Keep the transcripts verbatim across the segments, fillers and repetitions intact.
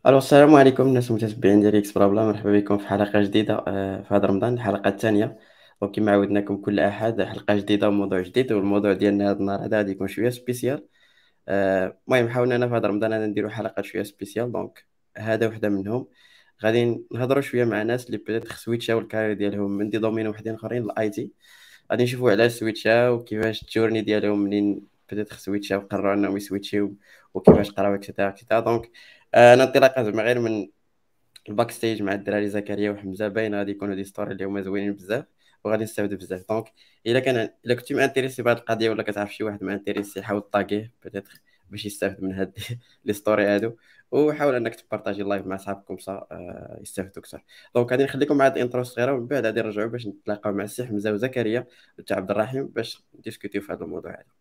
الو السلام عليكم الناس المتتبعين ديال اكس بلا بلا، مرحبا بكم في حلقه جديده آه، في هذا رمضان، الحلقه الثانيه. وكما عودناكم كل احد حلقه جديده وموضوع جديد، والموضوع ديالنا هذا النهار هذا غادي يكون شويه سبيسيال. آه، المهم حاولنا انا في هذا رمضان انا نديرو حلقه شويه سبيسيال، دونك هذا وحده منهم. غادي نهضروا شويه مع ناس اللي بيتيت سويتشاو الكارير ديالهم من دي دومين وحدين اخرين للاي تي. غادي نشوفوا علاش سويتشاو وكيفاش الجورني ديالهم منين بيتيت سويتشاو قرروا انهم يسويتشيو، وكيفاش قراو اكسيتيرا اكسيتيرا. دونك آه، انا انطلاقا زعما غير من الباك ستيج مع الدراري زكريا وحمزه، باين غادي يكونوا دي ستوري اللي هما زوينين بزاف وغادي نستافدوا بزاف. دونك الا كان الا كنتي مانتيريسي بهذه القضيه ولا كتعرف شي واحد مانتيريسي، حاول طاغيه بيتيتر باش يستافد من هاد لي ستوري هادو، وحاول انك تبارطاجي اللايف مع صحابكم صا آه، يستافدوا اكثر. دونك غادي نخليكم مع هاد الانترو الصغيره، ومن بعد غادي نرجعوا باش نتلاقاو مع السي حمزه وزكريا وتا عبد الرحيم باش نديسكوتيو في هذا الموضوع هذا.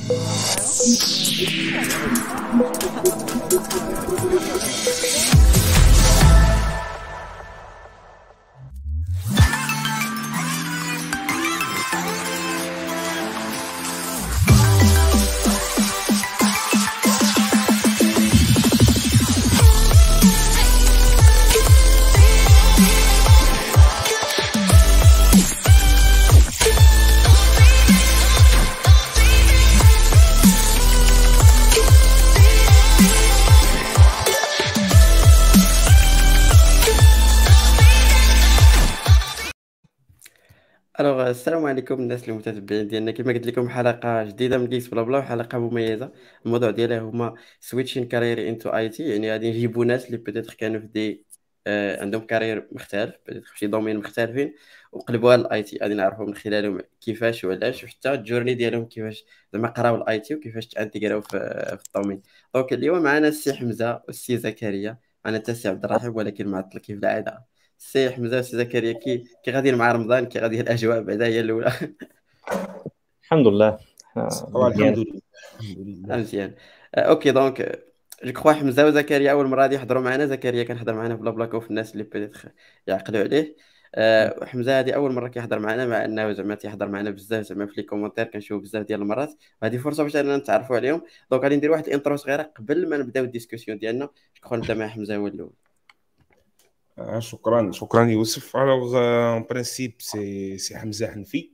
الوغ السلام عليكم الناس المتتبعين ديالنا، كما قلت لكم حلقه جديده من كيس بلا بلا وحلقه مميزه. الموضوع ديالها هما سويتشين كارير انتو اي تي، يعني غادي نجيبوا ناس اللي بيتيتر كانوا في دي آه عندهم كارير مختلف بيتيتر في شي دومين مختلفين وقلبوها للاي تي. غادي نعرفوا من خلالهم كيفاش وعلاش، وحتى الجورني ديالهم كيفاش زعما قراو الاي تي وكيفاش تانتيغراو في, في الدومين. دونك اليوم معنا السي حمزه والسي زكريا، معنا حتى السي عبد الرحيم ولكن معطل كيف العاده. السي حمزه والسي زكريا، كي كي غاديين مع رمضان، كي غادي الاجواء بعدا هي الاولى؟ الحمد لله. آه، آه، مزيان. الحمد لله الحمد لله. مزيان. آه، اوكي دونك جو كخوا حمزه وزكريا اول مره غادي يحضروا معنا. زكريا كان حضر معنا في بلا بلاكو في الناس اللي بيتيتر يعقلوا عليه. آه، حمزه هذه اول مره كيحضر معنا، مع انه زعما تيحضر معنا بزاف زعما في لي كومونتير كنشوف بزاف ديال المرات، وهذه فرصه باش اننا نتعرفوا عليهم. دونك غادي ندير واحد الانترو صغيره قبل ما نبداو الديسكسيون ديالنا. جو كخوا نبدا مع حمزه هو الاول. آه، شكرا شكرا يوسف. alors euh, en principe c'est c'est Hamza Hanfi,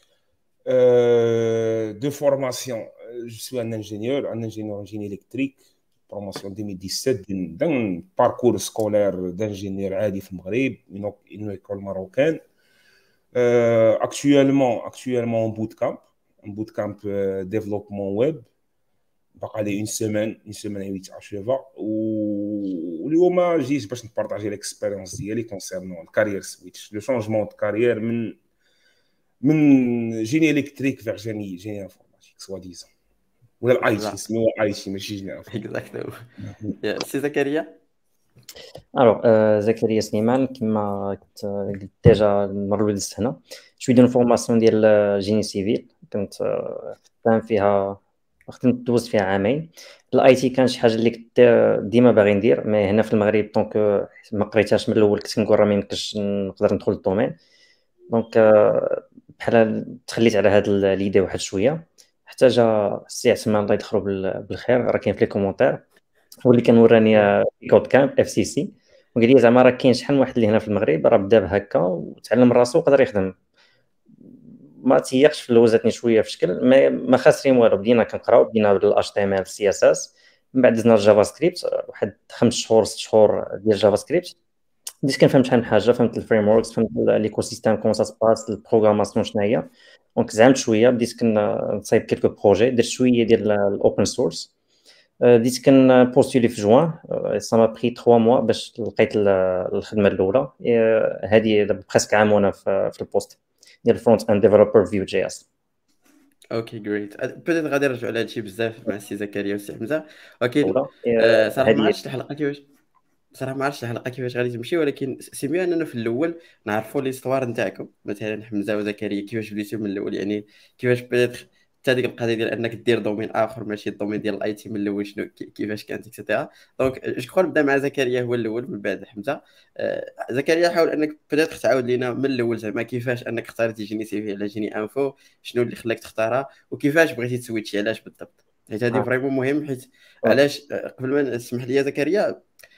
euh, de formation. euh, je suis un ingénieur un ingénieur en génie électrique, formation deux mille dix-sept, d'un parcours scolaire d'ingénieur عادي في المغرب, une, une école marocaine. Euh, actuellement actuellement en bootcamp en bootcamp euh, développement web. باقا لي اون سيمين اون سيمين اي ويت اشيفا. واليوم جيت باش نبارطاجي ليكسبيريونس ديالي كونسيرنون الكارير سويتش، لو شونجمون دو كارير من من جيني الكتريك فيغ جيني جيني انفورماتيك سوا ديزون، ولا الاي تي سميوها اي تي ماشي جيني اكزاكتو. يا سي زكريا. الوغ آه، زكريا سليمان، كما كنت قلت ديجا المره الاولى دزت هنا. شويه ديال الفورماسيون ديال جيني سيفيل، كنت آه، خدام فيها، خدمت دوزت فيها عامين. الاي تي كان شي حاجه اللي كنت ديما باغي ندير، مي هنا في المغرب دونك ما قريتهاش من الاول. كنت كنقول راه ما يمكنش نقدر ندخل للدومين، دونك آه، بحال تخليت على هاد ليدي واحد شويه، حتى جا السي عثمان الله يدخلو بال- بالخير، راه كاين في لي كومونتير، هو اللي كان وراني كود كامب اف سي سي، وقال لي زعما راه كاين شحال من واحد اللي هنا في المغرب راه بدا بهكا وتعلم راسو وقدر يخدم. ما تيقش في الاول، زادني شويه في شكل، ما ما خاسرين والو. بدينا كنقراو، بدينا بالاتش تي ام ال سي اس اس، من بعد دزنا الجافا سكريبت واحد خمس شهور ست شهور ديال جافا سكريبت. بديت كنفهم شحال من حاجه، فهمت الفريم وركس، فهمت ليكو سيستيم كومون سا سباس، البروغراماسيون شنو هي. دونك زعمت شويه، بديت كنصايب كيلكو بروجي، درت شويه ديال الاوبن سورس. بديت كنبوستولي في جوان، سا ما بري ثلاثة موا باش لقيت ال- الخدمه الاولى. هذه دابا بريسك عام وانا في في البوست ديال فرونت اند ديفلوبر فيو جي اس. اوكي جريت. بيتيت غادي نرجعوا على هادشي بزاف مع السي زكريا والسي حمزه، ولكن الاولى آه، صراحه ما هذه عرفتش الحلقه كيفاش صراحه ما عرفتش الحلقه كيفاش غادي تمشي، ولكن سي ميو اننا في الاول نعرفوا ليستوار نتاعكم، مثلا حمزه وزكريا كيفاش بديتوا من الاول، يعني كيفاش بدات حتى ديك القضيه ديال انك دير دومين اخر ماشي الدومين ديال الاي تي من الاول، شنو كي- كيفاش كانت اكسيتيرا. دونك جو كخوا نبدا مع زكريا هو الاول من بعد حمزه. آه، زكريا حاول انك بدات تعاود لينا من الاول زعما كيفاش انك اختاريتي جيني سيفي على جيني انفو، شنو اللي خلاك تختارها، وكيفاش بغيتي تسويتشي علاش بالضبط، حيت هذه آه. فريمون مهم. حيت آه. علاش آه، قبل ما نسمح لي يا زكريا،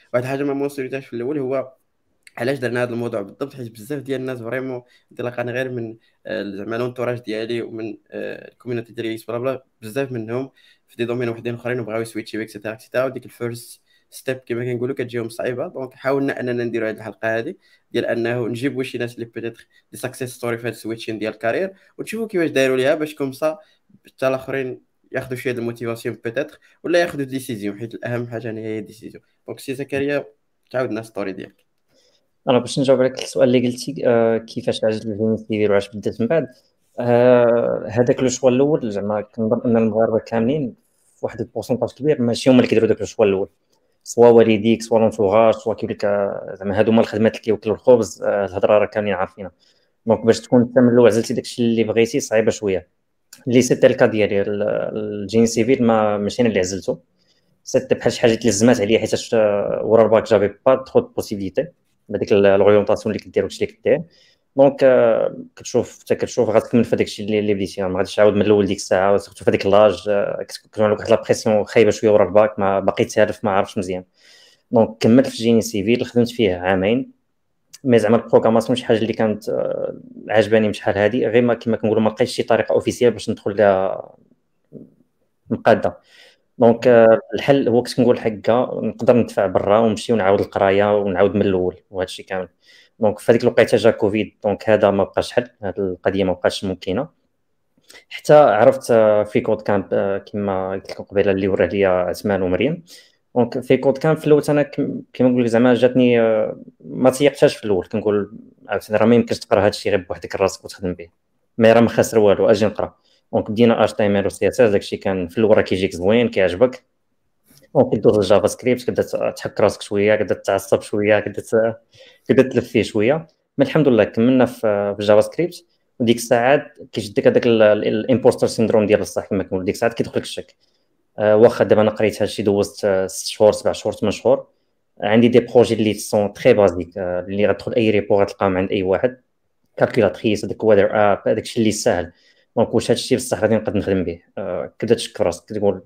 واحد الحاجه ما موصلتهاش في الاول هو علاش درنا هذا الموضوع بالضبط، حيت بزاف ديال الناس فريمون انطلاقا غير من آه، زعما لونتوراج ديالي ومن الكوميونيتي ديالي بلا بلا، بزاف منهم في دي دومين وحدين اخرين وبغاو يسويتشيو اكسيتيرا اكسيتيرا، وديك الفيرست ستيب كما كنقولوا كتجيهم صعيبه. دونك حاولنا اننا نديروا هذه الحلقه هذه ديال انه نجيبوا شي ناس اللي بيتيتر دي ساكسيس ستوري في هذا السويتشين ديال الكارير، ونشوفوا كيفاش داروا ليها باش كومسا حتى الاخرين ياخذوا شي هاد الموتيفاسيون بيتيتر ولا ياخذوا ديسيزيون، حيت الاهم حاجه هي ديسيزيون. دونك سي زكريا تعاود لنا ستوري ديالك. انا باش نجاوب عليك السؤال اللي قلتي، آه كيفاش عجبني الجيني سيفيل وعلاش بدات من بعد. آه هذاك لو شوا الاول زعما كنظن ان المغاربه كاملين في واحد البورسونتاج كبير ماشي هما اللي كيديروا داك لو شوا الاول، سوا والديك سوا لونتوراج سوا كيقول لك آه، زعما هادو هما الخدمات اللي كيوكلوا الخبز. آه الهضره راه كاملين عارفينها. دونك باش تكون انت من الاول عزلتي داكشي اللي بغيتي صعيبه شويه، اللي سيتي الكا ديالي. ال- الجيني سيفيل ما ماشي انا اللي عزلته، سيتي بحال شي حاجه اللي لزمات عليا، حيت آه، ورا الباك جافي با ترو دو بوسيبيليتي بهذيك الاورينتاسيون اللي كدير وداكشي اللي كدير. دونك آه، كتشوف حتى كتشوف غتكمل في داكشي اللي اللي بديتي، ما غاديش تعاود من الاول ديك الساعه، سورتو في هذيك لاج كتكون عندك واحد لا بريسيون خايبه شويه ورا الباك، ما باقي تعرف ما عرفتش مزيان. دونك كملت في جيني سيفيل، خدمت فيه عامين. مي زعما البروغراماسيون شي حاجه اللي كانت آه، عجباني من شحال هادي، غير ما كما كنقولوا ما لقيتش شي طريقه اوفيسيال باش ندخل لها مقاده. دونك آه، الحل هو كنت كنقول هكا نقدر ندفع برا ونمشي ونعاود القرايه ونعاود من الاول وهذا الشيء كامل. دونك في هذيك الوقيته جا كوفيد، دونك هذا ما بقاش حل، هذه القضيه ما بقاش ممكنه. حتى عرفت آه، في كود كامب آه، كما قلت لكم قبيله اللي وراه ليا عثمان ومريم. دونك في كود كامب في الاول انا كم- كما نقول لك زعما جاتني آه، ما تيقتهاش في الاول، كنقول عاوتاني راه ما يمكنش تقرا هذا الشيء غير بوحدك راسك وتخدم به، ما راه ما خاسر والو، اجي نقرا. دونك بدينا اش تي ام ال و سي اس اس، داكشي كان في الاول راه كيجيك زوين كيعجبك. دونك كدوز الجافا سكريبت كتبدا تحك راسك شويه، كتبدا تعصب شويه، كتبدا كتبدا تلف فيه شويه. ما الحمد لله كملنا في في الجافا سكريبت. وديك الساعات كيشدك هذاك الامبوستر سيندروم ديال بصح كما كنقول، ديك الساعات كيدخلك الشك. آه، واخا دابا انا قريت هادشي دوزت آه، ست شهور سبع شهور ثمان شهور، عندي دي بروجي اللي سون تري بازيك، آه، اللي غتدخل اي ريبو غتلقاهم عند اي واحد، كالكولاتريس هذاك ويذر اب، هذاك الشيء اللي ساهل. دونك واش هادشي بصح غادي نقدر نخدم به؟ آه، كبدا تشك في راسك تقول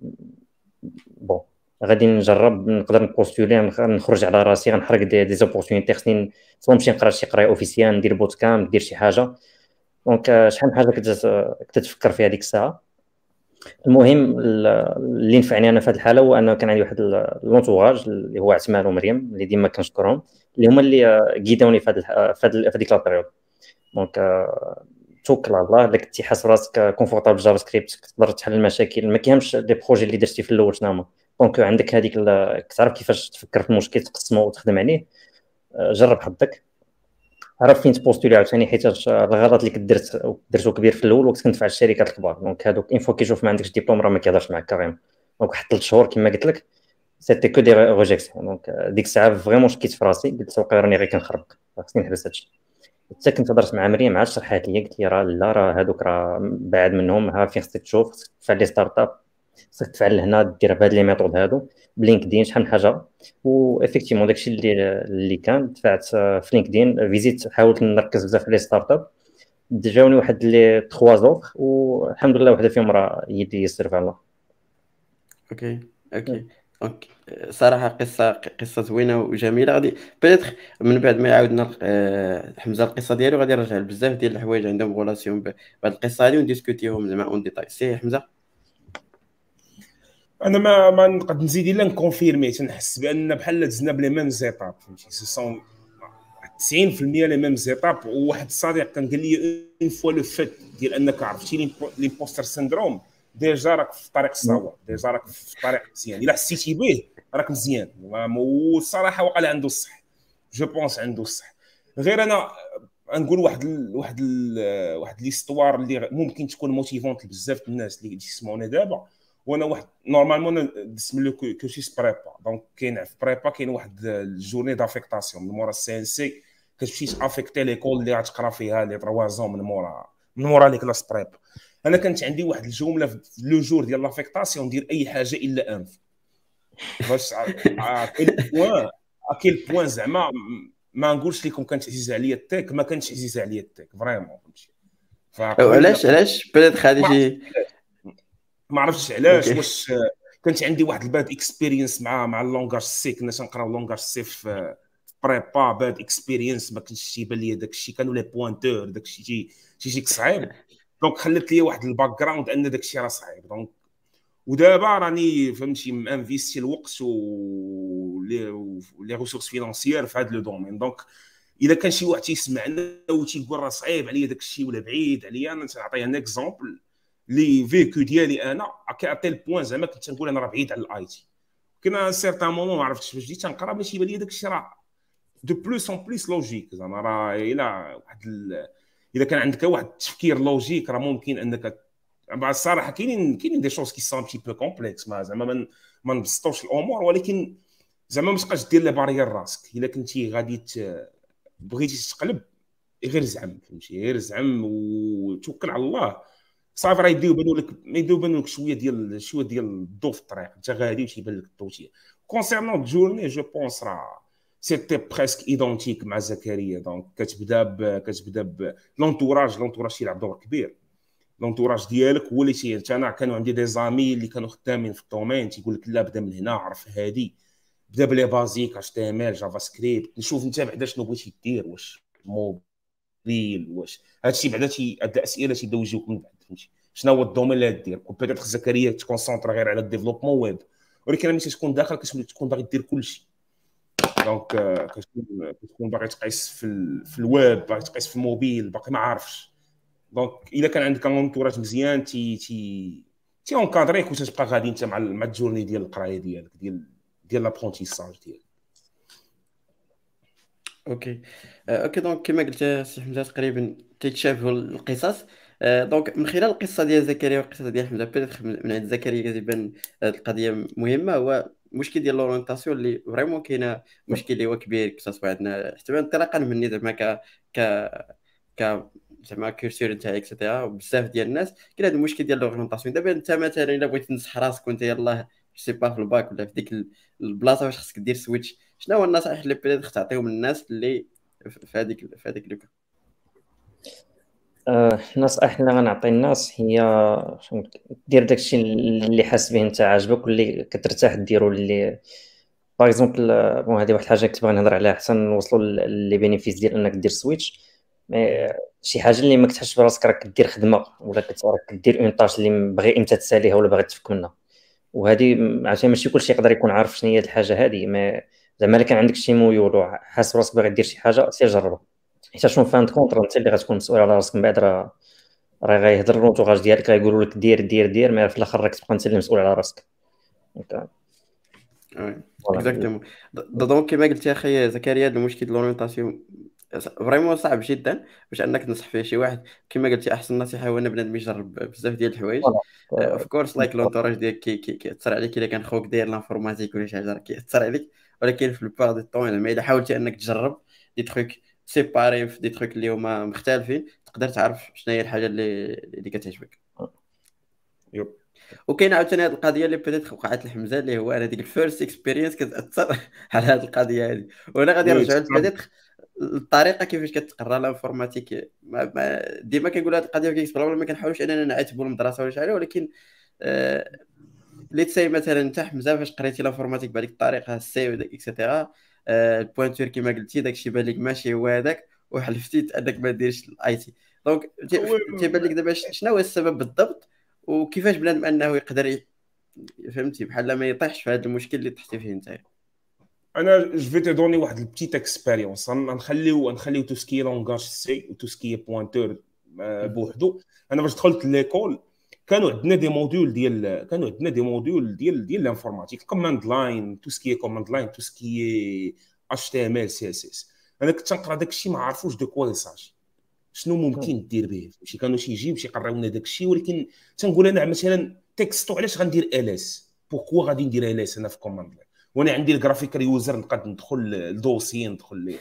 بون غادي نجرب نقدر نبوستولي نخرج على راسي، غنحرق دي دي زوبورتونيتي، خصني سواء نمشي نقرا شي قرايه اوفيسيال، ندير بوت كامب، ندير شي حاجه. دونك آه، شحال من حاجه كنت كنت تفكر فيها ديك الساعه. المهم ال- اللي نفعني انا في هذه الحاله هو انه كان عندي واحد ال- لونتوراج اللي هو عثمان ومريم اللي ديما كنشكرهم، اللي هما اللي آه، قيدوني في هذه الح- في هذه في هذيك لابيريود. دونك آه، توكل على الله، الا كنتي حاس راسك كونفورتابل جافا سكريبت كتقدر تحل المشاكل، ما كيهمش لي بروجي اللي درتي في الاول شنو هما. دونك عندك هذيك ال- كتعرف كيفاش تفكر في المشكل تقسمه وتخدم عليه. آه، جرب حظك، عرف فين تبوستولي عاوتاني، حيت الغلط اللي كدرت درتو كبير في الاول وقت كنت في الشركات الكبار. دونك هادوك اون فوا كيشوف ما عندكش ديبلوم راه ما كيهضرش معاك كاريم. دونك واحد ثلاث شهور كما قلت لك سيتي كو دي ريجيكسيون. دونك ديك الساعه فريمون شكيت في راسي، قلت واقيلا راني غير كنخربق، خصني نحبس هادشي. حتى كنت هضرت مع مريم عاد شرحات لي، قلت لي راه لا راه هادوك راه بعد منهم، ها فين خصك تشوف، خصك تدفع لي ستارت اب، خصك تفعل هنا دير بهاد لي ميثود هادو بلينكدين شحال من حاجه. و افيكتيفمون داكشي اللي اللي كان دفعت في لينكدين فيزيت، حاولت نركز بزاف في لي ستارت اب، جاوني واحد لي تخوا زوفر والحمد لله وحده فيهم راه هي اللي يسير الله. اوكي اوكي اوكي صراحه قصه قصه زوينه وجميله. غادي بيتر من بعد ما يعاودنا آه، حمزه القصه ديالو غادي نرجع لبزاف ديال الحوايج عندهم غولاسيون بهاد القصه هذه ونديسكوتيهم زعما اون ديتاي. سي حمزه. انا ما ما نقدر نزيد الا نكونفيرمي، تنحس بان بحال دزنا بلي ميم زيتاب، فهمتي سي سون تسعين في المية لي ميم زيتاب. وواحد الصديق كان قال لي اون فوا لو فيت ديال انك عرفتي ليمبوستر سيندروم ديجا راك في طريق الصواب، ديجا راك في طريق مزيان، الا حسيتي به راك مزيان. والصراحه وقال عنده الصح، جو بونس عنده الصح. غير انا نقول واحد ال واحد ال واحد ليستوار اللي ممكن تكون موتيفونت لبزاف الناس اللي يسمعونا دابا. وانا واحد نورمالمون دسم لو كورسيس بريبا، دونك كاين في بريبا كاين واحد الجورني دافيكتاسيون من مورا السي ان سي، كتمشي تافيكتي ليكول اللي غتقرا فيها لي تروا زون من مورا من مورا لي كلاس بريبا. انا كانت عندي واحد الجمله في لو جور ديال لافيكتاسيون، ندير اي حاجه الا انف، باش اكيل بوان اكيل بوان زعما ما نقولش لكم كانت عزيزه عليا التيك، ما كانتش عزيزه عليا التيك فريمون، فهمتي. علاش علاش بيتر غادي شي ما عرفتش علاش. واش كانت عندي واحد الباد اكسبيرينس مع مع اللونغاج سي. كنا تنقراو لونغاج سي في بريبا. باد اكسبيرينس ما كنتش تيبان لي داك الشيء، كانوا لي بوينتور داك الشيء شي شي شي صعيب. دونك خلت لي واحد الباك جراوند ان داك الشيء راه صعيب. دونك ودابا راني فهمتي انفيستي الوقت و لي ريسورس فينانسيير في هذا لو دومين. دونك الا كان شي واحد تيسمعنا وتيقول راه صعيب عليا داك الشيء ولا بعيد عليا، انا نعطيه ان اكزومبل لي فيكو ديالي انا كاتيل بوين زعما كنت نقول انا راه بعيد على الاي تي. كنا سيرتان مومون ما عرفتش باش جيت تنقرا باش يبان لي داك الشيء راه دو بلوس اون بليس لوجيك. زعما راه الا واحد ال... الا كان عندك واحد التفكير لوجيك راه ممكن انك الصراحه كاينين كاينين دي شوز كي سون بي بو كومبلكس. ما زعما ما ما نبسطوش الامور، ولكن زعما ما تبقاش دير لي بارير راسك. الا كنتي غادي بغيتي تقلب غير زعم، فهمتي، غير زعم وتوكل على الله. صافي راه يبداو يبانوا لك ما يبداو يبانوا لك شويه ديال شويه ديال الضوء في الطريق. انت غادي وتيبان لك الضوء. كونسيرنون جورني جو بونس راه سيتي بريسك ايدونتيك مع زكريا. دونك كتبدا ب كتبدا ب لونتوراج. لونتوراج يلعب دور كبير. لونتوراج ديالك هو اللي تي انا كانوا عندي دي زامي اللي كانوا خدامين في الدومين تيقول لك لا بدا من هنا، عرف هادي، بدا بلي بازيك اتش تي ام ال جافا سكريبت. نشوف انت بعدا شنو بغيتي دير، واش موبيل، واش هادشي بعدا تي هاد الاسئله تيبداو يجيوك من بعد، فهمتي شنو هو الدومين اللي دير. بيتيت زكريا تكونسونطر غير على الديفلوبمون ويب، ولكن ملي تكون داخل كتولي تكون باغي دير كلشي. دونك كتكون كتكون باغي تقيس في ال... في الويب، باغي تقيس في الموبيل، باقي ما عارفش. دونك الا كان عندك انتوراج مزيان تي تي تي اونكادريك وتبقى غادي انت مع مع الجورني ديال القرايه ديالك ديال ديال لابرونتيساج ديالك. اوكي آه، اوكي دونك كما قلت سي حمزه تقريبا تيتشابهوا القصص. آه، دونك من خلال القصه ديال زكريا والقصه ديال حمزه بيتيتر من عند زكريا كتبان هاد القضيه مهمه، هو المشكل ديال لورونتاسيون اللي فريمون كاينه مشكل اللي هو كبير كتصاص عندنا حتى انطلاقا مني زعما ك ك ك زعما كولتور نتاعي اكسيتيرا. بزاف ديال الناس كاين هذا المشكل ديال لورونتاسيون. دابا انت مثلا الا بغيتي تنصح راسك وانت يلاه سي با في الباك ولا في ديك البلاصه واش خصك دير سويتش، شنو هو النصائح اللي بيتيتر تعطيهم للناس اللي في هذيك في هذيك لوكا؟ آه، النصائح اللي غنعطي الناس هي شنو دير داكشي اللي حاس به انت عاجبك واللي كترتاح ديرو. اللي باغ اكزومبل بون هذه واحد الحاجه كنت باغي نهضر عليها حتى نوصلوا لي بينيفيس ديال انك دير سويتش. مي شي حاجه اللي ما كتحسش براسك راك كدير خدمه ولا كتراك كدير اون طاش اللي باغي انت تساليها ولا باغي تفك منها. وهذه عشان ماشي كلشي يقدر يكون عارف شنو هي الحاجه هذه. ما زعما الا كان عندك شي ميول وحاس براسك باغي دير شي حاجه سير جربها، حيت شنو فان كونطر انت اللي غتكون مسؤول على راسك. من بعد راه راه غيهضر الانتوراج ديالك غيقولوا لك دير دير دير، مي في الاخر راك تبقى انت اللي مسؤول على راسك. اكزاكتومون. دونك كما قلت يا اخي زكريا المشكل ديال لورينتاسيون فريمون صعب جدا باش انك تنصح فيه شي واحد. كما قلتي احسن نصيحه هو ان بنادم يجرب بزاف ديال الحوايج. اوف كورس لايك لونتوراج ديالك كي كيأثر عليك. الا كان خوك داير لانفورماتيك ولا شي حاجه راه كيأثر عليك، ولكن في البار دو طون زعما الا حاولتي انك تجرب دي تروك سيباري في دي تروك اللي هما مختلفين تقدر تعرف شنو هي الحاجه اللي اللي كتعجبك. يب. وكاين عاوتاني هذه القضيه اللي بدات وقعت لحمزه اللي هو انا ديك الفيرست اكسبيرينس كتاثر على هذه القضيه هذه. وانا غادي نرجعوا لبدات الطريقه كيفاش كتقرا الانفورماتيك. ما ما ديما كنقول هذه القضيه كيكسبلا ما كنحاولش اننا نعاتبوا المدرسه ولا شي حاجه، ولكن آه ليت ساي مثلا انت حمزه فاش قريتي الانفورماتيك بهذيك الطريقه السي اكسيتيرا آه البوينتور كما قلتي داكشي بان لك ماشي هو هذاك وحلفتي انك ما ديرش الاي تي. دونك تيبان لك دابا شنو هو السبب بالضبط وكيفاش بنادم انه يقدر ي... فهمتي بحال ما يطيحش في هذا المشكل اللي طحتي فيه انت؟ انا جو في تي دوني واحد البتيت اكسبيريونس. نخليو نخليو تو سكي لونغاج سي و تو سكي بوينتور بوحدو. انا باش دخلت ليكول كانوا عندنا دي موديول ديال كانوا عندنا دي موديول ديال ديال الانفورماتيك، كوماند لاين، تو سكي كوماند لاين، تو سكي اتش تي ام ال سي اس اس. انا كنت نقرا داك الشيء ما عرفوش دو كوا يساجي، شنو ممكن دير به. شي كانوا شي يجيب شي يقراونا داك الشيء، ولكن تنقول انا مثلا تكستو علاش غندير ال اس، بوكوا غادي ندير ال اس انا في كوماند لاين وانا عندي الجرافيكال يوزر نقدر ندخل الدوسي ندخل ليه.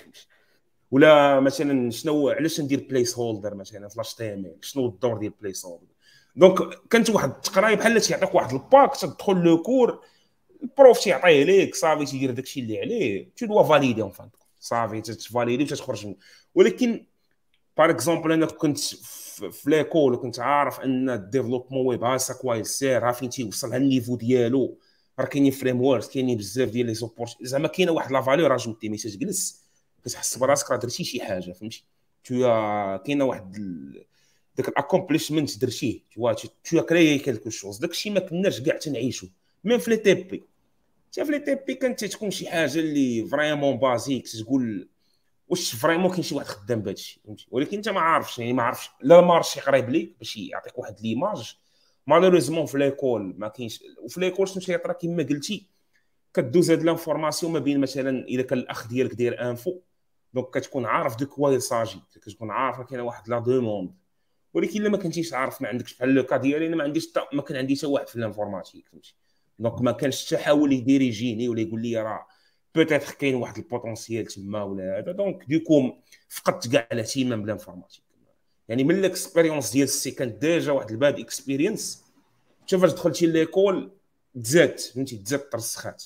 ولا مثلا شنو علاش ندير بليس هولدر مثلا في اتش تي ام ال، شنو الدور ديال بليس هولدر. دونك كانت واحد التقرايه بحال تيعطيك واحد الباك تدخل لو كور البروف تيعطيه ليك صافي تيدير داكشي اللي عليه تو دوا فاليدي اون فان صافي تفاليدي وتخرج منه. ولكن بار اكزومبل انا كنت في ليكول وكنت عارف ان الديفلوبمون ويب هاسا كويس سير ها فين تيوصل ها النيفو ديالو راه كاينين فريم ووركس، كاينين بزاف ديال لي زوبورت، زعما كاينه واحد لا فالور اجوتي ملي تجلس كتحس براسك راه درتي شي حاجه، فهمتي؟ تو كاينه واحد ال... داك الاكومبليشمنت درتيه، تو تو كريي كالكو شوز، داكشي ما كناش كاع تنعيشو ميم في لي تي بي. حتى في لي تي بي كانت تكون شي حاجه اللي فريمون بازيك، تقول واش فريمون كاين شي واحد خدام بهادشي، فهمتي؟ ولكن انت ما عارفش، يعني ما عارفش لا المارشي قريب ليك باش يعطيك واحد ليماج. مالوريزمون في ليكول ما كاينش، وفي ليكول شنو تيطرا كما قلتي، كدوز هاد لانفورماسيون ما بين مثلا الا كان الاخ ديالك داير انفو، دونك كتكون عارف دو كوا يساجي، كتكون عارف كاينه واحد لا دوموند. ولكن الا ما كنتيش عارف، ما عندكش بحال لو كا ديالي، انا ما عنديش ما كان عندي حتى واحد في الانفورماتيك، فهمتي؟ دونك ما كانش حتى حاول يديريجيني ولا يقول لي راه بوتيتر كاين واحد البوتونسيال تما ولا هذا. دونك دوكو فقدت كاع الاهتمام بالانفورماتيك. يعني من الاكسبيريونس ديال السي كانت ديجا واحد الباد اكسبيرينس، حتى فاش دخلتي ليكول تزادت، فهمتي؟ تزادت ترسخات،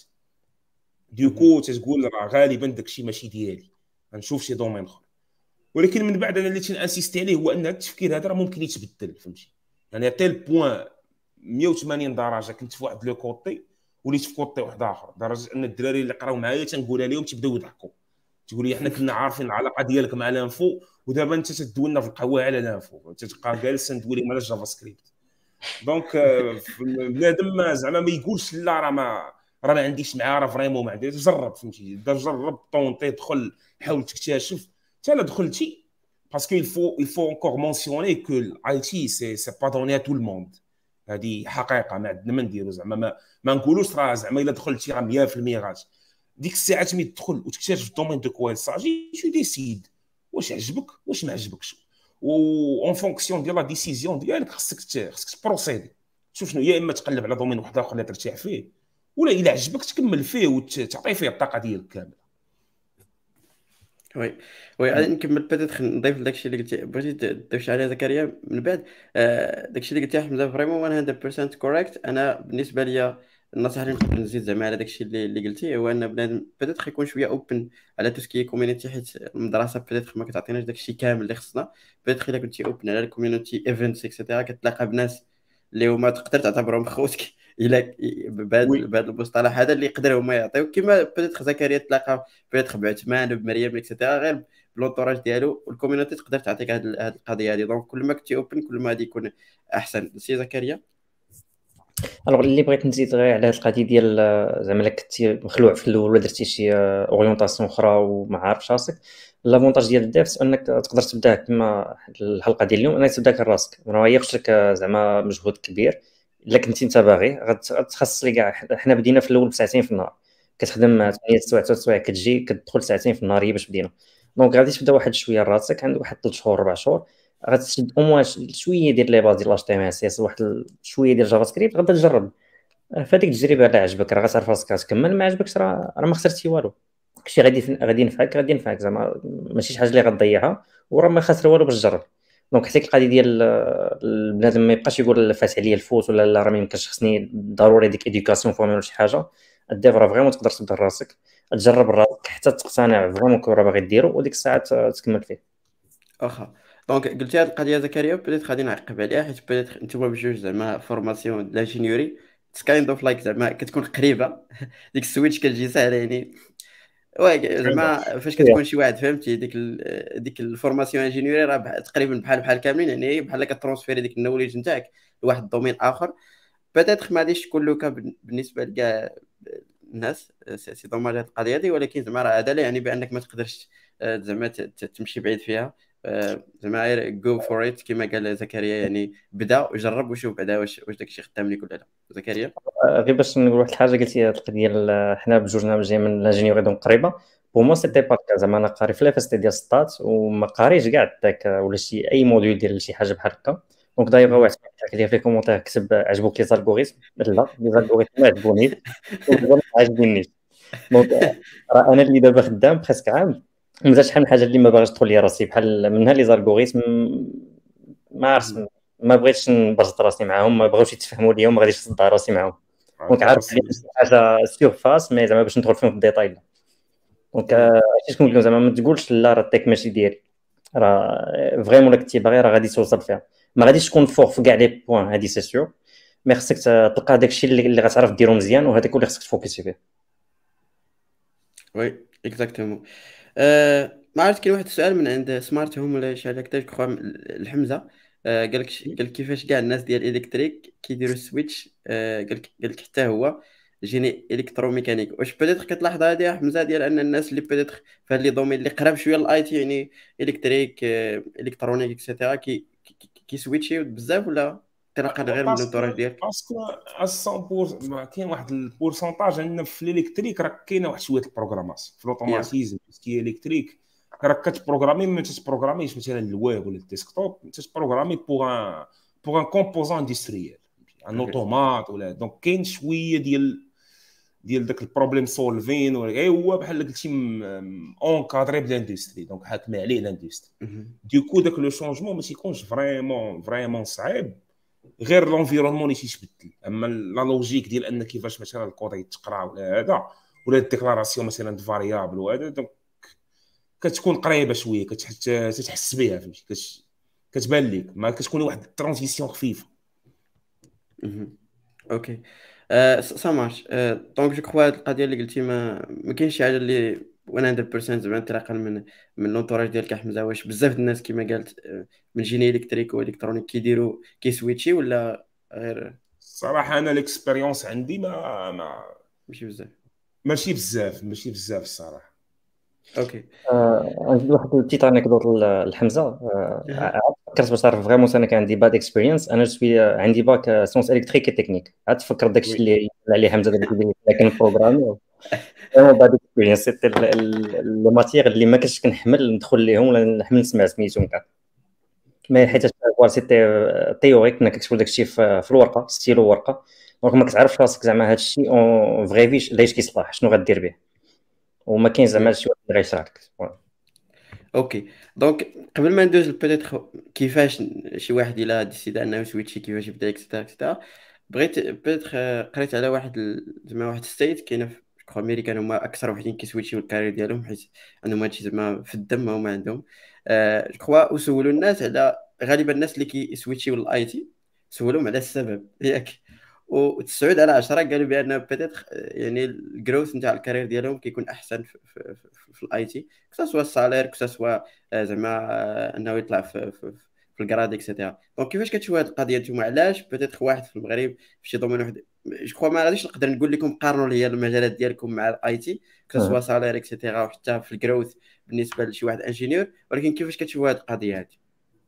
دوكو تتقول راه غالبا داكشي ماشي ديالي، غنشوف شي دومين اخر. ولكن من بعد انا اللي تنانسيستي عليه هو ان التفكير هذا راه ممكن يتبدل، فهمتي؟ يعني تيل بوين مية وثمانين درجه كنت في واحد لو كوتي وليت في كوتي واحد اخر، لدرجه ان الدراري اللي قراو معايا تنقولها لهم تيبداو يضحكوا، تقول لي حنا كنا عارفين العلاقه ديالك مع لانفو ودابا انت تدولنا في القهوه على لانفو، تتبقى جالس ندوي لهم على جافا سكريبت. دونك بنادم زعما ما يقولش لا راه ما راه ما عنديش معاه، راه فريمون ما عنديش، جرب، فهمتي؟ جرب طونطي، دخل حاول تكتشف. حتى لا دخلتي باسكو il faut il faut encore mentionner que l'I T c'est c'est pas donné à tout le monde. هذه حقيقه ما عندنا ما نديرو، زعما ما, ما نقولوش راه زعما الا دخلتي راه مية في المية غادي. ديك الساعه ملي تدخل وتكتشف الدومين دو كوال ساجي، تو ديسيد واش عجبك واش ما عجبكش، و اون فونكسيون ديال لا ديسيزيون ديالك خصك خصك تبروسيدي. شوف شنو، يا اما تقلب على دومين واحد اخر اللي ترتاح فيه، ولا الا عجبك تكمل فيه وتعطي فيه الطاقه ديالك كامله. وي وي غادي نكمل بيتيت نضيف لداكشي اللي قلتي، بغيتي تضيف شي حاجه زكريا من بعد. آه داكشي اللي قلتي حمزه فريمون مية بالمية كوريكت. انا بالنسبه ليا النصيحه اللي نقدر نزيد زعما على داكشي اللي اللي قلتي هو ان بنادم بيتيت يكون شويه اوبن على تو سكي كوميونيتي، حيت المدرسه بيتيت ما كتعطيناش داكشي كامل اللي خصنا. بيتيت الا كنتي اوبن على الكوميونيتي ايفنتس اكسيتيرا كتلاقى بناس اللي هما تقدر تعتبرهم خوتك الا بهذا بهذا المصطلح هذا اللي يقدروا هما يعطيو، كما بيتيت زكريا تلاقى بيتيت بعثمان بمريم اكسيتيرا، غير بلونطوراج ديالو والكوميونيتي تقدر تعطيك هذه القضيه هذه. دونك كل ما كنتي اوبن كل ما غادي يكون احسن. سي زكريا. الوغ اللي بغيت نزيد غير على هاد القضيه ديال زعما الا كنتي مخلوع في الاول ولا درتي شي اورينتاسيون اخرى وما عارفش راسك، لافونتاج ديال الديفس انك تقدر تبدا كما الحلقه ديال اليوم انك تبدا كراسك، ما يخصش لك زعما مجهود كبير. الا كنتي انت باغي غتخصص لي كاع. حنا بدينا في الاول بساعتين في النهار، كتخدم ثمانية سوايع تسع سوايع، كتجي كتدخل ساعتين في النهار هي باش بدينا. دونك غادي تبدا واحد شويه راسك، عندك واحد ثلاث شهور اربع شهور غتشد او موان شويه ديال لي باز ديال اش تي ام اس اس، واحد شويه ديال جافا سكريبت، غادي تجرب فهاديك التجربه. لا عجبك راه غتعرف راسك تكمل، ما عجبكش راه راه ما خسرتي والو. داكشي غادي غادي ينفعك غادي ينفعك زعما ماشي شي حاجه اللي غتضيعها، وراه ما خاسر والو باش تجرب. دونك حتى القضيه ديال البنادم ما يبقاش يقول فات عليا الفوت ولا لا راه ما يمكنش خصني ضروري ديك اديوكاسيون فورمال ولا شي حاجه. الديف راه فريمون تقدر تبدا راسك تجرب راسك حتى تقتنع فريمون كون راه باغي ديرو، وديك الساعه تكمل فيه. واخا دونك قلتي هذه القضيه زكريا بديت غادي نعقب عليها، حيت بديت نتوما بجوج زعما فورماسيون لانجينيوري كايند اوف لايك زعما كتكون قريبه ديك السويتش كتجي ساهله يعني. وي زعما فاش كتكون شي واحد فهمتي ديك ال ديك الفورماسيون انجينيوري راه تقريبا بحال بحال كاملين، يعني بحال كترونسفيري ديك النوليج نتاعك لواحد دومين اخر. بيتيت ما غاديش تكون لوكا بالنسبه لكاع الناس، سي دوماج هاد القضيه هذه، ولكن زعما راه هذا لا يعني بانك ما تقدرش زعما تمشي بعيد فيها. زعما غير جو فور ات كما قال زكريا، يعني بدا وجرب وشوف بعدا واش واش داكشي خدام لك ولا لا. زكريا غير باش نقول واحد الحاجه، قلتي هاد القضيه ديال حنا بجوجنا جاي من الانجينيوري دونك قريبه. بوما سيتي با كا، زعما انا قاري في لافاستي ديال ستات وما قاريش كاع داك ولا شي اي موديول ديال شي حاجه بحال هكا. دونك دايما واحد كيدير في الكومونتير كتب عجبوك لي زالغوريثم، لا لي زالغوريثم ما عجبونيش وما عجبنيش. دونك راه انا اللي دابا خدام بريسك عام مازال شحال من حاجه اللي ما باغيش تدخل لي راسي، بحال منها لي زالغوريثم ما عرفتش ما بغيتش نبرز راسي معاهم، ما بغاوش يتفهموا ليا وما غاديش نصدع راسي معاهم. دونك عارف حاجه سيرفاس مي زعما باش ندخل فيهم في الديتاي. دونك اش كنقول لهم زعما ما تقولش لا راه التيك ماشي ديالي، راه فريمون الا كنتي باغي راه غادي توصل فيها. ما غاديش تكون فوق في كاع لي بوين هادي سي سيور، مي خصك تلقى داكشي اللي اللي غتعرف ديرو مزيان، وهذاك هو اللي خصك تفوكسي فيه. وي اكزاكتومون. أه ما عرفت، كاين واحد السؤال من عند سمارت هوم ولا شي حاجه هكذا كخوا الحمزه. أه قال لك قال لك كيفاش كاع الناس ديال الالكتريك كيديروا السويتش. أه قال لك قال لك حتى هو جيني الكتروميكانيك. واش بدات كتلاحظ هذه يا حمزه، ديال ان الناس اللي بدات في هاد لي دومين اللي قراب شويه للاي تي، يعني الكتريك أه الكترونيك اكسيتيرا، كي كي- كيسويتشيو بزاف، ولا تلقى غير من باسكو الانتوراج ديالك؟ باسكو مية بالمية كاين واحد البورسونتاج عندنا في الالكتريك، راه كاينه واحد شويه البروغراماسيون في يا الاوتوماتيزم كي الكتريك. راك كتبروغرامي، ما تتبروغراميش مثلا الويب ولا الديسكتوب، تتبروغرامي بوغ ان بوغ ان كومبوزون اندستريال، ان اوكي. اوتومات ولا. دونك كاين شويه ديال ديال داك البروبليم سولفين، ولا هو بحال قلتي اونكادري بالاندستري، دونك حاكم عليه الاندستري. مهم. ديكو داك لو شونجمون ما تيكونش فريمون فريمون صعيب، غير لونفيرونمون اللي تيتبدل. اما لا لوجيك ديال ان كيفاش مثلا الكود يتقرا ولا هذا، ولا الديكلاراسيون مثلا فاريابل وهذا، دونك كتكون قريبه شويه، كتحس بها، فهمتي، كت- كتبان لك، ما كتكون واحد الترانزيسيون خفيفه. مهم. اوكي. آه سا مارش. آه دونك جو كخوا هاد القضيه اللي قلتي، ما ما كاينش شي حاجه اللي مية بالمية زعما انطلاقا من من لونتوراج ديالك يا حمزه. واش بزاف د الناس كما قالت آه، من جيني الكتريك والكترونيك كيديروا كيسويتشي، ولا غير الصراحه انا الاكسبيريونس عندي ما, ما ماشي بزاف؟ ماشي بزاف ماشي بزاف الصراحه. اوكي. آه، عندي واحد البتيت انكدوت الحمزه. آه، اها. عاد فكرت باش تعرف فريمون انا كان عندي باد اكسبيرينس. انا شوي عندي باك سونس الكتريك تكنيك. عاد تفكر داكشي وي. اللي اللي عليه حمزه دابا كيدير، لكن بروغرامي فريمون باد اكسبيرينس. سيتي لي ماتيغ اللي ما كنتش كنحمل ندخل ليهم ولا نحمل نسمع سميتهم كاع. ما حيت كوا سيتي تيوري، كنا كنكتبوا داكشي في في الورقه، ستيلو ورقه. دونك ما كتعرفش راسك زعما هذا الشيء اون فغي فيش ليش كيصلاح، شنو غدير به، وما كاين زعما وي. شي واحد اللي غيشرح لك. اوكي. دونك قبل ما ندوز بيتيتر كيفاش شي واحد الا ديسيدا انه يسويتشي، كيفاش يبدا اكسترا اكسترا، بغيت بيتيتر قريت على واحد ال- زعما واحد ستيت كاينه في كو امريكان، هما اكثر وحدين كيسويتشيو الكارير ديالهم، حيت عندهم هادشي زعما في الدم، هما عندهم. آه جو كخوا وسولوا الناس على غالبا الناس اللي كيسويتشيو للاي تي، سولوهم على السبب ياك، وتسعود على عشرة قالوا بان بيتيتر يعني الجروث نتاع الكارير ديالهم كيكون احسن في, في, في, في الاي تي، كسوا السالير، كسوا آه، زعما آه، انه يطلع في في, في الكراد اكسيتيرا. دونك كيفاش كتشوفوا هذه القضيه نتوما؟ علاش بيتيتر واحد في المغرب في شي دومين واحد، جو كخوا ما غاديش نقدر نقول لكم قارنوا لي المجالات ديالكم مع الاي تي، كسوا سالير اكسيتيرا، وحتى في الجروث بالنسبه لشي واحد انجينيور، ولكن كيفاش كتشوفوا هذه القضيه هذه؟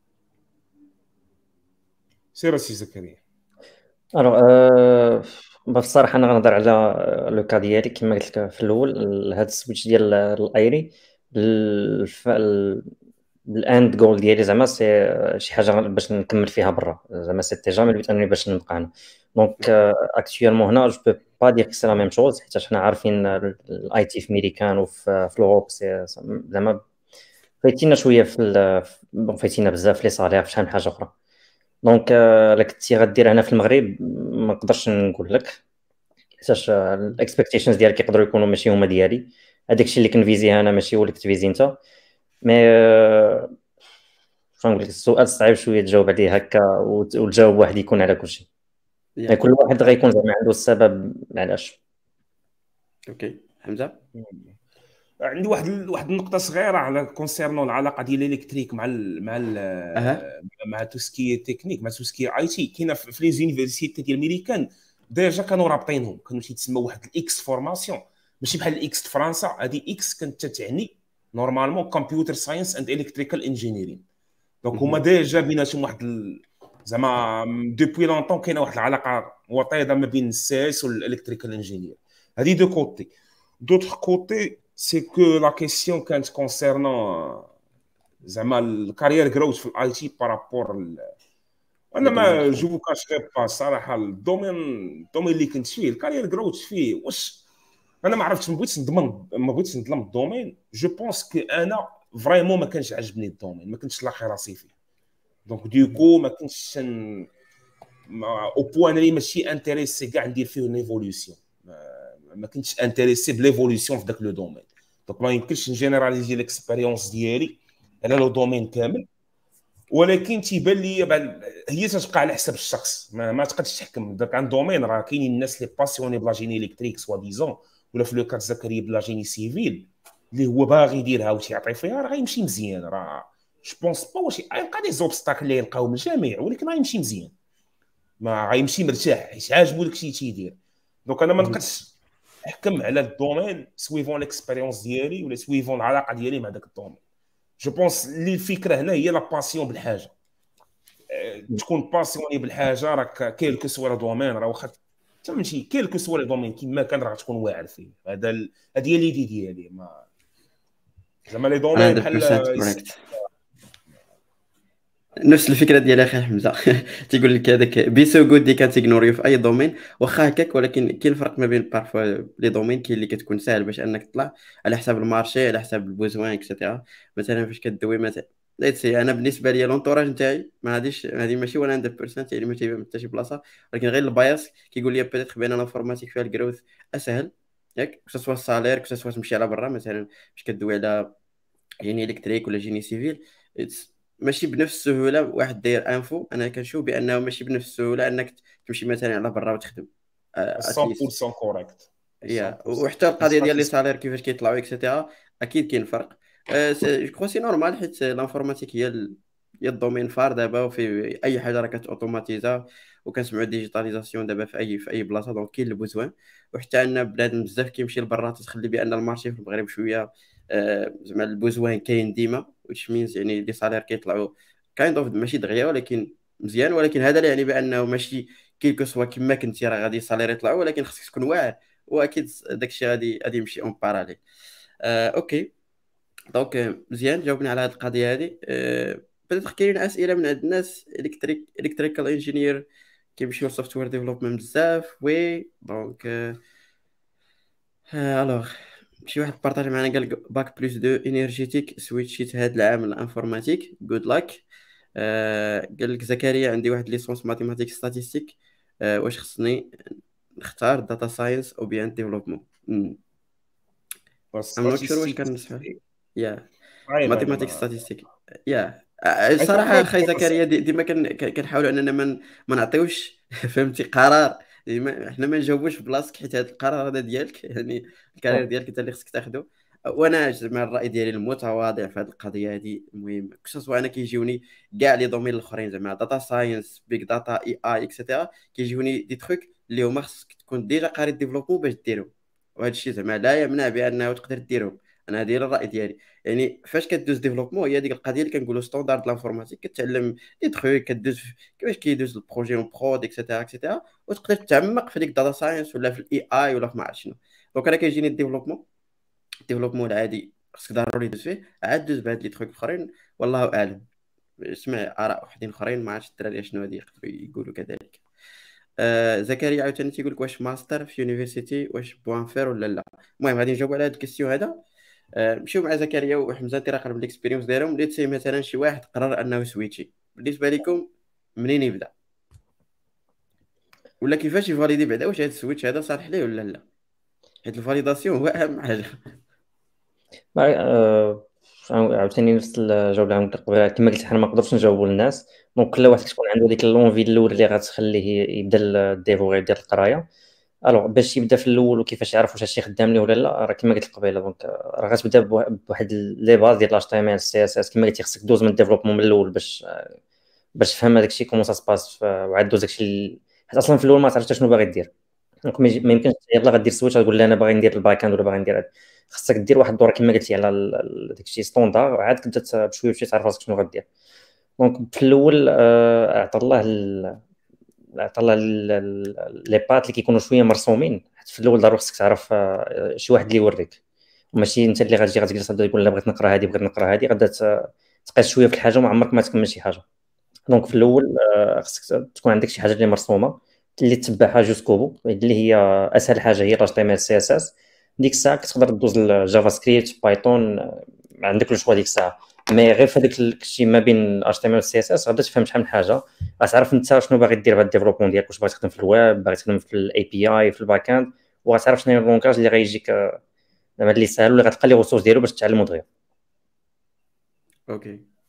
سير سي زكريا. الوغ أه بصراحه انا غنهضر على لو كا ديالي كما قلت لك في الاول. هذا السويتش ديال الايري، الف- ال- الاند جول ديالي زعما سي شي حاجه باش نكمل فيها برا، زعما سيتي جامي البيت انني باش نبقى هنا. دونك اكطوالمون هنا جو بو با دير سي لا ميم شوز، حيت حنا عارفين الاي تي في ميريكان وفي في الاوروب سي زعما فايتينا شويه في ال- بون فايتينا بزاف لي صالير في شحال من حاجه اخرى. دونك آه، الا كنتي غدير هنا في المغرب ما نقدرش نقول لك، حيتاش الاكسبكتيشنز ديالك يقدروا يكونوا ماشي هما ديالي. هذاك الشيء اللي كنفيزي انا ماشي هو اللي كتفيزي انت. مي آه، شنو نقول لك، السؤال صعيب شويه تجاوب عليه هكا وت- والجواب واحد يكون على كل شيء. يعني يا كل واحد غيكون زعما عنده السبب علاش. اوكي حمزه. عندي واحد ال- واحد النقطه صغيره على كونسيرنون العلاقه ديال الالكتريك مع ال مع ال اها. مع توسكي تكنيك، مع توسكي اي تي. كاينه في في لي زونيفرسيتي ديال الميريكان ديجا كانوا رابطينهم، كانوا تيتسموا واحد الاكس فورماسيون، ماشي بحال الاكس في فرنسا. هذه اكس كانت تعني نورمالمون كمبيوتر ساينس اند الكتريكال انجينيرين. دونك هما مهم. ديجا بيناتهم واحد ال- زعما دوبوي لونطون كاينه واحد العلاقه وطيده ما بين السي اس والالكتريكال انجينير. هذه دو كوتي. دوطخ كوتي سي كو لا كيسيون كانت كونسيرنون زعما الكارير جروث في الاي تي بارابور. انا لو دومين ما الاخرين. جو كاش غير با صراحه الدومين الدومين اللي كنت فيه الكارير جروث فيه واش انا ما عرفتش، ما بغيتش نضمن ما بغيتش نظلم الدومين. جو بونس كو انا فريمون ما كانش عجبني الدومين، ما كنتش لاقي راسي فيه. دونك ديكو ما كنتش او بوان اللي ماشي انتريسي كاع ندير فيه ليفولوسيون، ما كنتش انتريسي بليفولوسيون في ذاك لو دومين. دونك ما يمكنش نجينيراليزي ليكسبيريونس ديالي على لو دومين كامل. ولكن تيبان لي بعد هي تتبقى على حسب الشخص، ما, ما تقدرش تحكم. داك عن دومين راه كاينين الناس لي باسيوني بلا جيني الكتريك سوا ديزون، ولا في لو كات زكريا بلا جيني سيفيل اللي هو باغي يديرها وتيعطي فيها، راه غيمشي مزيان. راه جو بونس با واش غيلقى دي زوبستاكل اللي يلقاو من الجميع، ولكن غيمشي مزيان، ما غيمشي مرتاح حيت عاجبو داكشي تيدير. دونك انا ما نقدرش نحكم على الدومين سويفون ليكسبيريونس ديالي ولا سويفون العلاقه ديالي مع داك الدومين. جو بونس اللي الفكره هنا هي لا باسيون بالحاجه، تكون باسيوني بالحاجه راك كيلكو سوا دومين، راه واخا تمشي كيلكو سوا دومين كيما كان راه تكون واعر فيه. هذا ال... هذه هي ليدي ديالي. ما زعما لي دومين بحال correct. نفس الفكره ديال اخي حمزه تيقول لك هذاك بي سو جود دي كانت اغنوري في اي دومين واخا هكاك، ولكن كاين الفرق ما بين بارفوا لي دومين كاين اللي كتكون ساهل باش انك تطلع على حساب المارشي، على حساب البوزوان اكسيتيرا. مثلا فاش كدوي مثلا ليتس سي انا بالنسبه لي لونطوراج نتاعي ما غاديش هذه ماشي مية بالمية يعني ما تيبان حتى شي بلاصه، ولكن غير الباياس كيقول لي بيتيت بان الانفورماتيك فيها الجروث اسهل ياك، كو سوا السالير كو سوا تمشي على برا. مثلا فاش كدوي على جيني الكتريك ولا جيني سيفيل ماشي بنفس السهوله واحد داير انفو، انا كنشوف بانه ماشي بنفس السهوله انك تمشي مثلا على برا وتخدم اتليست. مية بالمية كوريكت. يا وحتى القضيه ديال لي سالير كيفاش كيطلعوا اكسيتيرا اكيد كاين فرق. جو كخوا سي نورمال حيت لانفورماتيك هي ال... هي الدومين فار دابا، وفي اي حاجه راه كتوتوماتيزا وكنسمعوا ديجيتاليزاسيون دابا في اي في اي بلاصه. دونك كاين البوزوان، وحتى عندنا بلاد بزاف كيمشي لبرا تتخلي بان المارشي في المغرب شويه آه، زعما البوزوان كاين ديما، واش مينز يعني لي سالير كيطلعوا كايند اوف ماشي دغيا ولكن مزيان. ولكن هذا لا يعني بانه ماشي كيلكو سوا كما كنتي راه غادي السالير يطلعوا، ولكن خصك تكون واعر، واكيد داكشي غادي غادي يمشي اون باراليل. آه، اوكي دونك آه، مزيان جاوبنا على هذه القضيه هذه. آه، بدات كاينين اسئله من عند الناس الكتريك الكتريكال انجينير كيمشيو سوفتوير ديفلوبمنت بزاف. وي دونك الوغ شي واحد بارطاج معنا قال باك بلس دو انرجيتيك سويتشيت هاد العام الانفورماتيك جود لاك. قال لك زكريا عندي واحد ليسونس ماتيماتيك ستاتيستيك، آه، واش خصني نختار داتا ساينس او بيان ديفلوبمون؟ ام نوت شور واش كنصح يا ماتيماتيك ستاتيستيك يا صراحه اخي زكريا دي- ديما كن- كن- كنحاولوا اننا ما ما نعطيوش فهمتي قرار، ديما حنا ما نجاوبوش في بلاصتك، حيت هذا القرار هذا ديالك يعني الكارير ديالك انت اللي خصك تاخذه. وانا زعما الراي ديالي المتواضع في هذه القضيه هذه المهم، خصوصا انا كيجيوني كاع لي دومين الاخرين زعما داتا ساينس بيج داتا اي اي اكسيتيرا، كيجيوني دي تروك اللي هما خصك تكون ديجا قاري ديفلوبمون باش ديرهم، وهذا الشيء زعما لا يمنع بانه تقدر ديرهم. انا هذه هي الراي ديالي. يعني فاش كدوز ديفلوبمون هي ديك القضيه اللي كنقولوا ستاندارد لانفورماتيك، كتعلم دي تروك كدوز في- كيفاش كيدوز البروجي اون برود اكسيتيرا اكسيتيرا، وتقدر تعمق في ديك داتا ساينس ولا في الاي اي ولا في ما عرفت شنو. دونك انا كيجيني الديفلوبمون الديفلوبمون العادي خصك ضروري دوز فيه، عاد دوز بهاد لي تروك اخرين والله اعلم. سمع اراء وحدين اخرين ما عرفتش الدراري شنو غادي يقدروا يقولوا كذلك. آه زكريا عاوتاني تيقول لك واش ماستر في يونيفرسيتي واش بوان فير ولا لا. المهم غادي نجاوب على هاد الكيستيون هذا. آه، نمشيو مع زكريا وحمزه انت راقب بالاكسبيريونس ديالهم. ليت سي مثلا شي واحد قرر انه سويتشي، بالنسبه لكم منين يبدا ولا كيفاش يفاليدي بعدا واش هذا السويتش هذا صالح ليه ولا لا، حيت الفاليداسيون هو اهم حاجه. آه، عاوتاني نفس الجواب اللي عملت قبيله، كما قلت حنا ما نقدرش نجاوبوا للناس. دونك كل واحد كتكون عنده ديك لونفي الاول اللي غتخليه يبدا الديفو غير يدير القرايه. الوغ باش يبدا في الاول وكيفاش يعرف واش هادشي خدام ليه ولا لا، راه كما قلت قبيله. دونك راه غتبدا بوا- بواحد لي باز ديال الاش تي ام ال سي اس اس. كما قلتي خصك دوز من الديفلوبمون من الاول باش باش تفهم هذاك الشيء كومون سا سباس، وعاد دوز داك الشيء حيت اصلا في الاول ما تعرفش شنو باغي دير. دونك ما يجي- ما يمكنش يلاه غدير سويتش غتقول لي انا باغي ندير الباك اند ولا باغي ندير هاد. خصك دير واحد الدوره كما قلتي على ال- ال- داك الشيء ستوندار، عاد كتبدا ت- بشويه بشويه تعرف راسك شنو غدير. دونك في الاول آه، اعطى الله ال- عطا الله ال- ال- لي بات اللي كيكونوا شويه مرسومين، حيت في الاول ضروري خصك تعرف آه، شي واحد اللي يوريك، وماشي انت اللي غتجي غتجلس تبدا تقول لا بغيت نقرا هذه بغيت نقرا هذه، غادا ت- تقيس شويه في الحاجه وما عمرك ما تكمل شي حاجه. دونك في الاول آه، خصك تكون عندك شي حاجه اللي مرسومه اللي تتبعها جوسكو بو، اللي هي اسهل حاجه هي اتش تي ام ال سي اس اس. ديك الساعه كتقدر دوز الجافا سكريبت بايثون، آه، عندك الشوا ديك الساعه. مي غير في هذاك الشيء ما بين اتش تي ام ال سي اس اس غادا تفهم شحال من حاجه، غتعرف انت شنو باغي دير بهاد الديفلوبمون ديالك، واش باغي تخدم في الويب، باغي تخدم في الاي بي اي في الباك اند، وغتعرف شنو هي اللونغاج اللي غيجيك آه، زعما اللي ساهل، واللي غتلقى لي ريسورس ديالو باش تتعلمو دغيا. اوكي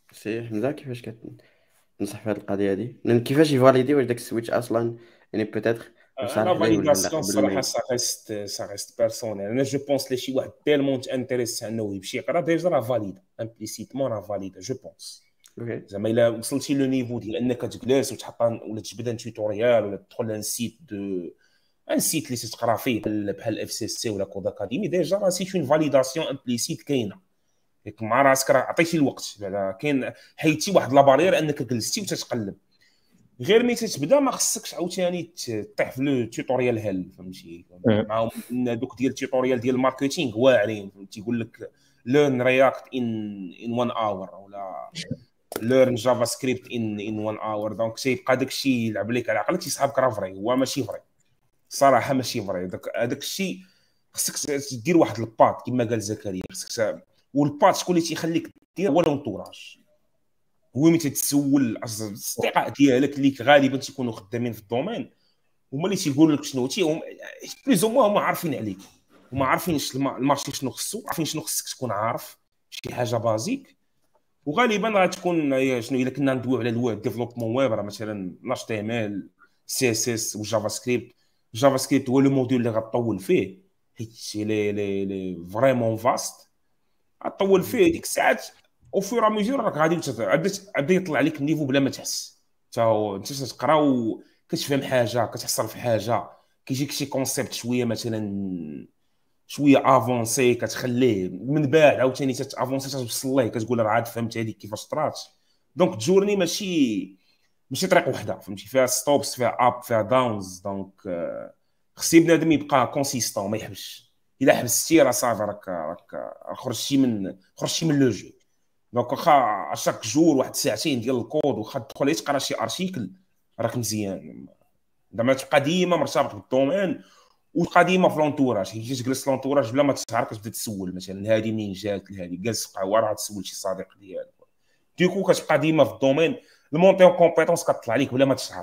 سي حمزه كيفاش كتنصح في هذه القضيه هذه، لان كيفاش يفاليدي واش داك السويتش اصلا يعني بوتيتر واش لا صالح ليه ولا لا فاليداسيون قبل ما الصراحه ي- سا ريست سا ريست بيرسونيل. انا جو بونس لي شي واحد تيلمون انتريس انه يمشي يقرا ديجا راه فاليد امبليسيتمون، راه فاليد جو بونس. اوكي. زعما الا وصلتي لو نيفو ديال انك تجلس وتحط ولا تجبد ان توتوريال ولا تدخل لان سيت دو ان سيت اللي تقرا فيه بحال بحال اف سي سي ولا كود اكاديمي، ديجا راه سي اون فاليداسيون امبليسيت كاينه. ياك مع راسك راه عطيتي الوقت، بعدا كاين حيدتي واحد لابارير انك جلستي وتتقلب. غير ملي تتبدا ما خصكش عاوتاني تطيح في لو توتوريال هل فهمتي. معاهم دوك ديال التوتوريال ديال الماركتينغ واعرين، تيقول لك ليرن رياكت ان ان وان اور ولا ليرن جافا سكريبت ان ان وان اور. دونك تيبقى داك الشيء يلعب لك على عقلك، تيصحابك راه فري، هو ماشي فري صراحه، ماشي فري. داك هذاك الشيء خصك دير واحد الباط كما قال زكريا، خصك. والباط شكون اللي تيخليك دير هو لونطوراج، هو ملي تتسول الاصدقاء ديالك اللي غالبا تيكونوا خدامين في الدومين، هما اللي تيقولوا لك شنو تي هم بليز هما هما عارفين عليك، هما عارفين المارشي شنو خصو، عارفين شنو خصك تكون عارف شي حاجه بازيك. وغالبا غتكون شنو الا كنا ندويو على الويب ديفلوبمون ويب، راه مثلا اتش تي ام ال سي اس اس وجافا سكريبت. جافا سكريبت هو لو موديول اللي غطول فيه، حيت لي لي لي فريمون فاست غطول فيه ديك الساعات. او فور ميزور راك غادي غادي يطلع عليك النيفو بلا ما تحس. تا انت تقرا وكتفهم حاجه، كتحصل في حاجه، كيجيك شي كونسيبت شويه مثلا شويه افونسي، كتخليه من بعد عاوتاني تافونسي توصل ليه، كتقول راه عاد فهمت هذيك كيفاش طرات. دونك جورني ماشي ماشي طريق وحده فهمتي، فيها ستوبس، فيها اب، فيها داونز. دونك خصي بنادم يبقى كونسيستون ما يحبش. الا حبستي راه صافي، راك راك خرجتي من خرجتي من لو جو. دونك واخا شاك جور واحد ساعتين ديال الكود، واخا تدخل تقرا شي ارتيكل راك مزيان. زعما تبقى ديما مرتبط بالدومين، وتبقى ديما في لونتوراج. كي تجلس في لونتوراج بلا ما تشعر كتبدا تسول مثلا هذه منين جات لهذه، جالس قهوه راه تسول شي صديق ديالك. ديكو كتبقى ديما في الدومين، المونتي اون كومبيتونس كتطلع لك بلا ما تشعر.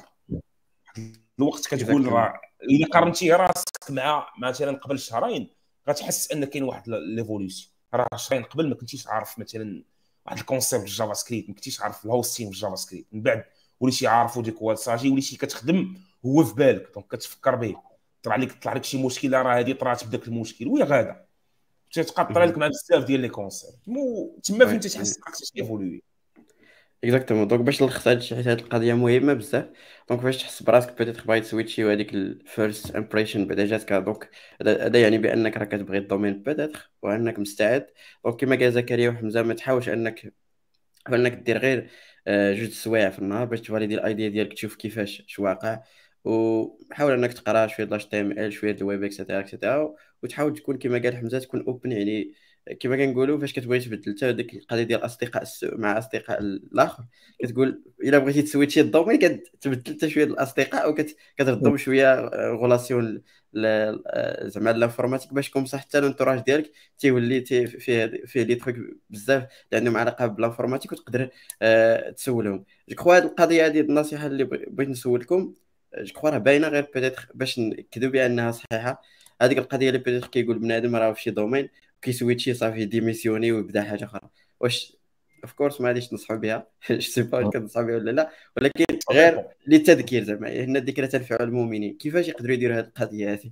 الوقت كتقول راه الا قارنتي راسك مع مثلا قبل شهرين غتحس ان كاين واحد ليفوليوشن. راه شهرين قبل ما كنتيش عارف مثلا واحد الكونسيبت في الجافا سكريبت، ما كنتيش عارف الهوستين في الجافا سكريبت، من بعد وليتي عارفو ديك هو صاجي، وليتي كتخدم هو في بالك، دونك كتفكر به. طلع لك طلع لك شي مشكله، راه هذه طرات بداك المشكل وهي غاده، تتبقى طرا لك مع بزاف ديال لي كونسيبت. تما فين تحس راك تيفولوي. اكزاكتومون. دونك باش نلخص هاد الشيء، حيت هاد القضيه مهمه بزاف. دونك فاش تحس براسك بيتيت باغي تسويتشي وهذيك الفيرست امبريشن بعدا جاتك، دونك هذا يعني بانك راك كتبغي الدومين بيتيت وانك مستعد. دونك كما قال زكريا وحمزه، ما تحاولش انك انك دير غير آه، جوج سوايع في النهار باش تفاليدي الايديا ديالك، تشوف كيفاش اش واقع. وحاول انك تقرا شويه اتش تي ام ال، شويه الويب اكسيتيرا اكسيتيرا. وتحاول تكون كما قال حمزه تكون اوبن، يعني كما كنقولوا فاش كتبغي تبدل حتى ديك القضيه ديال الاصدقاء السوء مع اصدقاء الاخر. كتقول الا بغيتي تسويتشي الدومين كتبدل حتى شويه الاصدقاء وكتردهم شويه غولاسيون زعما الانفورماتيك باش تكون صح حتى الانتوراج ديالك تيولي تي فيه فيه لي تروك بزاف اللي عندهم علاقه بالانفورماتيك وتقدر آه، تسولهم. جو كخوا هاد القضيه هذه النصيحه اللي بغ- بغيت نسولكم، جو كخوا راه باينه، غير بيتيتر باش نكذب بانها صحيحه. هذيك القضيه اللي بيتيتر كيقول بنادم راه في شي دومين كيسويتشي صافي ديميسيوني ويبدا حاجه اخرى. واش اوف كورس ما غاديش ننصحوا بها جو سي با واش كنصحوا بها ولا لا، ولكن غير للتذكير زعما ان الذكرى تنفع المؤمنين. كيفاش يقدروا يديروا هذه القضيه هذه؟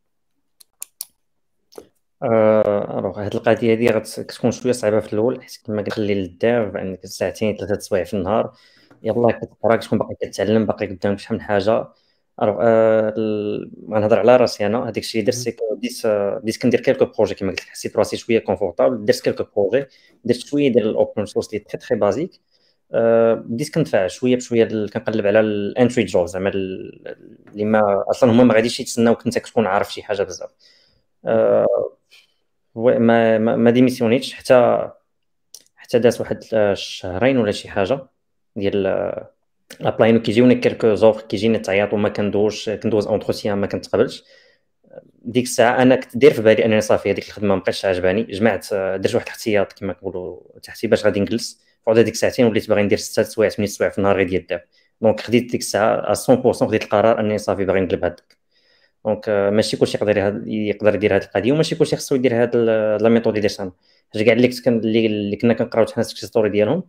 آه، الوغ هاد القضيه هادي غتكون شويه صعيبه في الاول، حيت كما كنخلي للدار عندك ساعتين ثلاثه سوايع في النهار، يلاه كتقرا كتكون باقي كتعلم، باقي قدامك شحال من حاجه. الوغ آه، ال- غنهضر على راسي انا. هذاك الشيء درت، سي كو بديت آه، بديت كندير كيلكو بروجي كما قلت لك، حسيت راسي شويه كونفورتابل، درت كيلكو بروجي، درت شويه ديال الاوبن سورس اللي تري تري بازيك. آه، بديت كنتفاعل شويه بشويه، ال- كنقلب على الانتري جوب، زعما ال- اللي ما اصلا هما ما غاديش يتسناوك انت كتكون عارف شي حاجه بزاف. آه، و- ما ما, ما ديميسيونيتش حتى حتى داز واحد الشهرين ولا شي حاجه ديال ابلاين، وكيجيوني كيلكو زوفر، كيجيني تعيط وما كندوش كندوز اونتروتيان ما كنتقبلش. ديك الساعه انا كنت داير في بالي انني صافي هذيك الخدمه ما بقاتش عجباني، جمعت درت واحد الاحتياط كما كنقولوا تحتي باش غادي نجلس. فعاد هذيك الساعتين وليت باغي ندير ستة سوايع ثمانية سوايع في النهار غير ديال الدار. دونك خديت ديك الساعه مية بالمية، خديت القرار انني صافي باغي نقلب هذاك. دونك آه، ماشي كلشي يقدر يهد- يقدر يدير هذه القضيه، وماشي كلشي خصو يدير هذه لا ميثود اللي درت انا. حيت كاع اللي كنت كن- اللي اللي كنا كنقراو حنا السكسيس ستوري ديالهم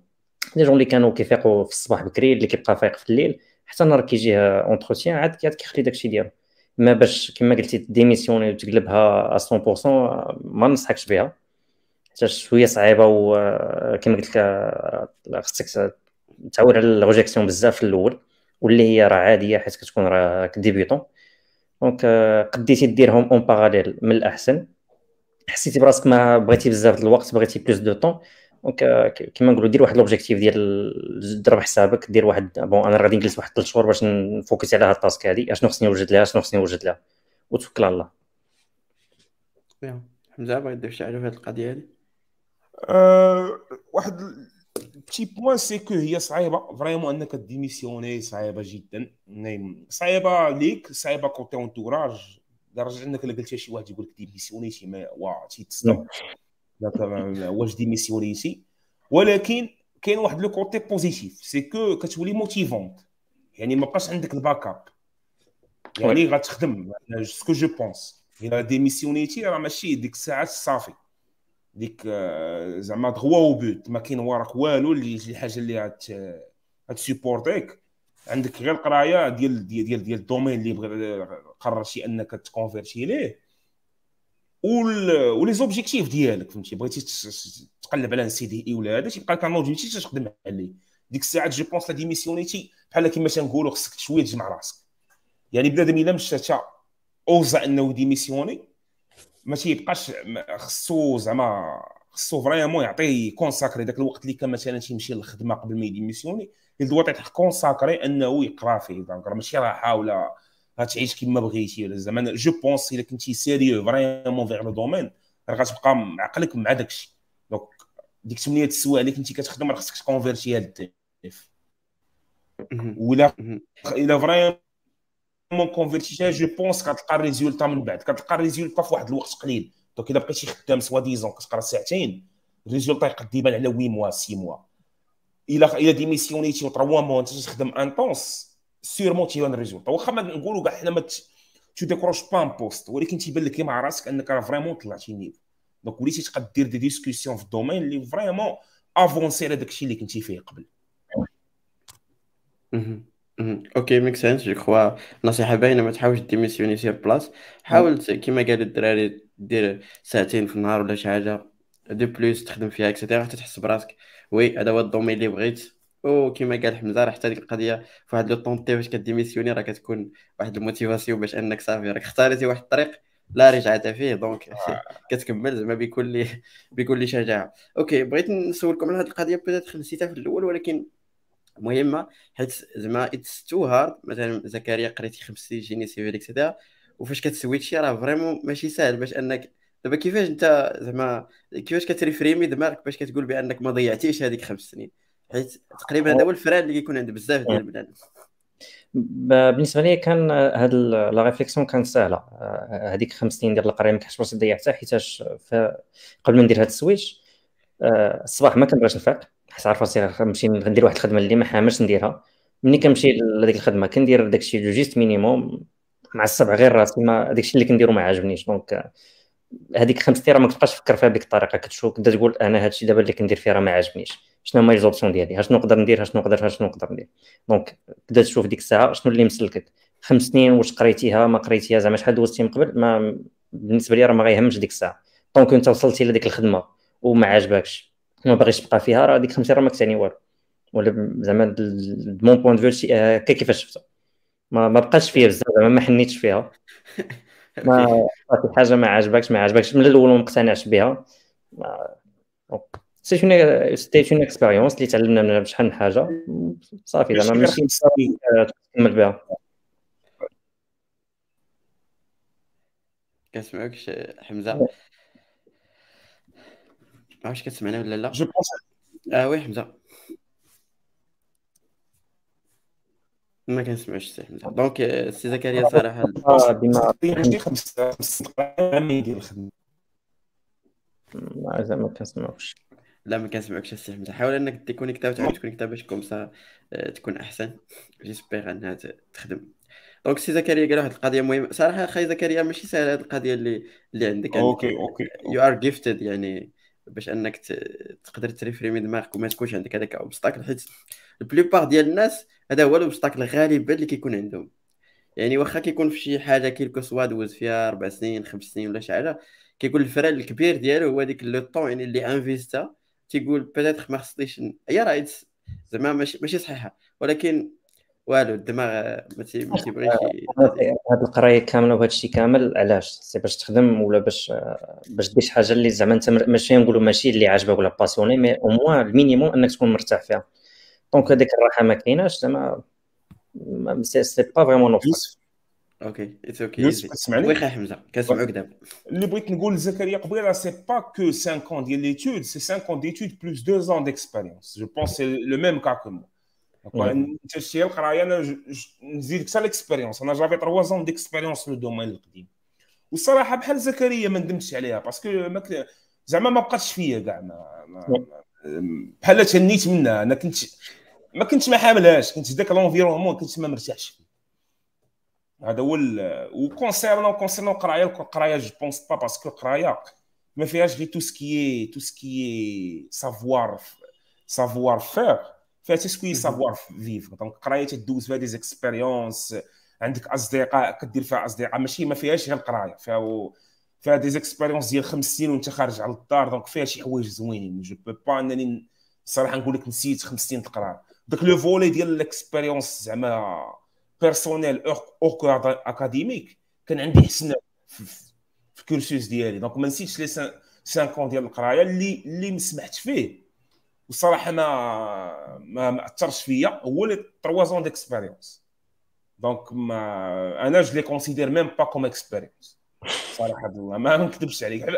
لي جون اللي كانوا كيفيقوا في الصباح بكري، اللي كيبقى فايق في الليل، حتى نهار كيجيه اونتروتيان عاد عاد كيخلي داكشي ديالو. ما باش كما قلتي ديميسيوني وتقلبها مية بالمية ما ننصحكش بها، حتى شويه صعيبه، وكما قلت لك خصك تعود على الروجيكسيون بزاف في الاول، واللي هي راه عاديه حيت كتكون راه ديبيوتون. دونك قديتي ديرهم اون باراليل من الاحسن. حسيتي براسك ما بغيتي بزاف د الوقت، بغيتي بلوس دو طون، دونك كيما نقولوا دير واحد لوبجيكتيف ديال ضرب حسابك، دير واحد بون انا غادي نجلس واحد ثلاث شهور باش نفوكس على هاد التاسك هادي، اشنو خصني نوجد لها شنو خصني نوجد لها، وتوكل على الله. فيهم. حمزه بغيت تضيف شي حاجه في هذه القضيه هذه؟ أه واحد بتي بوين سي كو هي صعيبه فريمون انك ديميسيوني، صعيبه جدا، نايم صعيبه ليك، صعيبه كوتي اونتوراج، لدرجه انك الا قلت شي واحد يقول لك ديميسيونيتي ما وا تيتصدم داك واش ديميسيونيتي. ولكن كاين واحد لو كوتي بوزيتيف سي كو كتولي موتيفونت، يعني ما بقاش عندك الباك اب، يعني غتخدم سكو جو بونس. الا ديميسيونيتي راه ماشي ديك الساعات صافي، ديك زعما دغوا وبوت ما كاين وراك والو اللي شي حاجه اللي غات غاتسيبورتيك، عندك غير القرايه ديال ديال ديال ديال الدومين اللي بغى قررتي انك تكونفيرتي ليه، ولي زوبجيكتيف ديالك فهمتي، بغيتي تقلب على سي دي اي ولا هذا تيبقى لك ان اوبجيكتيف تخدم عليه. ديك الساعات جو بونس لا ديميسيونيتي بحال كيما تنقولوا خصك شويه تجمع راسك، يعني بنادم الا مشى تا اوزا انه ديميسيوني ما تيبقاش خصو زعما خصو فريمون يعطي كونساكري داك الوقت اللي كان مثلا تيمشي للخدمه قبل ما يديميسيوني، يدوى تعطي كونساكري انه يقرا فيه، دونك راه ماشي راحه ولا غتعيش كما بغيتي ولا زعما جو بونس الا كنتي سيريو فريمون فيغ لو دومين راه غتبقى عقلك مع داكشي. دونك ديك ثمانية السوايع اللي كنتي كتخدم راه خصك تكونفيرتيها للديف، ولا الا فريمون مون كونفيرتيها جو بونس كتلقى الريزولتا من بعد، كتلقى الريزولتا في واحد الوقت قليل. دونك الا بقيتي خدام سوا ديزون كتقرا ساعتين، الريزولتا يقد يبان على ثمانية موا ستة موا. الا الا ديميسيونيتي و ثلاثة موا انت تخدم انطونس سيرمون تيبان الريزولتا، واخا ما نقولوا كاع حنا ما تو ديكروش بان بوست، ولكن تيبان لك مع راسك انك راه فريمون طلعتي نيفو. دونك وليتي تقدر دير دي ديسكوسيون في الدومين اللي فريمون افونسي على داكشي اللي كنتي فيه قبل. اوكي ميك سنس. جو كخوا نصيحه باينه، ما تحاولش ديميسيوني سير بلاص، حاول كيما قالوا الدراري دير ساعتين في النهار ولا شي حاجه دو بلوس تخدم فيها اكسيتيرا حتى تحس براسك وي هذا هو الدومين اللي بغيت. وكما قال حمزه راه حتى ديك القضيه في واحد لو طونطي فاش كديميسيوني راه كتكون واحد الموتيفاسيون باش انك صافي راك اختاريتي واحد الطريق لا رجعت فيه، دونك كتكمل زعما بكل بكل شجاعه. اوكي بغيت نسولكم على هذه القضيه، بيتيت نسيتها في الاول ولكن مهمه، حيت زعما اتس تو هارد. مثلا زكريا قريتي خمس سنين جيني سيفيل اكسيتيرا، وفاش كتسويتشي راه فريمون ماشي ساهل باش انك دابا كيفاش انت زعما كيفاش كتريفريمي دماغك باش كتقول بانك ما ضيعتيش هذيك خمس سنين، حيت تقريبا هذا هو الفران اللي كيكون عند بزاف ديال البنات. بالنسبه لي كان هاد لا ريفليكسيون كانت سهله، هذيك خمس سنين ديال القرايه ما كنحسش راسي ضيعتها، حيتاش قبل ما ندير هاد السويتش الصباح ما كنبغيش نفيق، حيت عارف راسي غنمشي ندير واحد الخدمه اللي ما حاملش نديرها. ملي كنمشي لهذيك الخدمه كندير داكشي جو جيست مينيموم مع السبع غير راسي، ما داكشي اللي كنديرو ما عاجبنيش. دونك هذيك خمس سنين راه ما كتبقاش تفكر فيها بديك الطريقه، كتشوف كنت تقول انا هادشي دابا اللي كندير فيه راه ما عاجبنيش، شنو هما لي زوبسيون ديالي، شنو نقدر ندير شنو نقدر شنو نقدر ندير. دونك بدا تشوف ديك الساعه شنو اللي مسلكك. خمس سنين واش قريتيها ما قريتيها زعما شحال دوزتي من قبل، ما بالنسبه لي راه ما غيهمش ديك الساعه، دونك انت وصلتي لديك الخدمه وما عجبكش وما باغيش تبقى فيها، راه ديك خمس سنين راه ما كتعني والو، ولا زعما مون بوين دو فيو هكا كيفاش شفتها ما, ما بقاش فيها بزاف زعما ما حنيتش فيها. ما صافي حاجه ما عجبكش ما عجبكش من الاول وما مقتنعش بها. سي اون سي اون اكسبيريونس اللي تعلمنا منها بشحال من حاجه صافي زعما ماشي تكمل بها. كنسمعوكش حمزه، واش كتسمعنا ولا لا؟ جو بونس اه وي حمزه ما كنسمعوش سي حمزه. دونك سي زكريا صراحه بما ماشي خمس خمس دقائق ندير الخدمه زعما كنسمعوكش. لا ما كنسمعكش السي حمزه، حاول انك تيكونيكتا وتعاود تكونيكتا باش كومسا تكون احسن، جيسبيغ انها تخدم. دونك سي زكريا قال واحد القضيه مهمه صراحه، اخي زكريا ماشي سهله هذه القضيه اللي اللي عندك عندك اوكي اوكي يو ار جيفتد يعني باش انك ت- تقدر تريفريمي دماغك وما تكونش عندك هذاك اوبستاكل، حيت البليبار ديال الناس هذا هو الاوبستاكل غالبا اللي كيكون عندهم. يعني واخا كيكون في شي حاجه كيلكو سوا دوز فيها اربع سنين خمس سنين ولا شي حاجه، كيكون الفرق الكبير ديالو هو ديك لو طون يعني اللي انفيستا. تيقول بيتيتر ما خصنيش ن- هي راه it's- زعما ماشي ماشي صحيحه، ولكن والو الدماغ ما تي- ما تيبغيش ي- هاد القرايه كامله وهذا الشيء كامل علاش؟ سي باش تخدم ولا باش باش دير شي حاجه اللي زعما انت مر- ماشي نقولوا ماشي اللي عاجبك ولا باسيوني، مي او موان المينيموم انك تكون مرتاح فيها. دونك هذيك الراحه ما كايناش زعما، ما- سي سي با فريمون اوبستاكل. يوسف اوكي اتس اوكي يوسف ايزي. كتسمعني؟ واخا حمزه كنسمعوك دابا. اللي بغيت نقول لزكريا قبيله سي با كو cinq ans ديال ليتود، سي cinq ans d'études plus deux ans d'expérience. جو بونس سي لو ميم كا كو مو. انت شتي القرايه، انا ج- ج- نزيدك حتى ليكسبيريونس. انا جافي trois ans ديكسبيريونس لو دومين القديم، والصراحه بحال زكريا ما ندمتش عليها، باسكو ما كت- زعما ما بقاتش فيا كاع، ما, ما, ما بحال تهنيت منها. انا كنت ما كنتش ما حاملهاش، كنت ذاك لونفيرونمون كنت ما مرتاحش فيه. هذا هو. وكونسيرنون كونسيرنون القرايه، القرايه جو بونس با باسكو القرايه ما فيهاش غير تو سكي تو سكي سافوار سافوار فير، فيها حتى سكوي سافوار فيف. دونك القرايه تدوز فيها دي زيكسبيريونس، عندك اصدقاء كدير فيها اصدقاء، ماشي ما فيهاش غير القرايه، فيها و... فيها دي زيكسبيريونس ديال خمس سنين وانت خارج على الدار. دونك فيها شي حوايج زوينين. جو بو با انني الصراحه نقول لك نسيت خمس سنين القرايه. داك لو فولي ديال الاكسبيريونس زعما بيرسونيل او اكاديميك كان عندي حسن في, في الكورسوس ديالي. دونك ما نسيتش لي cinq ans ديال القرايه اللي اللي سمحت فيه، والصراحه ما ما, ما اثرش فيا، هو لي trois ans ديكسبيريونس. دونك ما انا جو لي كونسيدير ميم با كوم اكسبيريونس صراحه الله، ما نكذبش عليك.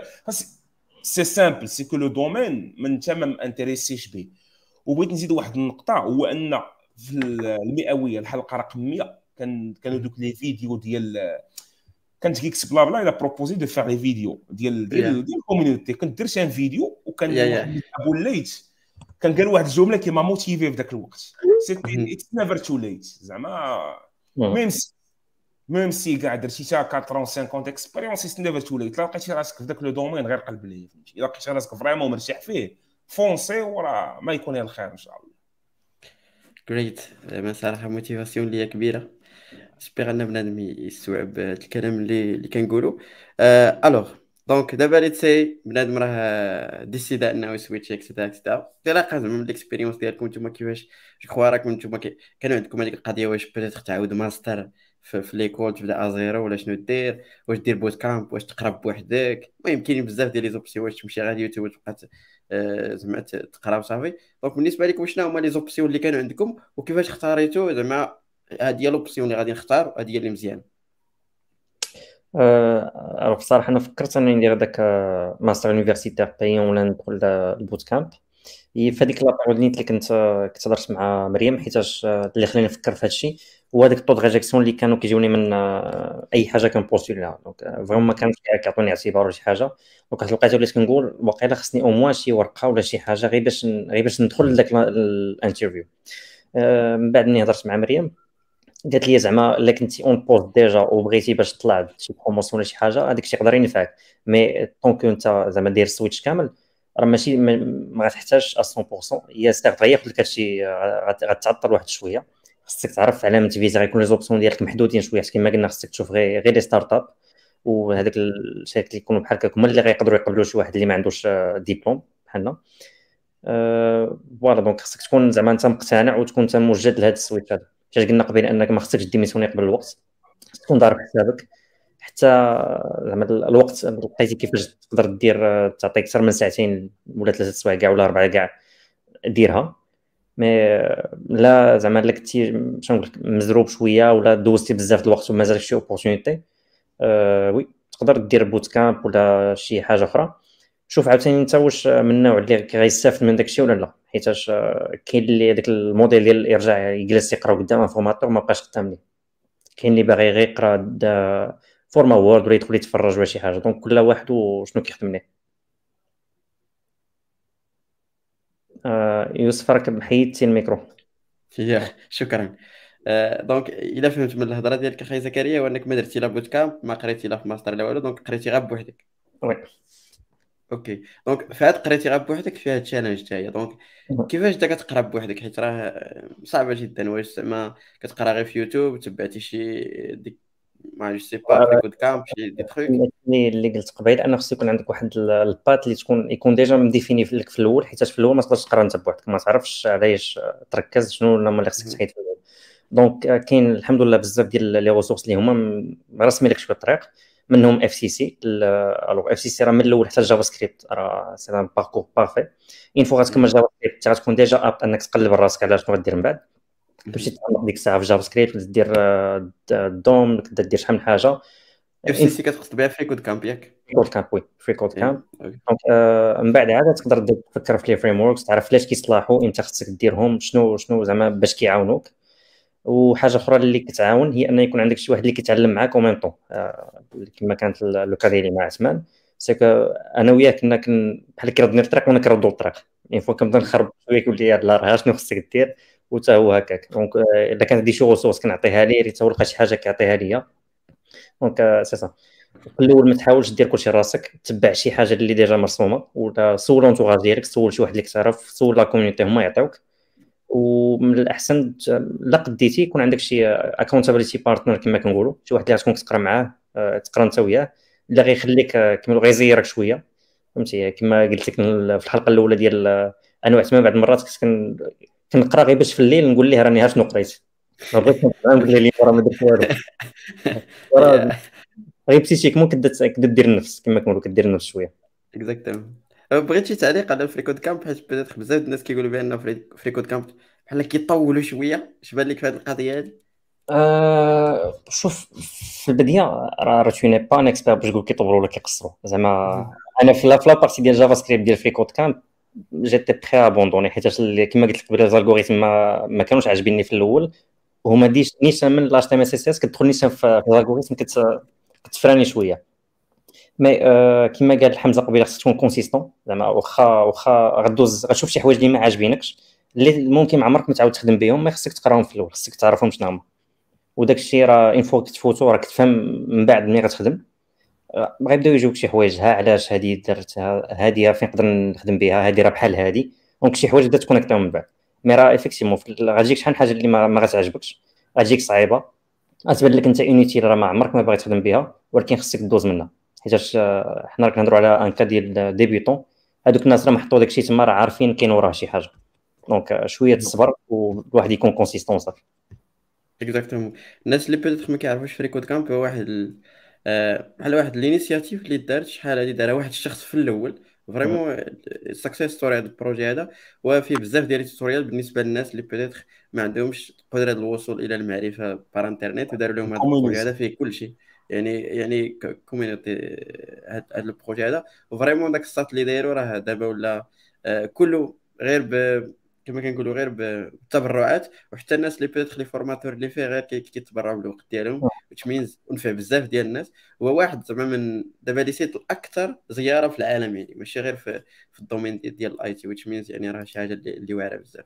سي سامبل، سي كو لو دومين من انت ما انتريسيش به. وبغيت نزيد واحد النقطه، هو ان في المئويه الحلقه رقم مية كان كانوا دوك لي فيديو ديال كانت كيكس بلا بلا الى بروبوزي دو فار لي فيديو ديال ديال ديال الكوميونيتي. كنت درت ان فيديو يا وكان واحد يا ابو الليت كان قال واحد الجمله كي ما موتيفي في ذاك الوقت، سي اتس نيفر تو ليت. زعما ميم سي ميم سي كاع درتي تا أربعين خمسين اكسبيريونس، اتس نيفر تو ليت. الا لقيتي راسك في ذاك لو دومين غير قلب ليه، فهمتي؟ الا لقيتي راسك فريمون مرتاح فيه فونسي، وراه ما يكون الخير ان شاء الله. جريت. زعما صراحه موتيفاسيون ليا كبيره. سبيغ ان بنادم يستوعب هاد الكلام اللي اللي كنقولوا. آه الوغ دونك دابا ليت سي بنادم راه ديسيدا انه يسويتش اكسيتيرا اكسيتيرا. انطلاقا زعما من الاكسبيريونس ديالكم نتوما كيفاش جو كخوا راكم نتوما كي- كانوا عندكم هذيك القضيه، واش بيتيتر تعاود ماستر في, في ليكول تبدا ازيرو ولا شنو دير، واش دير بوت كامب، واش تقرا بوحدك. المهم كاينين بزاف ديال لي زوبسيون، واش تمشي غير يوتيوب وتبقى ت- آه، زعما ت- تقرا وصافي. دونك بالنسبه لكم شنو هما لي زوبسيون اللي كانوا عندكم وكيفاش اختاريتو زعما هادي هي لوبسيون اللي غادي نختار وهادي هي اللي مزيان؟ أه بصراحه انا فكرت انني ندير داك آه، ماستر يونيفرسيتير بايون ولا ندخل آه، البوت كامب. هي في هذيك لابيريود اللي كنت آه، كنت هضرت مع مريم، حيتاش آه، اللي خلاني نفكر في هذا الشيء هو هذاك الطو ريجيكسيون اللي كانوا كيجوني من آه، اي حاجه كنبوستولي لها. دونك آه، فريمون ما كانوش كيعطوني اعتبار ولا شي حاجه. دونك واحد الوقيته وليت كنقول واقيلا خصني او موان شي ورقه ولا شي حاجه غير باش ن- غير باش ندخل لذاك الانترفيو. آه، من بعد ملي هضرت مع مريم قالت لي زعما الا كنتي اون بوست ديجا وبغيتي باش تطلع شي بروموسيون ولا شي حاجه هذاك الشيء يقدر ينفعك، مي طونك انت زعما داير سويتش كامل راه ماشي ما ما غتحتاجش مية بالمية. هي سيغ غياخذ لك هادشي غت- غتعطل واحد شويه. خصك تعرف علامه فيزا غيكون لي زوبسيون ديالك محدودين شويه، حيت كما قلنا خصك تشوف غير غير لي ستارت اب، وهذاك الشركات اللي يكونوا بحال هكاك هما اللي غيقدروا يقبلوا شي واحد اللي ما عندوش آه، ديبلوم بحالنا. أه فوالا دونك خصك تكون زعما انت مقتنع وتكون انت موجد لهذا السويتش هذا. فاش قلنا قبل انك ما خصكش ديميسيوني قبل الوقت، خصك تكون ضارب حسابك حتى زعما الوقت لقيتي كيفاش تقدر دير آه، تعطيك اكثر من ساعتين ولا ثلاثه سوايع كاع ولا اربعه كاع ديرها. مي آه، لا زعما الا كنتي شنو نقول لك مزروب شويه ولا دوزتي بزاف د الوقت ومازالك شي اوبورتونيتي، أه وي تقدر دير بوت كامب ولا شي حاجه اخرى. شوف عاوتاني انت واش من النوع اللي غيستافد من داكشي ولا لا، حيتاش آه، كاين اللي داك الموديل ديال يرجع يجلس يقرا قدام انفورماتور ما بقاش خدام ليه، كاين اللي باغي غير يقرا دا فورما وورد ولا يدخل يتفرج ولا شي حاجه. دونك كل واحد وشنو كيخدم ليه. آه يوسف راك حيدتي الميكرو. يا شكرا. آه دونك الا فهمت من الهضره ديالك اخي زكريا، هو انك ما درتي لا بوت كامب، ما قريتي لا في ماستر لا والو، دونك قريتي غير بوحدك. وي اوكي. دونك في هاد قريتي غير بوحدك في هاد التشالنج تاعي، دونك كيفاش دا كتقرا بوحدك؟ حيت راه صعبه جدا. واش زعما كتقرا غير في يوتيوب، تبعتي شي ديك ما جو سي با فريكود كامب شي دي تروك؟ اللي اللي قلت قبيل انه خص يكون عندك واحد ال- البات اللي تكون يكون ديجا مديفيني في لك في الاول، حيت في الاول ما تقدرش تقرا انت بوحدك، ما تعرفش علاش تركز شنو هما اللي خصك تحيد في الاول. دونك آه، كاين الحمد لله بزاف ديال لي ريسورس اللي هما م- راسمين لك شويه الطريق، منهم اف سي سي. الوغ اف سي سي راه من الاول حتى الجافا سكريبت راه سي ان باركور بارفي. اين فوا غتكمل جافا سكريبت غتكون ديجا ابت انك تقلب راسك على شنو غدير من بعد، تمشي تعمق ديك الساعه في جافا سكريبت، دير آه، الدوم، تبدا دير شحال من حاجه. اف سي سي كتقصد بها فريكود كامب ياك؟ كود كامب، وي فري كود كامب. ايه اوكي. دونك آه، من بعد عاد تقدر دير- تفكر في لي فريم وركس، تعرف علاش كيصلاحوا، امتى خصك ديرهم، شنو شنو زعما باش كيعاونوك. وحاجه اخرى اللي كتعاون هي ان يكون عندك شي واحد اللي كيتعلم معاك او ميم طون، كما كانت ال- لو كا ديالي مع عثمان. سي كو انا وياه كنا كن بحال كيردني الطريق وانا كنردو الطريق، يعني فوا كنبدا نخرب شويه كيقول لي لا راه شنو خصك دير، وتا هو هكاك. دونك آه، الا كانت دي شي ريسورس كنعطيها ليه، حتى هو لقى شي حاجه كيعطيها ليا. دونك آه، سي سا. في الاول ما تحاولش دير كلشي راسك، تبع شي حاجه اللي ديجا مرسومه، ولا سول لونتوراج ديالك، سول شي واحد اللي كتعرف، سول لا كوميونيتي هما يعطيوك. ومن الاحسن ت- لا قديتي يكون عندك شي اكونتابيليتي بارتنر كما كنقولوا، شي واحد اللي غتكون كتقرا معاه، آه، تقرا انت وياه، اللي غيخليك آه، كما غيزيرك شويه. فهمتي كما قلت لك في الحلقه الاولى ديال آه، انا وعثمان بعض المرات كنت كن- كنقرا غير باش في الليل نقول ليه راني ها شنو قريت، ما بغيتش نقرا نقول ليه راه ما درت والو. راه غير بسيتيكمون كدا كدا دير النفس كما كنقولوا، كدير النفس شويه. اكزاكتومون. بغيت شي تعليق على فريكود كامب، حيت بدات بزاف الناس كيقولوا بان فري- فريكود كامب بحال كيطولوا شويه. اش بان لك في هذه القضيه هذه؟ آه شوف، في البدايه راه راه تو ني با ان اكسبير باش تقول كيطولوا ولا كيقصروا زعما. انا في لا في لا بارتي ديال جافا سكريبت ديال فري كود كامب جيتي بخي ابوندوني، حيت اللي- كما قلت لك قبل الالغوريثم ما, ما كانوش عاجبيني في الاول، وهما ديش نيشان من لاش تي ام اس اس اس كتدخل نيشان في الالغوريثم كت كتفراني شويه. مي آه كما قال حمزه قبيله خصك تكون كونسيستون، زعما واخا واخا غدوز غتشوف شي حوايج اللي ما عاجبينكش، اللي ممكن ما عمرك ما تعاود تخدم بهم، ما خصك تقراهم في الاول، خصك تعرفهم شنو هما. وداك الشيء راه اون فوا كتفوتو راك تفهم من بعد ملي غتخدم. آه، غيبداو يجيوك شي حوايج، ها علاش هادي درتها، هادي فين نقدر نخدم بها، هادي راه بحال هادي. دونك شي حوايج بدا تكونيكتاو من بعد. مي راه ايفيكتيمون غتجيك شحال من حاجه اللي ما, ما غتعجبكش، غتجيك صعيبه، غتبان لك انت اونيتي راه ما عمرك ما باغي تخدم بها، ولكن خصك دوز منها. حيتاش آه، حنا راك نهضروا على ان كا ديال ديبيوتون، هادوك الناس راه محطوا داكشي تما، راه عارفين كاين وراه شي حاجه. دونك آه، شويه الصبر والواحد يكون كونسيستون صافي. اكزاكتومون. الناس اللي بيتيتر ما كيعرفوش فريكود كامب هو واحد ال... آه، بحال واحد الانيسياتيف اللي دارت شحال هادي، دارها واحد الشخص في الاول فريمون سكسيس ستوري هذا البروجي هذا. وفيه بزاف ديال التوتوريال بالنسبه للناس اللي بيتيتر ما عندهمش قدره الوصول الى المعرفه بار انترنيت، وداروا لهم هذا البروجي هذا الكومونيزم. فيه كل شيء. يعني يعني كوميونيتي هذا البروجي هذا. وفريمون داك الساط اللي دايروا راه دابا ولا آه، كله غير ب كما كنقولوا غير بالتبرعات. وحتى الناس اللي بيتخ لي فورماتور اللي فيه غير كي- كيتبرعوا بالوقت ديالهم، which means ونفع بزاف ديال الناس. هو واحد زعما من دابا لي سيت الاكثر زياره في العالم، يعني ماشي غير في في الدومين ديال ديال الاي تي، which means يعني راه شي حاجه اللي, اللي واعره بزاف.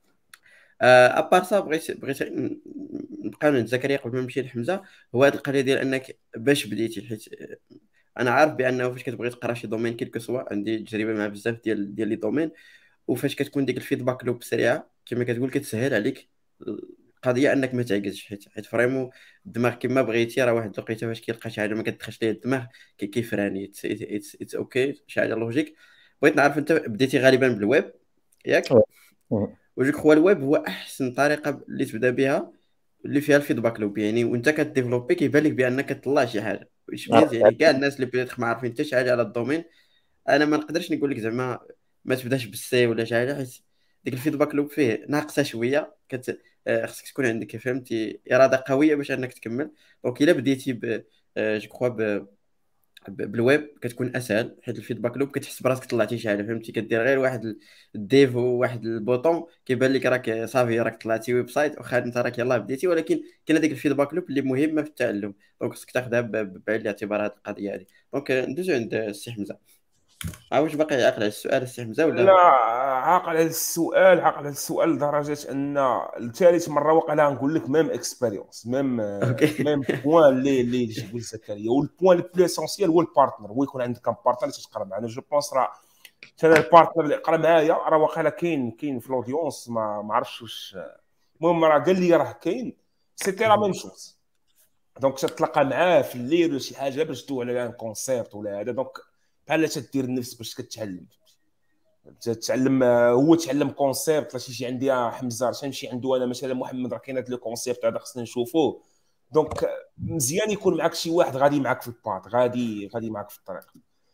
ابار سا بغيت بغيت ن- نبقى عند زكريا قبل ما نمشي لحمزه. هو هذه القضيه ديال انك باش بديتي، حيت انا عارف بانه فاش كتبغي تقرا شي دومين كيلكو سوا، عندي تجربه مع بزاف ديال ديال لي دومين، وفاش كتكون ديك الفيدباك لوب سريعه كما كتقول كتسهل عليك القضيه انك ما تعجزش. حيت حيت فريمون الدماغ كما بغيتي راه واحد الوقيته فاش كيلقى شي حاجه ما كتدخلش ليه الدماغ كي- كيفراني. اتس اوكي، شي حاجه لوجيك. بغيت نعرف انت بديتي غالبا بالويب ياك؟ وجوك هو الويب هو احسن طريقه اللي تبدا بها اللي فيها الفيدباك لوب، يعني وانت كديفلوبي كيبان لك بانك كتطلع شي حاجه. واش مينز يعني كاع الناس اللي بدات ما عارفين حتى شي حاجه على الدومين. انا ما نقدرش نقول لك زعما ما تبداش بالسي ولا شي حاجه، حيت ديك الفيدباك لوب فيه ناقصه شويه. كت... آه، خصك تكون عندك فهمتي اراده قويه باش انك تكمل. دونك الا بديتي ب آه، جو كخوا ب... ب- بالويب كتكون اسهل، حيت الفيدباك لوب كتحس براسك طلعتي شي حاجه فهمتي. كدير غير واحد ال- الديف وواحد البوطون كيبان لك راك صافي راك طلعتي ويب سايت، واخا انت راك يلاه بديتي، ولكن كاين هذيك الفيدباك لوب اللي مهمه في التعلم. دونك خصك تاخذها ب- بعين الاعتبار هذه القضيه هذه. دونك آه، ندوزو عند السي حمزه. ها واش باقي عاقل على السؤال السي حمزه لا، ولا؟ عاقل على السؤال، عاقل على السؤال لدرجه ان الثالث مره وقع نقول لك ميم اكسبيريونس، ميم اوكي. ميم بوان اللي اللي يجيبوا لزكريا. والبوان البلو اسونسيال هو البارتنر، هو يكون عندك كان بارتنر اللي تقرا معاه. انا جو بونس راه انا البارتنر اللي قرا معايا راه واقيلا كاين كاين في الاودينس، ما ما عرفتش واش. المهم راه قال لي راه كاين، سيتي لا ميم شوز. دونك تتلاقى معاه في الليل ولا شي حاجه باش تدوي على ان كونسيرت ولا هذا، دونك بحال تدير النفس باش كتعلم تتعلم. هو تعلم كونسيبت باش يجي عندي حمزه باش نمشي عنده انا مثلا محمد راه كاين هذا لو كونسيبت هذا خصنا نشوفوه. دونك مزيان يكون معك شي واحد غادي معك في الباط، غادي غادي معك في الطريق.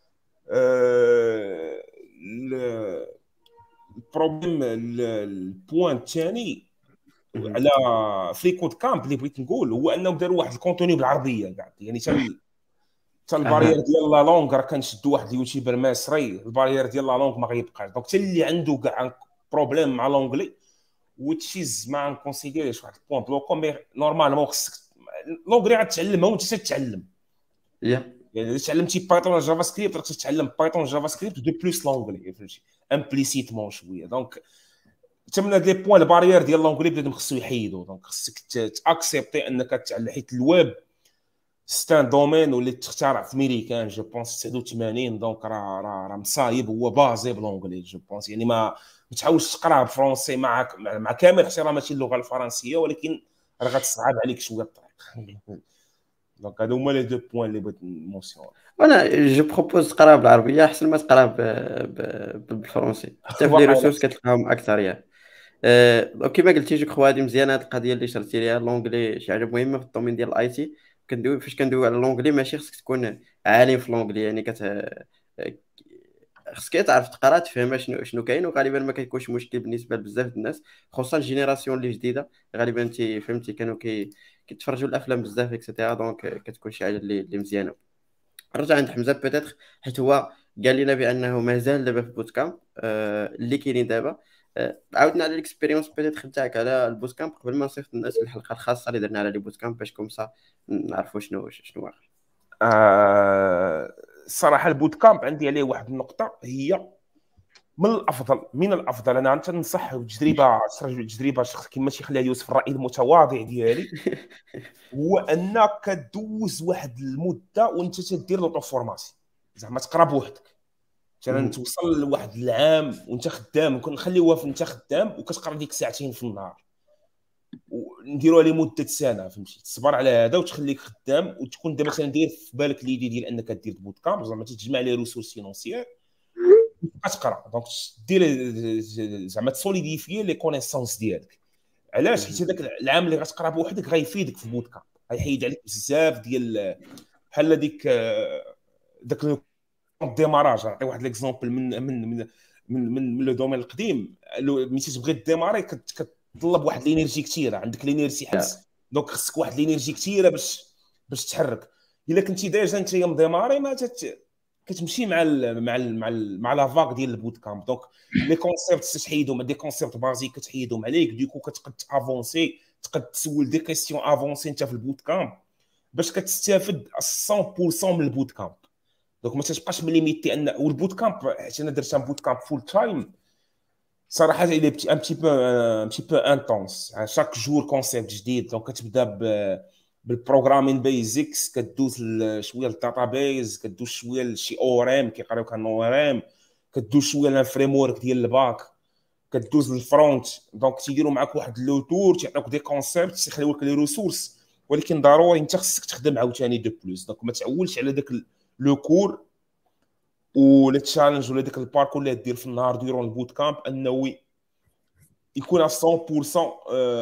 أه... البروبليم البوان الثاني على فريكود كامب اللي بغيت نقول هو انهم داروا واحد الكونتوني بالعربيه كاع، يعني تال حتى البارير اها. ديال لا لونغ راه كنشدوا واحد اليوتيوبر مصري، البارير ديال لا لونغ ما غيبقاش. دونك حتى اللي عنده كاع بروبليم مع لونغلي وتشيز ما نكونسيديريش واحد البوان بلوكو، مي نورمالمون خصك لونغلي غتعلمها وانت تتعلم. يا يعني اذا تعلمتي بايثون جافا سكريبت راك تتعلم بايثون جافا سكريبت دو بلوس لونغلي، فهمتي امبليسيتمون شويه. دونك حتى من هاد لي بوان البارير ديال لونغلي بنادم خصو يحيدو. دونك خصك تاكسبتي انك تتعلم، حيت الويب ستان دومين واللي تخترع في ميريكان جو بونس تسعة وثمانين. دونك راه راه راه مصايب، هو بازي بلونجلي جو بونس. يعني ما ما تحاولش تقراه بالفرونسي مع مع كامل احترامي اللغه الفرنسيه، ولكن راه غتصعب عليك شويه الطريق. دونك هادو هما لي دو بوين اللي بغيت نمونسيون. وانا جو بروبوز تقرا بالعربيه احسن ما تقرا ب... ب... بالفرنسي، حتى في لي واقيلا ريسورس كتلقاهم اكثر يا. أه... كيما قلتي جو كخوا هذه مزيانه هذه القضيه اللي شرتي ليها لونجلي، شي حاجه مهمه في الدومين ديال الاي تي. كندوي فاش كندوي على لونجلي ماشي خصك تكون عالم في لونجلي، يعني كت خصك تعرف تقرا تفهم شنو شنو كاين، وغالبا ما كيكونش مشكل بالنسبه لبزاف د الناس، خصوصا الجينيراسيون اللي جديده. غالبا انت فهمتي كانوا كي كيتفرجوا الافلام بزاف اكسيتيرا، دونك كتكون شي حاجه اللي اللي مزيانه. رجع عند حمزه بيتيتر، حيت هو قال لنا بانه مازال دابا في بوت كامب آه اللي كاينين دابا. آه عاودنا على الاكسبيريونس بيتيتر تاعك على البوت كامب قبل ما نصيفط الناس الحلقه الخاصه اللي درنا على لي بوت كامب، باش كومسا نعرفوا شنو شنو واقع. آه الصراحه البوت كامب عندي عليه واحد النقطه، هي من الافضل من الافضل انا تنصح تجربه تجربه شخص كما تيخليها يوسف الراي المتواضع ديالي، هو انك كدوز واحد المده وانت تدير لوطو فورماسيون، زعما تقرا بوحدك. مثلا مهم. توصل لواحد العام وانت خدام، نكون نخليوها في انت خدام وكتقرا ديك ساعتين في النهار، ونديروها لمده سنه، فهمتي؟ تصبر على هذا وتخليك خدام، وتكون انت مثلا داير في بالك ليدي ديال انك دير بوت كامب، زعما تجمع لي ريسورس فينونسيير كتقرا. دونك دير زعما تسوليديفي لي كونيسونس ديالك. علاش؟ حيت مهم. هذاك العام اللي غتقرا بوحدك غيفيدك في البوت كامب، غيحيد عليك بزاف ديال بحال ديك داك الديماراج. نعطي واحد ليكزومبل من من من من من, من لو دومين القديم. ملي تبغي ديماري كتطلب واحد الانرجي كثيره، عندك الانرجي حبس، دونك خصك واحد الانرجي كثيره باش باش تحرك. الا كنتي ديجا انت مديماري ما تت... كتمشي مع ال مع ال مع ال مع لا فاك ديال البوت كامب. دونك لي كونسيبت تحيدهم، دي كونسيبت بازيك كتحيدهم عليك، ديكو كتقد افونسي، تقد تسول دي كيسيون افونسي انت في البوت كامب باش كتستافد مية بالمية من البوت كامب. دونك ما تبقاش مليميتي ان. والبوت كامب حيت انا درت ان بوت كامب فول تايم صراحه الى بتي ان بتي بو ان بتي بو انتونس، شاك جور كونسيبت جديد. دونك كتبدا بالبروغرامين بيزكس، كدوز شويه للداتابيز، كدوز شويه لشي اورام كيقراو كان اورام، كدوز شويه للفريم ورك ديال الباك، كدوز للفرونت. دونك تيديروا معاك واحد لو تور، تيعطيوك دي كونسيبت، تيخليوك لي ريسورس، ولكن ضروري انت خصك تخدم عاوتاني دو بلوس. دونك ما تعولش على داك لو كور ولا تشالنج ولا داك الباركور اللي دير في النهار ديرون البوت كامب انه يكون مية بالمية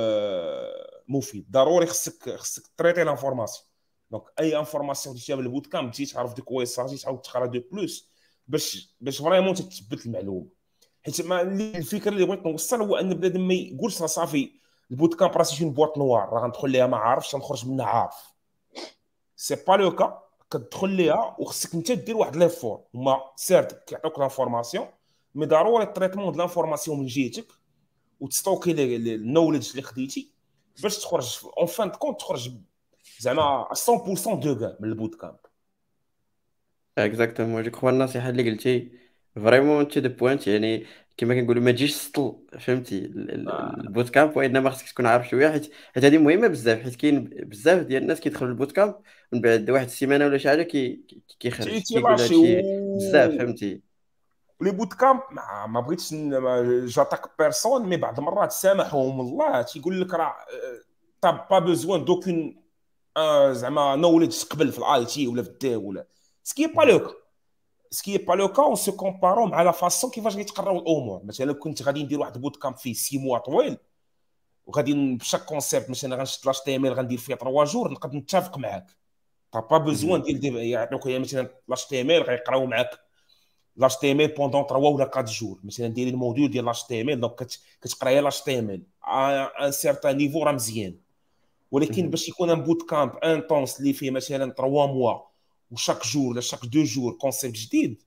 مفيد. ضروري خصك خصك تريتي لانفورماسيون. دونك اي انفورماسيون ديتيها بالبوت كامب تجي تعرف ديك ويساجي تعاود تقرا دو بلوس باش باش فريمون تثبت المعلومه. حيت ما الفكره اللي بغيت نوصل هو ان بنادم ما يقولش راه صافي البوت كامب راه سي اون بواط نوار راه غندخل ليها ما عارفش غنخرج منها عارف. سي با لو كا، كتدخل ليها وخصك انت دير واحد ليفور. هما سيرت كيعطوك لانفورماسيون، مي ضروري التريتمون د لانفورماسيون من جهتك وتستوكي النوليدج اللي خديتي باش تخرج اون فان كونت تخرج زعما مية بالمية دو كاع من البوت كامب. اكزاكتومون جو كخوا النصيحه اللي قلتي فريمون تو ذا بوينت، يعني كما كنقولوا ما تجيش سطل، فهمتي ال- ال- البوت كامب، وانما خصك تكون عارف شويه، حيت حيت هذه مهمه بزاف، حيت كاين بزاف ديال الناس كيدخلوا البوت كامب ومن بعد واحد السيمانه ولا شي حاجه كي كي- تي كيخرج تي كيقول لاشي هادشي بزاف، و فهمتي. لي بوت كامب ما, ما بغيتش ن- ما- جاتاك بيرسون، مي بعض المرات سامحهم الله تيقول لك راه طاب با بوزوان دوكين زعما نوليدج تقبل في الاي تي ولا في الديف ولا سكي با مهم. لو سكي با لو كا اون سو كومبارو مع لا فاسون كيفاش غيتقراو الامور. مثلا كنت غادي ندير واحد بوت كامب فيه سي موا طويل، وغادي بشاك كونسيبت مثلا غنشد لاش تي ام ال غندير فيه ثلاثة جور، نقدر نتفق معاك طا با بوزوان مهم. ديال دير يعطيوك مثلا لاش تي ام ال غيقراو معاك لاش تي ام ال بوندون ثلاثة ولا أربعة جور. مثلا ديري الموديول ديال لاش تي ام ال دونك كتقراي لاش تي ام ال ان سيرتان نيفو راه مزيان. ولكن مهم. باش يكون ان بوت كامب انتونس اللي فيه مثلا ثلاثة موا وشاك جور ولا شاك دو جور كونسيبت جديد،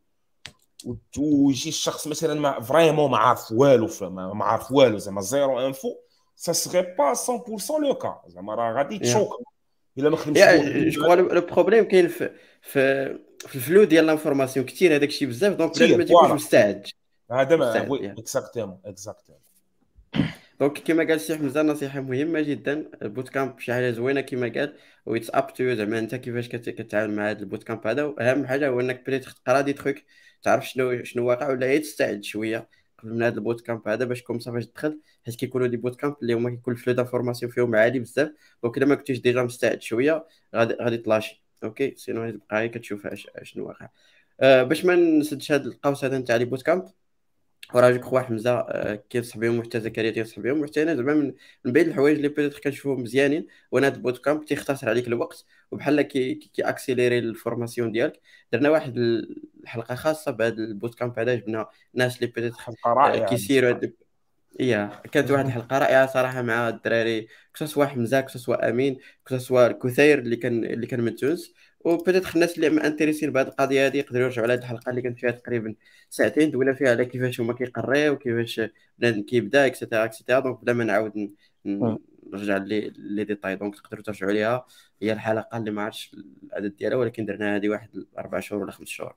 ويجي الشخص مثلا ما فريمون ما عارف والو، ما ما عارف والو زعما زيرو انفو، سا سغي با مية بالمية لو كا، زعما راه غادي يا تشوك الا ما خدمش يا الموديول جو كخوا مالك. لو بروبليم كاين في في في الفلو ديال لانفورماسيون كثير، هذاك الشيء بزاف، دونك بنادم كثير ما تيكونش فوالا مستعد. هذا ما مستعد وي يا اكزاكتومون اكزاكتومون. دونك كما قال الشيخ حمزه، نصيحه مهمه جدا. البوت كامب شي حاجه زوينه كما قال، ويتس اب تو زعما انت كيفاش كت- كتعامل مع هذا البوت كامب هذا. واهم حاجه هو انك بريت تقرا دي تخيك، تعرف شنو شنو واقع، ولا هي تستعد شويه قبل من هذا البوت كامب هذا، باش كوم صافي تدخل. حيت كيكونوا دي بوت كامب اللي هما كيكون الفلو دافورماسيون فيهم عالي بزاف، دونك الا ما كنتيش ديجا مستعد شويه غادي غادي تلاشي. اوكي، سينو غادي تبقى غير كتشوف اش- شنو واقع. أه باش ما نسدش هذا القوس هذا نتاع لي بوت كامب، وراه جو كخوا حمزه آه، كينصح بهم، وحتى زكريا تينصح بهم، وحتى انا زعما من من بين الحوايج اللي بيتيت كنشوفهم مزيانين، وانا هاد البوت كامب تيختصر عليك الوقت، وبحال كي كي اكسيليري الفورماسيون ديالك. درنا واحد الحلقه خاصه بهذا البوت كامب هذا، جبنا ناس اللي بيتيت حلقه رائعه كيسيروا بصراحه. هاد. إيه كانت واحد الحلقة رائعة صراحة مع الدراري، كسوا حمزة، كسوا أمين، كسوا كثير اللي كان اللي كان من تونس. وبدات الناس اللي ما انتريسين بهذه القضية هذه يقدروا يرجعوا على هذه الحلقة اللي كانت فيها تقريبا ساعتين، دوينا فيها على كيفاش هما كيقريو، وكيفاش بنادم كيبدا اكسيتيرا اكسيتيرا. دونك بلا ما نعاود ن- ن- مم. نرجع لي لي ديتاي، دونك تقدروا ترجعوا ليها. هي الحلقة اللي ما عرفتش العدد ديالها، ولكن درنا هذه واحد أربع شهور ولا خمس شهور.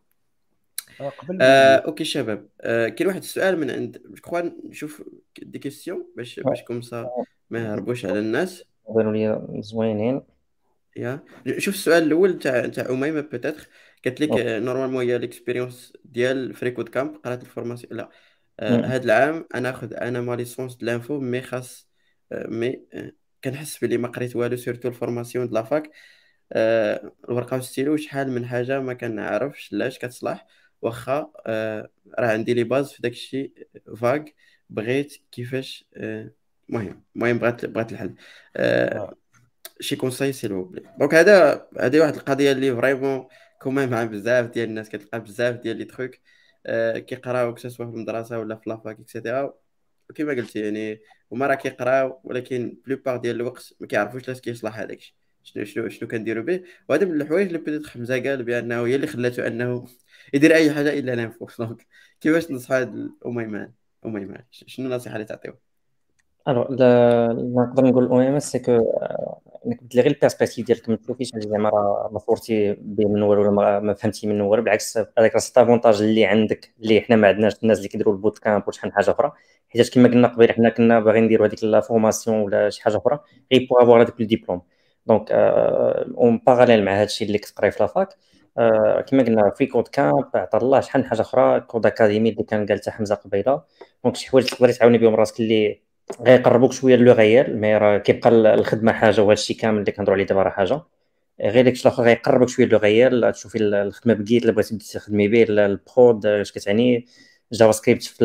آه، قبل. اوكي شباب، آه، كاين واحد السؤال من عند جو كخوا، نشوف دي كيستيون باش باش كوم سا ما يهربوش على الناس. بانوا لي زوينين. يا شوف السؤال الاول تاع تاع اميمه بيتيتر، قالت لك نورمالمون هي ليكسبيريونس ديال فريكود كامب، قرات الفورماسيون لا. آه، مم. هاد العام انا ناخذ انا ما ليسونس د لانفو، مي خاص آه، مي آه، كنحس بلي ما قريت والو، سيرتو الفورماسيون د لافاك. آه، الورقه والستيلو شحال من حاجه ما كنعرفش لاش كتصلح، واخا آه، راه عندي لي باز في داك الشيء فاغ. بغيت كيفاش آه، المهم المهم بغيت بغيت الحل. آه، آه. شي كونساي سيل فو بلي. دونك هذا هذه واحد القضيه اللي فريمون كوما مع بزاف ديال الناس، كتلقى بزاف ديال لي تخوك آه، كيقراو سوا في المدرسه ولا في لافاك اكسيتيرا، كما قلتي يعني هما راه كيقراو، ولكن بلوبار ديال الوقت ما كيعرفوش لاش كيصلح هذاك الشيء، شنو شنو شنو كنديروا به. وهذا من الحوايج اللي بدات حمزه قال بانه هي اللي خلاته انه يدير اي حاجه الا لانفو. دونك كيفاش نصح هاد الاميمان؟ اميمان شنو النصيحه اللي تعطيهم؟ الوغ اللي نقدر نقول او ام اس سي كو انك تبدل غير البيرسبكتيف ديالك، ما تشوفيش هادي زعما راه ما صورتي به من والو ولا ما ما فهمتي منه والو. بالعكس هذاك راه افونتاج اللي عندك اللي حنا ما عندناش الناس اللي كيديروا البوت كامب وشحال من حاجه اخرى. حيت كما قلنا قبيل حنا كنا باغيين نديروا هذيك لا فورماسيون ولا شي حاجه اخرى غير بوغ افوار هذاك الدبلوم. دونك اون باراليل مع هذا الشيء اللي كتقراي في لافاك، آه، كما قلنا في كود كامب عطا الله شحال من حاجه اخرى، كود اكاديمي اللي كان قال حتى حمزه قبيله. دونك شي حوايج تقدري تعاوني بهم راسك اللي غيقربوك شويه لو غيال، مي راه كيبقى الخدمه حاجه وهذا الشيء كامل اللي كنهضروا عليه دابا راه حاجه. غير داكشي الاخر غيقربك شويه لو غيال، تشوفي الخدمه بكيت اللي بغيتي تخدمي به، البرود اش كتعني، جافا سكريبت في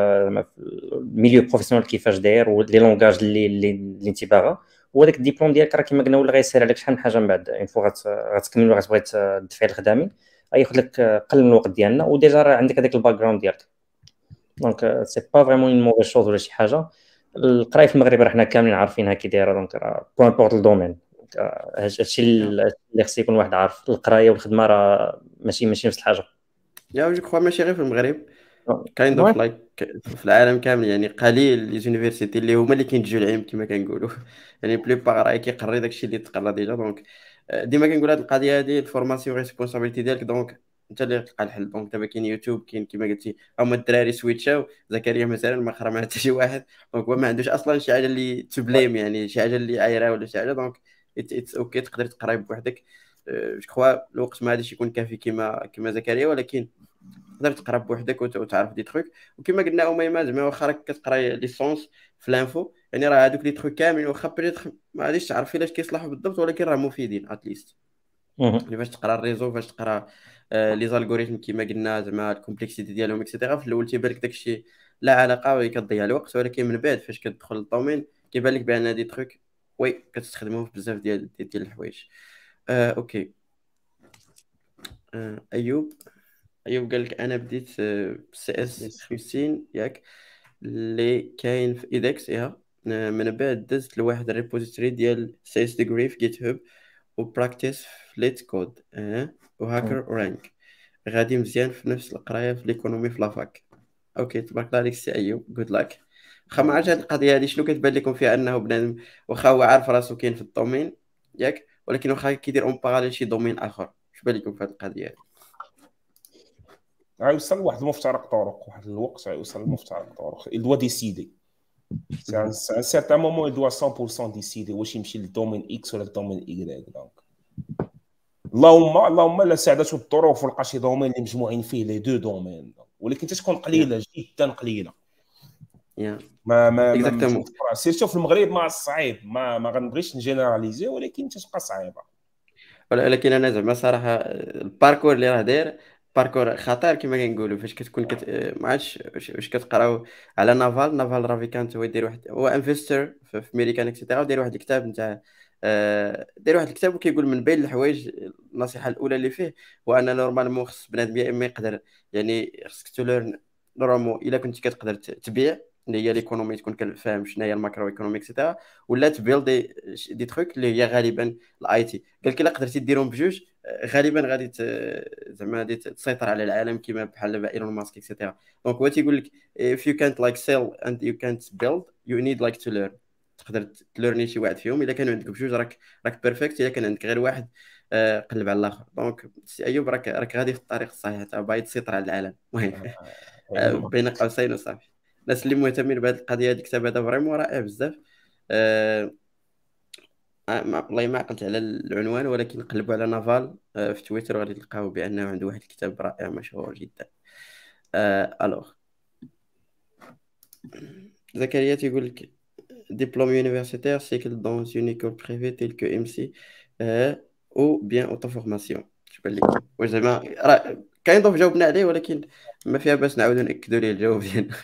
الميليو بروفيسيونيل كيفاش داير، ولي لونغاج اللي اللي اللي انت باغا. وهذاك الدبلوم ديالك راه كما قلنا ولا غيسهل عليك شحال من حاجه من بعد، اون فوا غتكمل وغتبغي تدفعي الخدامي غياخذ لك قل من الوقت ديالنا، وديجا راه عندك هذاك الباك جراوند ديالك. دونك سي با فريمون اون موفيز شوز ولا شي حاجه. القرايه في المغرب راه حنا كاملين عارفينها كي دايره، دونك راه بو امبورط الدومين. هادشي اللي خص يكون واحد عارف، القرايه والخدمه راه ماشي ماشي نفس الحاجه. يا جو كخوا ماشي غير في المغرب، كايند وي اوف لايك في العالم كامل، يعني قليل لي زونيفرسيتي اللي هما اللي كينتجوا العلم كما كنقولوا. يعني بلي باغ راه كيقري داكشي اللي تقرا ديجا. دونك آه، ديما كنقول هاد القضيه هادي الفورماسيون ريسبونسابيلتي ديالك. دونك انت اللي تلقى الحل. دونك دابا كاين يوتيوب، كاين كما قلتي هما الدراري سويتشاو، زكريا مثلا ما قرا مع حتى شي واحد، دونك هو ما عندوش اصلا شي حاجه اللي تبليم، يعني شي حاجه اللي عايره ولا شي حاجه. دونك اتس اوكي تقدر تقرا بوحدك. جو كخوا الوقت ما غاديش يكون كافي كما كما زكريا، ولكن تقدر تقرا بوحدك وت- وتعرف دي تروك. وكما قلنا اميمه زعما واخا راك كتقرا ليسونس في لانفو، يعني راه هذوك لي تروك كاملين واخا بريتخ ما غاديش تعرف علاش كيصلحوا بالضبط، ولكن راه مفيدين اتليست. مهم. يعني فاش تقرا الريزو، فاش تقرا آه لي زالغوريثم كيما قلنا زعما الكومبلكسيتي ديالهم اكسيتيرا، في الاول تيبان لك داكشي لا علاقه وكتضيع الوقت، ولكن من بعد فاش كتدخل للدومين كيبان لك بان دي تروك وي كتستخدموه في بزاف ديال ديال ديال الحوايج. آه اوكي. آه ايوب ايوب قال لك انا بديت سي اس يس. خمسين ياك اللي كاين في ايدكس ايها. آه، من بعد دزت لواحد الريبوزيتوري ديال سي اس ديجري في جيت هاب وبراكتيس في ليت كود اه وهاكر رانك. غادي مزيان في نفس القرايه في ليكونومي في لافاك. اوكي تبارك الله عليك سي ايوب، جود لاك. واخا ما عرفتش هاد القضيه هادي شنو كتبان لكم فيها، انه بنادم واخا هو عارف راسو كاين في الدومين ياك، ولكن واخا كيدير اون باراليل شي دومين اخر، اش بان لكم في هاد القضيه هادي؟ غيوصل لواحد المفترق طرق، واحد الوقت غيوصل لمفترق طرق. il doit décider c'est un, c'est un certain moment il doit cent pour cent décider واش يمشي للدومين اكس ولا للدومين اي. دونك اللهم اللهم لا ساعدته الظروف ولقى شي دومين اللي مجموعين فيه لي دو دومين، ولكن تتكون قليله جدا قليله. يا ما ما ما اكزاكتومون. سيرتو في المغرب ما صعيب، ما ما غنبغيش نجينيراليزي، ولكن تتبقى صعيبه. ولكن انا زعما صراحه الباركور اللي راه داير باركور خطير كما كنقولوا. فاش كتكون كت... ما عرفتش واش واش كتقراو على نافال نافال رافيكانت، هو يدير واحد، هو انفستر في في ميريكان اكسيتيرا، داير واحد الكتاب نتاع آه، داير واحد الكتاب وكيقول من بين الحوايج النصيحه الاولى اللي فيه هو ان نورمالمون خص بنادم يا اما يقدر، يعني خصك توليرن نورمالمون الا كنت كتقدر ت- تبيع اللي هي ليكونومي، تكون كفاهم شنو هي الماكرو ايكونومي اكسيتيرا، ولا تبيل دي دي تروك اللي هي غالبا الاي تي. قال لك الا قدرتي ديرهم بجوج آه، غالبا غادي ت- زعما غادي تسيطر على العالم كما بحال دابا ايلون ماسك اكسيتيرا. دونك هو تيقول لك if you can't like sell and you can't build you need like to learn. تقدر تلورني شي واحد فيهم، الا كانوا عندك بجوج راك راك بيرفكت، الا كان عندك غير واحد آه، قلب على الاخر. دونك سي ايوب راك راك غادي في الطريق الصحيح، تا باغي تسيطر على العالم. المهم آه، بين قوسين وصافي. الناس اللي مهتمين بهذه القضيه، هذا الكتاب هذا فريمون رائع بزاف. آه، آه، ما- والله ما عقلت على العنوان، ولكن قلبوا على نافال آه، في تويتر وغادي تلقاو بانه عنده واحد الكتاب رائع مشهور جدا. آه، الوغ زكريا تيقول لك diplôme universitaire cycle dans une école privée telle que ام سي آه، ou bien auto-formation. تبان لكم واش زعما راه كاين ضوء جاوبنا عليه، ولكن ما فيها باس نعاودوا ناكدوا ليه الجواب ديالنا.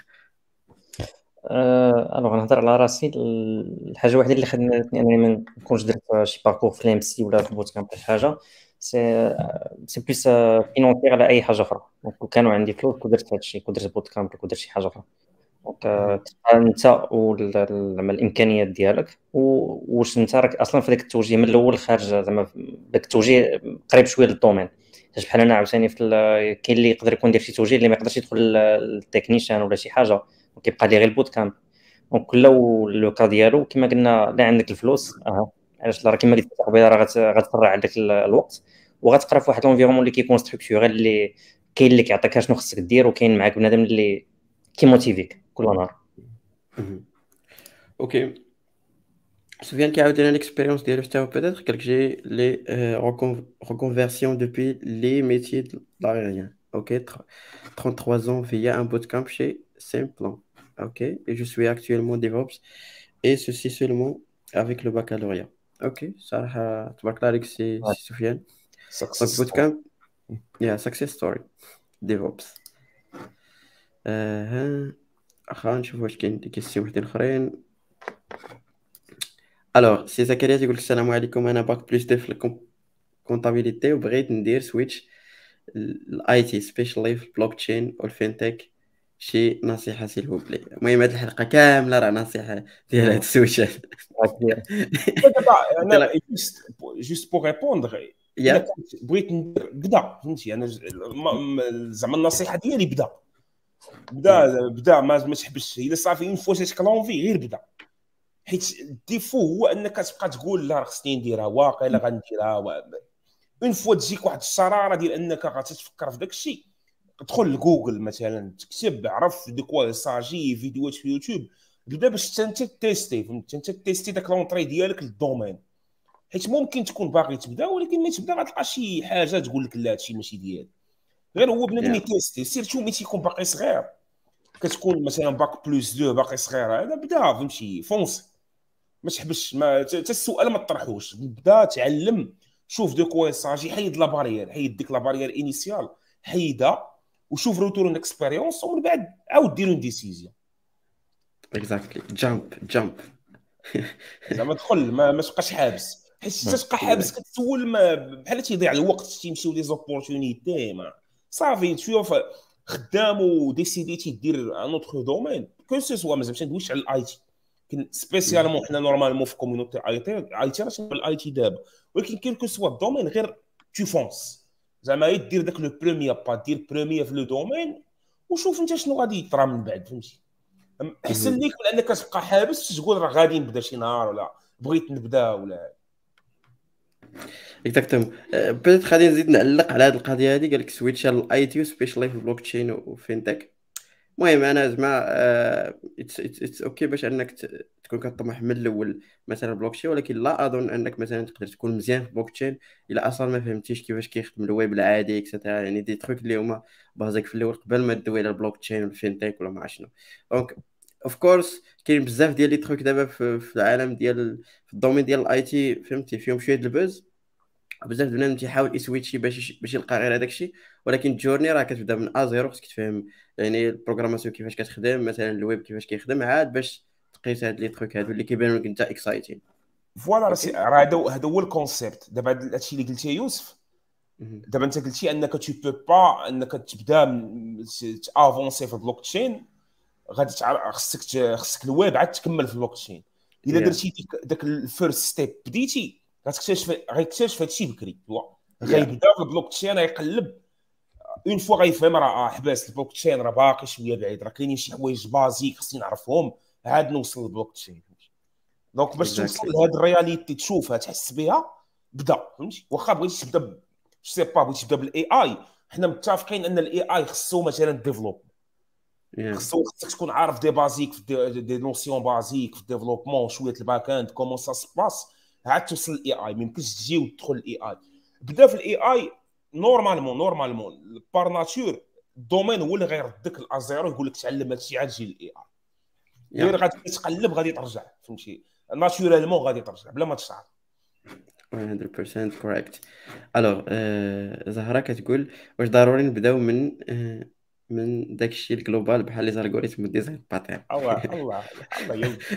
أه الوغ نهضر على راسي. الحاجه الوحيده اللي خدمتني انني ما نكونش درت شي باركور في الام سي ولا في بوت كامب ولا شي حاجه، سي سي بليس فينونسير على اي حاجه اخرى. دونك كون كانوا عندي فلوس كنت درت هادشي، كنت درت بوت كامب كنت درت شي حاجه اخرى. دونك آه، تبقى انت زعما الامكانيات ديالك، و- واش انت راك اصلا في ذاك التوجيه من الاول خارج زعما داك التوجيه قريب شويه للدومين. حيت بحال انا عاوتاني في ال- كاين اللي يقدر يكون داير شي توجيه اللي ما يقدرش يدخل التكنيشان ولا شي حاجه، وكيبقى ليه غير البوت كامب. دونك كل لو كا ديالو كما قلنا، لا عندك الفلوس اها علاش لا، راه كما قلت لك قبيله راه غت- غتفرع عندك ال- الوقت، وغتقرا في واحد لونفيرونمون اللي كيكون ستركتورال، اللي كاين اللي كيعطيك شنو خصك دير، وكاين معاك بنادم اللي كيموتيفيك كل نهار. مهم. اوكي. سفيان كيعاود لنا ليكسبيريونس ديالو حتى هو بيتيتر، قال لك جي لي reconversion depuis les métiers de l'aérien. Ok, tr- trente-trois ans via un bootcamp chez Simplan. Ok, et je suis actuellement DevOps et ceci seulement avec le baccalauréat. Ok, صراحة تبارك الله عليك سي سي سفيان. Donc سكسس bootcamp, yeah, success story DevOps. آه خلينا نشوف واش كاين دي كيسيون وحدين اخرين. الوغ سي زكريا تيقول لك السلام عليكم، انا باك بلس دو في الكونتابيليتي وبغيت ندير سويتش الاي تي سبيشالي في البلوك تشين والفينتك، شي نصيحه سيل فو بلي. المهم هاد الحلقه كامله راه نصيحه ديال هاد السويتشات. دابا انت انا لا جوست جوست بوغ ريبوندر. الا يا كنت بغيت ندير بدا، فهمتي انا ج- ما- ما- زعما النصيحه ديالي بدا بدا بدا ما ما تحبسش. الا صافي اون فوا جاتك لونفي غير بدا، حيت الديفو هو انك تبقى تقول لا راه خصني نديرها واقيلا غنديرها و- اون فوا تجيك واحد الشراره ديال انك غتفكر في داك الشيء، تدخل لجوجل مثلا تكتب عرف دو كوا ساجي فيديوهات في يوتيوب، بدا باش انت تيستي، فهمت انت تيستي داك لونطري ديالك للدومين، حيت ممكن تكون باغي تبدا ولكن ملي تبدا غتلقى شي حاجه تقول لك لا هادشي ماشي ديالك. غير هو بنادم Yeah. يتيستي، سيرتو ملي تيكون باقي صغير، كتكون مثلا باك بلس دو باقي صغير، هذا بدا فهمتي فونسي، ما تحبش ما حتى السؤال ما تطرحوش، بدا تعلم، شوف دو كوا ساجي، حيد لا بارير، حيد ديك لا بارير انيسيال، حيدها وشوف روتورن اكسبيريونس، ومن بعد عاود دير اون ديسيزيون. Exactly. Jump, jump. زعما دخل ما ما تبقاش حابس، حيت حتى تبقى حابس كتسول ما بحال تيضيع الوقت، تيمشيو لي زوبورتونيتي ما صافي. تشوف خدام وديسيديتي دير ان اوتر دومين كو سو سوا، مازال ما ندويش على الاي تي، كاين سبيسيالمون حنا نورمالمون في كوميونيتي اي تي اي تي راه الاي تي دابا، ولكن كاين كو سوا الدومين غير تو فونس، زعما غير دير داك لو بروميير با، دير بروميير في لو دومين وشوف انت شنو غادي يطرا من بعد، فهمتي. احسن ليك من انك تبقى حابس تقول راه غادي نبدا شي نهار ولا بغيت نبدا ولا. اكزاكتوم. بدات غادي نزيد نعلق على هذه القضيه هذه، قال لك سويتش على الاي تي سبيشالي في البلوك تشين وفينتك. المهم انا زعما اتس اتس اوكي باش انك ت- تكون كطمح من الاول مثلا بلوك تشين، ولكن لا اظن انك مثلا تقدر تكون مزيان في البلوك تشين الا اصلا ما فهمتيش كيفاش كيخدم الويب العادي اكسترا، يعني دي تروك اللي هما بازيك في الاول قبل ما تدوي على البلوك تشين والفينتك ولا ما عرف شنو. دونك اوف كورس كاين بزاف ديال لي تروك دابا في, في العالم ديال في الدومين ديال الاي تي، فهمتي فيهم شويه د البوز، بزاف د بنادم تيحاول يسويتشي باش باش يلقى غير هذاك الشيء، ولكن الجورني راه كتبدا من ا زيرو، خصك تفهم يعني البروغراماسيون كيفاش كتخدم، مثلا الويب كيفاش كيخدم، عاد باش تقيس هاد لي تروك هادو اللي كيبانوا لك انت اكسايتين. فوالا اوكي. راه هذا هذا هو الكونسيبت. دابا هادشي اللي قلتيه يوسف، مهم. دابا انت قلتي انك تو بو با انك تبدا تافونسي في البلوك تشين، غادي تعرف خصك ت- خصك الويب عاد تكمل في البلوك تشين. الا Yeah. درتي ديك داك الفيرست ستيب بديتي غتكتشف غيكتشف هادشي بكري، هو Yeah. غيبدا في البلوك تشين غيقلب، اون فوا غيفهم راه اه حباس البلوك تشين راه باقي شويه بعيد، راه كاينين شي حوايج بازيك خصني نعرفهم عاد نوصل للبلوك تشين. دونك باش توصل Exactly. لهاد الرياليتي تشوفها تحس بها بدا، فهمتي. واخا بغيتي تبدا ب- سي با بغيتي تبدا بالاي اي، حنا متفقين ان الاي اي خصو مثلا ديفلوب، Yeah. خصو خصك تكون عارف دي بازيك في دي, دي نوسيون بازيك في الديفلوبمون، شويه الباك اند كومون سا سباس، عاد توصل للاي اي. ما يمكنش تجي وتدخل الاي اي. بدا في الاي اي نورمالمون نورمالمون بار ناتور الدومين هو اللي غيردك الازيرو، يقول لك تعلم هادشي عاد جي للاي اي. غير Yeah. غادي تقلب غادي ترجع، فهمتي، ناتورالمون غادي ترجع بلا ما تشعر. مية بالمية correct. الوغ آه، زهرة كتقول واش ضروري نبداو من آه، من داك الشيء الجلوبال بحال لي زالغوريثم وديزاين باترن؟ الله الله الله يا ودي.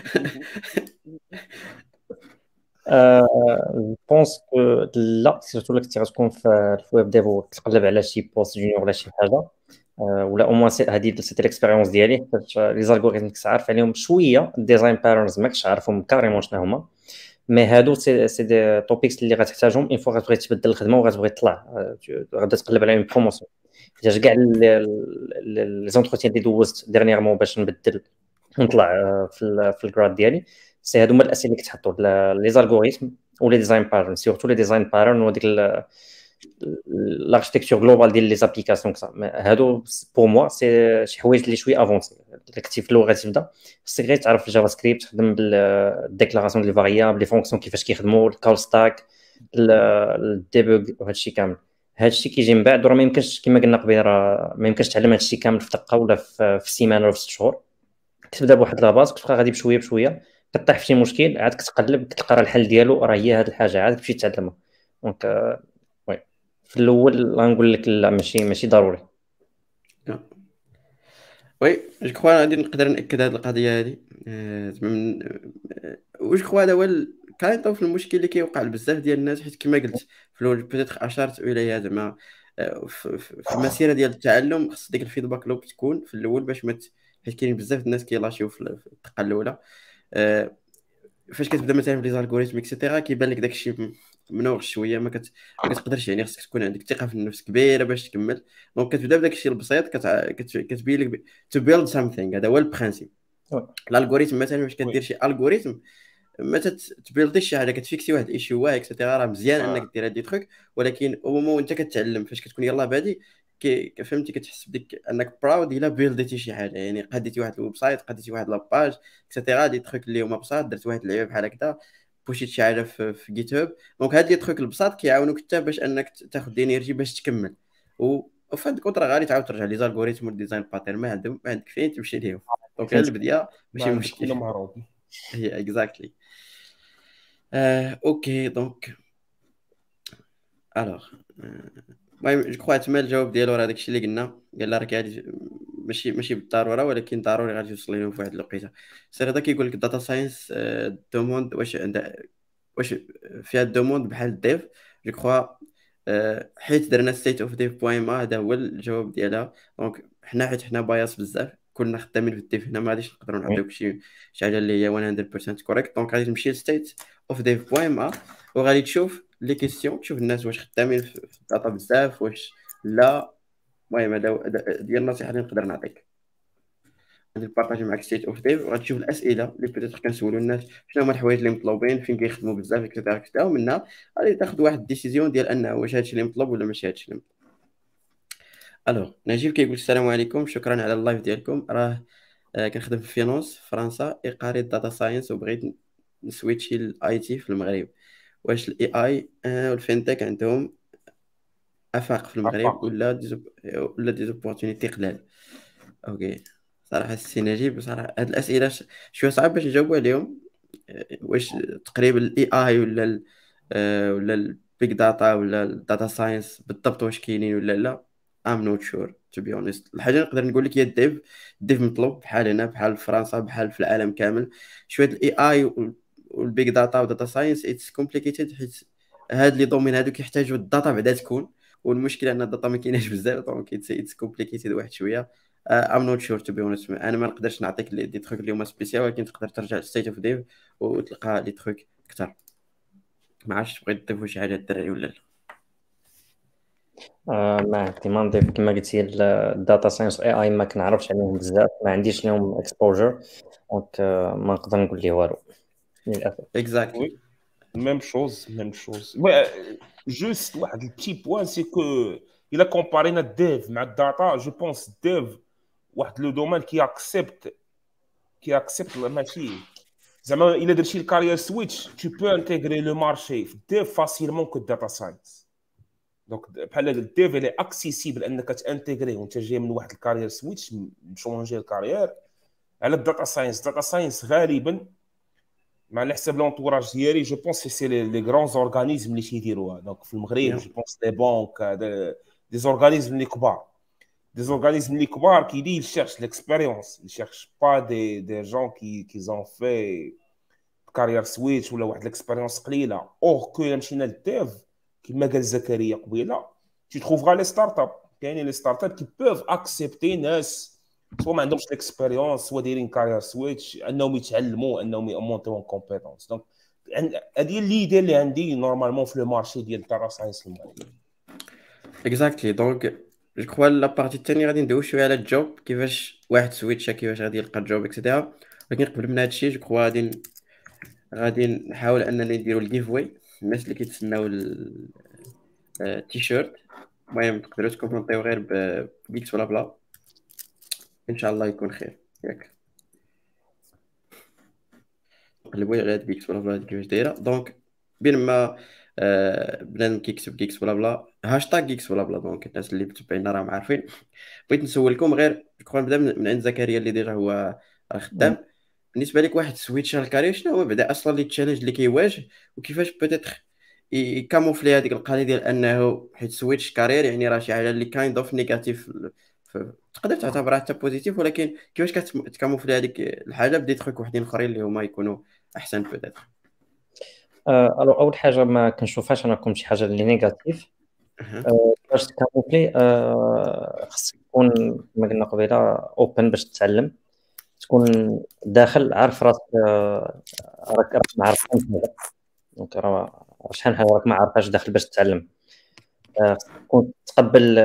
جو بونس كو لا، سيرتو الا كنتي غتكون في الويب ديف وتقلب على شي بوست جونيور ولا شي حاجه، آه، ولا او موان هذه سيتي الاكسبيريونس ديالي، حيت لي زالغوريثم كنت عارف عليهم شويه، الديزاين باترنز ماكش عارفهم كاريمون شنو هما، مي هادو سي سي دي توبيكس اللي غتحتاجهم اون فوا غتبغي تبدل الخدمه وغتبغي تطلع، آه، غادا تقلب على اون بروموسيون. حيت كاع لي زونتروتيان اللي دوزت ديرنييرمون باش نبدل ونطلع آه، في ال- في الجراد ديالي، سي هادو هما الاسئله اللي كتحطوا لي زالغوريثم ولي ديزاين باترن، سيرتو لي ديزاين باترن وديك الاركتيكتور جلوبال ديال لي زابليكاسيون كذا. هادو بور موا سي شي حوايج اللي شويه افونسي. الا كنتي في اللغه تبدا خصك غير تعرف الجافا سكريبت، تخدم بالديكلاراسيون ديال الفاريابل، لي فونكسيون كيفاش كيخدموا، الكول ستاك، الديبوغ وهادشي كامل. هادشي كيجي من بعد، وراه ما يمكنش كما قلنا قبيله، راه ما يمكنش تعلم هادشي كامل في دقه ولا في في سيمانه ولا في ست شهور. كتبدا بواحد لاباز، كتبقى غادي بشويه بشويه، كطيح في شي مشكل عاد كتقلب كتلقى راه الحل ديالو راه هي هاد الحاجه، عاد تمشي تعلمها. دونك آه، وي في الاول غنقول لك لا، ماشي ماشي ضروري. وي جو كخوا غادي نقدر ناكد هذه القضيه هذه. آه، زعما من آه، واش كخوا هذا هو كاين في المشكل اللي كيوقع لبزاف ديال الناس، حيت كما قلت في الاول بيتيتر اشرت اليها زعما آه، في في- في المسيره ديال التعلم خص ديك الفيدباك لوب تكون في الاول باش ما ت- حيت كاين بزاف د الناس كيلاشيو في ال- في الدقه الاولى. آه، فاش كتبدا مثلا في لي زالغوريثم اكسيتيرا كيبان لك داكشي م- منوغ شويه، ما كت... ما كتقدرش، يعني خصك تكون عندك ثقه في النفس كبيره باش تكمل. دونك كتبدا بداك الشيء البسيط، كت... كت... كتبين لك تو بيلد سامثينغ، هذا هو البرانسيب. وي الالغوريثم مثلا فاش وي كدير شي الغوريثم ما تبيلديش شي حاجه، كتفيكسي واحد الايشيو اكسيتيرا، راه مزيان آه. انك دير هاد لي تروك، ولكن او مومون انت كتعلم فاش كتكون يلاه بادي كي فهمتي كتحس بديك انك براود الا بيلديتي شي حاجه، يعني قديتي واحد الويب سايت، قديتي واحد لاباج اكسيتيرا، دي تروك اللي هما بساط، درت واحد اللعبه بحال هكذا، بوشيت شي حاجه في, في جيت هاب. دونك هاد لي تروك البساط كيعاونوك حتى باش انك تاخذ انرجي باش تكمل، و وفي هاد الكونترا غادي تعاود ترجع لي زالغوريثم والديزاين باترن ما عندهم ما عندك فين تمشي ليهم. دونك غير البدايه ما ماشي عندك مشكل. ولا مهروب. هي اكزاكتلي. آه، اوكي دونك الوغ المهم جو كخوا تما الجواب ديالو راه داكشي اللي قلنا، قال راه غادي ماشي ماشي بالضروره ولكن ضروري غادي توصل لهم في واحد الوقيته. سير هذا كيقول لك الداتا ساينس دوموند واش عندها واش فيها الدوموند بحال الديف. جو كخوا حيت درنا ستيت اوف ديف بوين ما، هذا هو الجواب ديالها. دونك حنا حيت حنا باياس بزاف كنا خدامين في الديف هنا، ما غاديش نقدروا نعطيوك شي شي حاجه اللي هي مية بالمية كوريكت. دونك غادي تمشي لستيت اوف ديف بوين ما وغادي تشوف لي كيسيون، تشوف الناس واش خدامين في في الداتا بزاف واش لا. المهم هذا هو- هذا- ديال النصيحه اللي نقدر نعطيك، غادي نبارطاجي معك ستيت اوف ديف وغادي تشوف الاسئله اللي بيتيتر كنسولوا الناس شنو هما الحوايج اللي مطلوبين، فين كيخدموا بزاف اكسيتيرا اكسيتيرا، ومنها غادي تاخذ واحد الديسيزيون ديال انه واش هادشي اللي مطلوب ولا ماشي هادشي اللي مطلوب. الوغ نجيب كيقول السلام عليكم، شكرا على اللايف ديالكم. راه آه، كنخدم في فينونس في فرنسا، اقاري داتا ساينس، وبغيت نسويتشي للاي تي في المغرب. واش الاي اي والفينتك عندهم افاق في المغرب عفاق. ولا ديزوب... ولا ديزوبورتونيتي قلال؟ اوكي صراحه السي نجيب صراحه هاد الاسئله ش- شويه صعب باش نجاوبوا عليهم. آه، واش تقريبا الاي اي ولا ال... آه، ولا البيج داتا ولا الداتا ساينس بالضبط واش كاينين ولا لا، ام نوت شور تو بي اونست. الحاجه اللي نقدر نقول لك هي الديف. الديف مطلوب بحال هنا بحال في فرنسا بحال في العالم كامل. شويه الاي اي والبيج داتا وداتا ساينس اتس كومبليكيتد، حيت هاد لي دومين هادو كيحتاجوا الداتا بعدا تكون، والمشكله ان الداتا ما كايناش بزاف، دونك اتس كومبليكيتد واحد شويه. ام نوت شور تو بي اونست. انا ما نقدرش نعطيك لي- دي تروك اللي هما سبيسيال، ولكن تقدر ترجع للستيت اوف ديف وتلقى لي تروك اكثر. ما عرفتش تبغي تضيفوا شي حاجه الدراري ولا لا؟ آه ما عندي ما نضيف كما قلتي الداتا ساينس اي اي ما كنعرفش عليهم بزاف، ما عنديش لهم اكسبوجر، دونك آه ما نقدر نقول ليه والو للاسف. اكزاكتلي. Oui, même chose, même chose. Ouais, euh, juste واحد le petit point, c'est que il a comparé notre dev مع data. Je pense dev واحد le domaine qui accepte qui accepte la machine. زعما إلا درتي الكارير سويتش tu peux intégrer le marché في dev facilement que data science. دونك بحال هذا الديف اللي اكسيسيبل انك تانتيغري وانت جاي من واحد الكارير سويتش مشونجي الكارير على الداتا ساينس. داتا ساينس غالبا مع على حسب لونطوراج ديالي جو بونس سي لي لي غران اورغانيزم اللي تيديروها. دونك في المغرب جو بونس لي بانك دي اورغانيزم اللي كبار دي اورغانيزم اللي كبار كيدي يشيرش ليكسبيريونس، يشيرش با دي دي جون كي كي زون في كارير سويتش ولا واحد ليكسبيريونس قليله. اور كو مشينا للديف كما قال زكريا قبيله tu trouveras les startups. كاينين لي ستارت اب كي بوف اكسبتي ناس سوا ما عندهمش ليكسبيريونس سوا دايرين كارير سويتش انهم يتعلموا انهم يمونتيو كومبيتونس. دونك هذه اللي اللي عندي نورمالمون في لو مارشي ديال الداتا ساينس المغرب. اكزاكتلي. دونك جو كخوا لا بارتي الثانيه غادي ندويو شويه على الجوب، كيفاش واحد سويتشا كيفاش غادي يلقى الجوب اكسيتيرا. ولكن قبل من هادشي جو كخوا غادي غادي نحاول اننا نديرو الجيف واي الناس اللي كيتسناو التيشيرت. المهم تقدروا تكومونتيو غير بيكس ولا بلا، ان شاء الله يكون خير ياك. قلبوا على هاد بيكس ولا بلا كيفاش دايره. دونك بين ما آه بنادم كيكتب كيكس ولا بلا هاشتاغ كيكس ولا بلا، دونك الناس اللي متبعينا راهم عارفين. بغيت نسولكم غير كون نبدا من من عند زكريا اللي ديجا هو راه خدام. بالنسبه لك واحد سويتش الكارير شنو هو بعدا اصلا لي تشالنج اللي كيواجه، وكيفاش بوتيتر يكاموفلي هذيك القضيه ديال انه حيت سويتش كارير يعني راه شي حاجه اللي كايند اوف نيجاتيف، تقدر تعتبرها حتى بوزيتيف، ولكن كيفاش كتكاموفلي هذيك الحاجه بدي تخوك وحدين اخرين اللي هما يكونوا احسن بوتيتر؟ آه الو اول حاجه ما كنشوفهاش انا كوم شي حاجه اللي نيجاتيف. آه باش تكاموفلي آه خصك تكون كما قلنا قبيله اوبن باش تتعلم، تكون داخل عارف راسك آه، راك راك ما عارف دونك راه شحال حاجه راك ما عارفاش داخل باش تتعلم. آه، تكون تقبل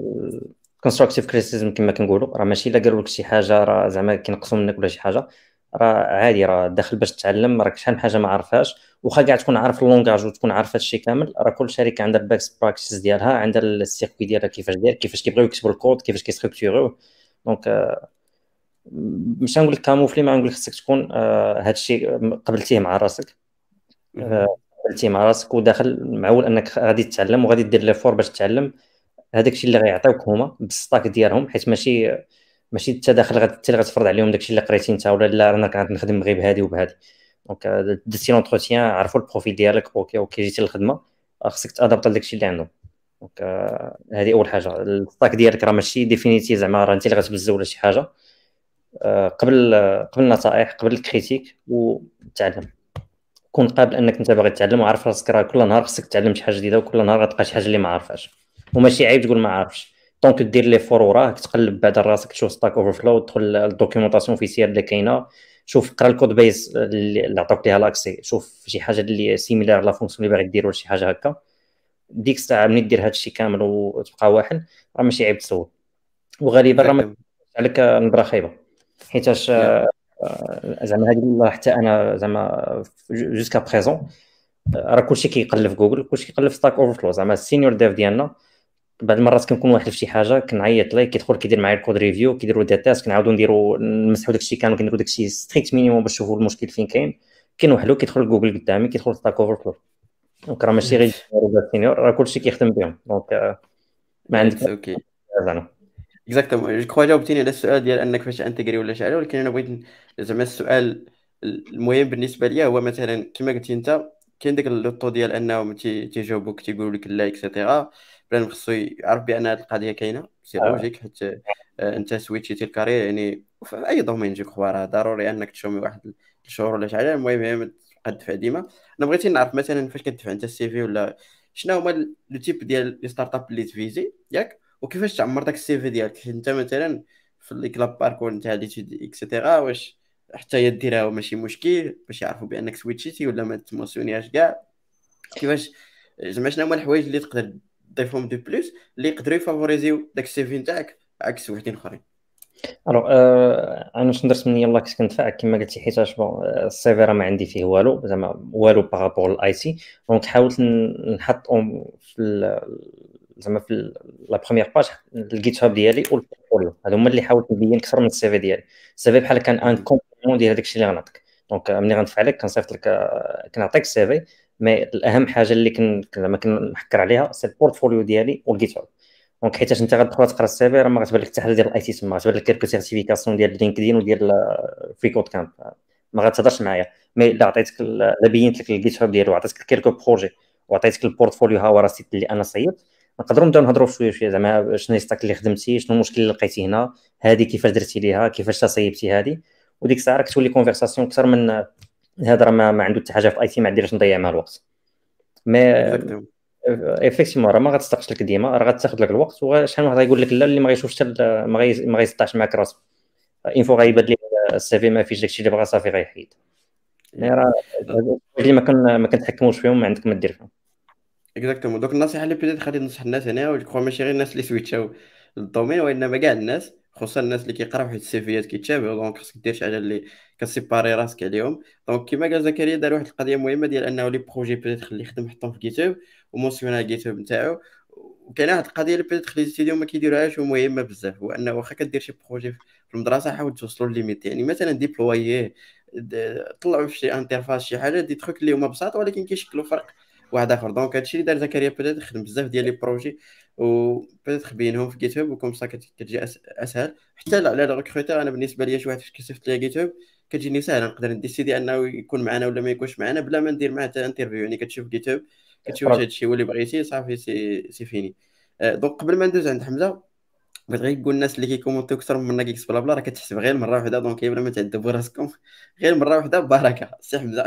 الكونستراكتيف كريتيسيزم كما كنقولوا، راه ماشي الا قالوا لك شي حاجه راه زعما كينقصوا منك ولا شي حاجه، راه عادي، راه داخل باش تتعلم، راك شحال من حاجه ما عارفهاش، واخا كاع تكون عارف اللونغاج وتكون عارف هادشي كامل، راه كل شركه عندها الباكس براكتيس ديالها، عندها السيركوي ديالها كيفاش داير، كيفاش كيبغيو يكتبوا الكود، كيفاش كيستركتوروه. دونك آه، مش غنقول لك كاموفلي، ما غنقول لك خصك تكون آه، هادشي قبلتيه مع راسك. آه، مهم. قبلتيه مع راسك وداخل معول انك غادي تتعلم وغادي دير لي فور باش تتعلم. هذاك الشيء اللي غيعطيوك هما بالستاك ديالهم، حيت ماشي ماشي انت داخل غت- انت اللي غتفرض عليهم داك الشيء اللي قريتي انت، ولا لا انا كنت نخدم غير بهادي وبهادي. دونك آه، درتي لونتروتيان، عرفوا البروفيل ديالك، اوكي اوكي جيتي للخدمه، آه، خصك تادابط لداك الشيء اللي عندهم. دونك آه، هذه اول حاجه. الستاك ديالك راه ماشي ديفينيتي، زعما راه انت اللي غتبزز ولا شي حاجه. آه، قبل آه، قبل النصائح، قبل الكريتيك، وتعلم. كون قابل انك انت باغي تتعلم، وعارف راسك راه كل نهار خصك تتعلم شي حاجه جديده، وكل نهار غتلقى شي حاجه اللي ما عارفاش. وماشي عيب تقول ما عارفش، دونك دير لي فور وراك، تقلب بعد راسك، تشوف ستاك اوفر فلو، تدخل الدوكيومونطاسيون اوفيسيال اللي كاينه، شوف قرا الكود بيز اللي اللي عطاوك ليها لاكسي، شوف شي حاجه اللي سيميلار لا فونكسيون اللي باغي دير ولا شي حاجه هكا. ديك الساعه ملي دير هادشي كامل وتبقى واحد، راه ماشي عيب تسول. وغالبا راه ما اكزاكتومون. تكونش عليك نبره خايبه، حيتاش يا آه، زعما هذه حتى انا زعما جوسكا بريزون راه كلشي كيقلب في جوجل، كلشي كيقلب في ستاك اوفر فلو. زعما السينيور ديف ديالنا بعض المرات كنكون واحد في شي حاجه كنعيط ليه، كيدخل كيدير معايا الكود ريفيو، كيديروا دي تيست، كنعاودوا نديروا نمسحوا داكشي كامل، كنديروا داكشي ستريكت مينيموم باش نشوفوا المشكل فين كاين. كاين وحده كيدخل جوجل قدامي، كيدخل ستاك اوفر فلو. دونك راه ماشي غير السينيور، راه كلشي كيخدم بهم. دونك آه، ما عندك اتس اوكي. زعما. اكزاكتومون، جو كخوا جاوبتيني على السؤال ديال انك فاش انتجري ولا شي حاجه، ولكن انا بغيت ن- زعما السؤال المهم بالنسبه ليا هو مثلا كما قلتي انت، كاين داك اللوطو ديال انهم تي- تيجاوبوك تيقولوا لك لا اكسيتيرا. بلان خصو يعرف بان هذه القضيه كاينه، سي آه، لوجيك، حيت آه، انت سويتشيتي الكارير يعني في اي دومين. جو كخوا راه ضروري انك تشومي واحد الشهور ولا شي حاجه. المهم هي ما تبقى تدفع ديما. انا بغيتي نعرف مثلا فاش كتدفع انت السي في ولا شنو هما لو تيب ديال لي ستارت اب اللي تفيزي ياك، وكيفاش تعمر داك السي في ديالك. حيت انت مثلا في الكلاب باركور نتاع لي تيد اكسيتيرا، واش حتى هي ديرها ماشي مشكل باش يعرفوا بانك سويتشيتي ولا ما تموسيونيهاش كاع؟ كيفاش زعما شنو هما الحوايج اللي تقدر تضيفهم دو بلوس اللي يقدروا يفافوريزيو داك السي في نتاعك عكس وحدين اخرين؟ الوغ آه، انا واش درت من يلاه كنت كندفع كما قلتي، حيتاش بون السيفي راه ما عندي فيه والو، زعما والو بارابور للاي تي. دونك حاولت ن- نحط أم- في ال- زعما في ال- لا بروميير باج الجيت هاب ديالي والبورتفوليو، هادو هما اللي حاولت نبين اكثر من السيفي ديالي. السيفي بحال كان ان مهم. كومبليمون ديال هذاك الشيء اللي غنعطيك. دونك آه، ملي غندفع لك كنصيفط لك آه، كنعطيك السيفي، مي الاهم حاجه اللي كن زعما كنحكر عليها سي البورتفوليو ديالي والجيت هاب. دونك حيتاش انت غتدخل تقرا السيفي، راه ما غتبان لك حتى حاجه ديال الاي تي تما، غتبان لك كيلكو سيرتيفيكاسيون ديال لينكدين وديال فري كود كامب، ما غتهضرش معايا. مي الا عطيتك ال- الا بينت لك الجيت هاب ديالو، وعطيتك كيلكو بروجي، وعطيتك البورتفوليو، ها هو راسيت اللي انا صيفط، نقدروا نبداو نهضروا شويه شويه، زعما شنو ستاك اللي خدمتي، شنو المشكل اللي لقيتي هنا، هذه كيفاش درتي ليها، كيفاش تصيبتي هذه. وديك الساعه راك تولي كونفرساسيون اكثر من هذا. راه ما, ما عنده حتى حاجه في اي تي، ما عنديش نضيع مع الوقت. مي اكزاكتومون. ايفيكتيفمون راه ما غتستقش لك ديما، راه غتاخذ لك الوقت، وشحال من واحد غيقول لك لا اللي ما غيشوفش حتى ال- ما غي ما غيسطاش معاك راسك. اين فوا غيبان ليه السي في ما فيش داكشي اللي بغا، صافي غيحيد. مي راه هادو اللي ما كن ما كنتحكموش فيهم، ما عندك ما دير فيهم. اكزاكتومون. دوك النصيحه اللي بديت غادي ننصح الناس هنا، و جو ماشي غير الناس اللي سويتشاو للدومين، وانما كاع الناس، خصوصا الناس اللي كيقراو، حيت السيفيات كيتشابهوا. دونك خصك دير شي حاجه اللي كتسيباري راسك عليهم. دونك كما قال زكريا، دار واحد القضيه مهمه ديال انه لي بروجي بدات خليه يخدم يحطهم في جيتوب ومونسيونا جيتوب نتاعو. وكاينه واحد القضيه اللي بدات خلي الستوديو ما كيديروهاش ومهمه بزاف، هو انه واخا كدير شي بروجي في المدرسه، حاول توصلوا لليميت. يعني مثلا ديبلوييه، د- طلعوا في شي انترفاس شي حاجه، دي تخوك اللي هما بساط ولكن كيشكلوا فرق واحد اخر. دونك هادشي اللي دار زكريا، بدات يخدم بزاف ديال لي بروجي وبدات تخبينهم في جيت هاب، وكم سا كت- كتجي أس- اسهل حتى لا- على الريكروتور. انا بالنسبه لي شي واحد فاش كتبت ليا جيت هاب كتجيني ساهله، نقدر نديسيدي انه يكون معنا ولا ما يكونش معنا بلا ما ندير معاه حتى انترفيو. يعني كتشوف جيت هاب، كتشوف واش هادشي هو اللي بغيتي، صافي سي سي فيني. آه، دونك قبل ما ندوز عند حمزه، بغيت غير نقول الناس اللي كيكومونتيو اكثر من منا كيكس بلا بلا، راه كتحسب غير مره واحده. دونك بلا ما تعذبوا راسكم، غير مره واحده ببركه. سي حمزه.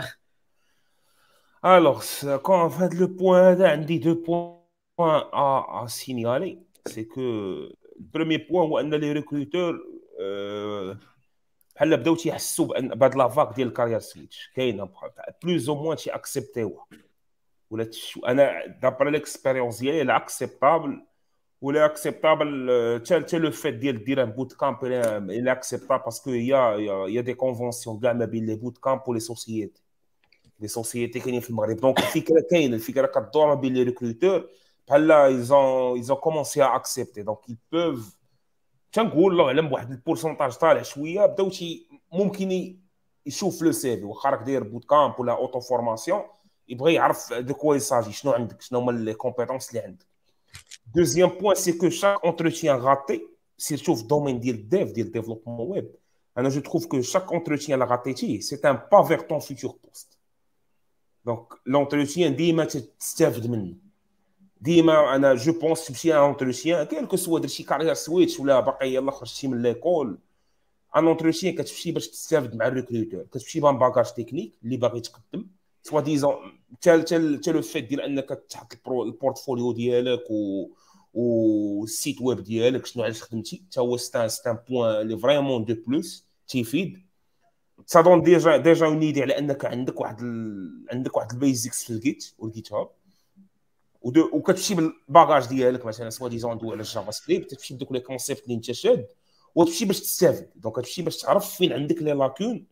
Alors, c'est- quand en fait le point d'un des deux points à, à signaler, c'est que le premier point هو ان les recruteurs euh, بحال بداو تيحسوا بان بهاد لا فاك ديال الكارير سويتش كاينه بلوز او موان تيأكسبتيوها. ولا تش... انا دابر ليكسبيريونس ديالي لا اكسبتابل ولا اكسبتابل حتى حتى لو فيت ديال دير ان بوت كامب الى اكسبتابل باسكو يا يا دي كونفونسيون كاع ما بين لي بوت كامب ولي سوسيتي لي سوسيتي كاينين في المغرب. دونك الفكره كاينه، الفكره كدور ما بين لي ريكروتور بحال ايزون ايزون كومونسي ا اكسبتي. دونك ils peuvent تنقول الله اعلم بواحد البورسونتاج طالع شويه بداو شي ممكن يشوف لو سي في واخا راك داير بوت كامب ولا اوتو فورماسيون يبغي يعرف دو كوا يساجي، شنو عندك، شنو هما لي كومبيتونس اللي عندك. دوزيام بوين سي كو شاك اونتروتيان غاتي سيرتو في الدومين ديال الديف ديال ديفلوبمون ويب، انا جو تروف كو شاك اونتروتيان لا غاتيتي سي ان با فيغ طون فيتور بوست. دونك لونتروتيان ديما تستافد منه، ديما انا جو بونس تمشي ان اونتروتيان كاين كو سوا درتي كارير سويتش ولا باقي يلاه خرجتي من ليكول، ان اونتروتيان كتمشي باش تستافد مع الريكروتور، كتمشي بان باكاج تكنيك اللي باغي تقدم سوا ديزون حتى حتى لو فيت ديال انك تحط البورتفوليو ديالك و والسيت ويب ديالك شنو علاش خدمتي، حتى هو ستان ستان بوين لي فريمون دو بلوس تيفيد. سا دون ديجا ديجا اون ايدي على انك عندك واحد ال... عندك واحد البيزكس في الجيت والجيت هاب ودو وكتمشي بالباغاج ديالك مثلا سوا ديزون ندوي على الجافا سكريبت، تمشي بدوك لي كونسيبت اللي انت شاد وتمشي باش تستافد. دونك كتمشي باش تعرف فين عندك لي لاكون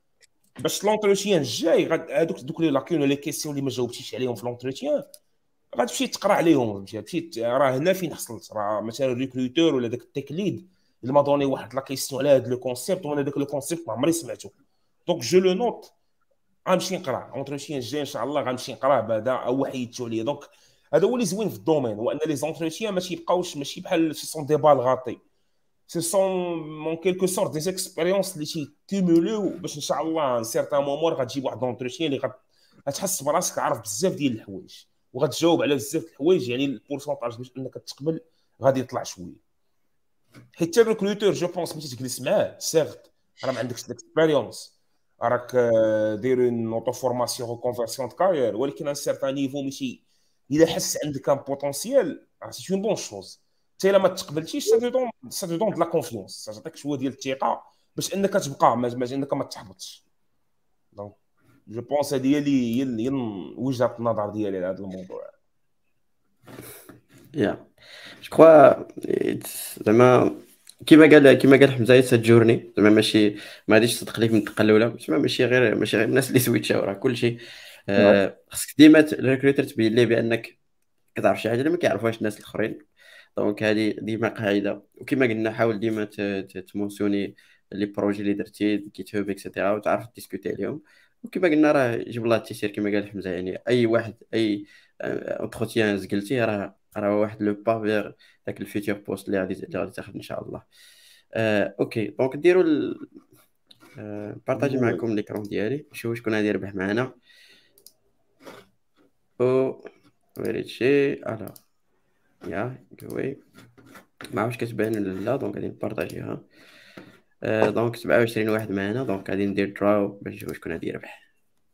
باش لونتروتيان الجاي هذوك دوك لي لاكون ولا لي كيسيون اللي ما جاوبتيش عليهم في لونتروتيان غتمشي تقرا عليهم. تمشي راه هنا فين حصلت، راه مثلا الريكروتور ولا داك التيك ليد اللي ما دوني واحد لا كيسيون على هذا لو كونسيبت وانا داك لو كونسيبت ما عمري سمعته. دونك جو لو نوت غنمشي نقرا اونتروتيان الجاي ان شاء الله، غنمشي نقراه بعدا او حيدتو عليا. دونك هذا هو اللي زوين في الدومين، هو ان لي زونتروتيان ماشي يبقاوش ماشي بحال سي سون دي بال غاطي، سي سون مون كيلكو سورت دي اكسبيريونس اللي تيكوموليو باش ان شاء الله ان سيرتان مومون غتجيب واحد دونتروتيان اللي غتحس براسك عارف بزاف ديال الحوايج وغتجاوب على بزاف الحوايج، يعني البورسونتاج باش انك تقبل غادي يطلع شويه. حيت الريكروتور جو بونس ملي تجلس معاه سيغت راه ما عندكش الاكسبيريونس، راك داير اون اوتو فورماسيون او كونفيرسيون دو كارير، ولكن ان سيرتان نيفو ماشي الا حس عندك ان بوتونسيال سي اون بون شوز. حتى الا ما تقبلتيش سا دون سا دون د لا كونفيونس، تعطيك شويه ديال الثقه باش انك تبقى ما انك ما تحبطش. دونك جو بونس هذه هي اللي هي وجهه النظر ديالي على هذا الموضوع. يا جو كخوا زعما كيما قال كيما قال حمزه سا جورني زعما ماشي ما غاديش تصدق ليك من الدقه الاولى، زعما ماشي غير ماشي غير الناس اللي سويتشاو راه كلشي آه خصك ديما الريكروتر تبين ليه بانك كتعرف شي حاجه اللي ما كيعرفوهاش الناس الاخرين. دونك هذه ديما قاعده، وكما قلنا حاول ديما تمونسيوني لي بروجي اللي درتي كيت هوب اكسيتيرا وتعرف ديسكوتي عليهم. وكما قلنا راه جيب الله التيسير كما قال حمزه، يعني اي واحد اي اونتروتيان زقلتي راه راه واحد لو با فيغ داك الفيتور بوست اللي غادي اللي غادي تاخذ ان شاء الله. آه، اوكي دونك ديروا ال... آه، بارطاجي معكم ليكرون ديالي نشوف شكون غادي يربح معنا. او ويريتشي الو يا قوي ما عرفتش كتبان ولا لا، دونك غادي نبارطاجيها. آه، دونك سبعة وعشرين واحد معنا، دونك غادي ندير دراو باش نشوف شكون غادي يربح.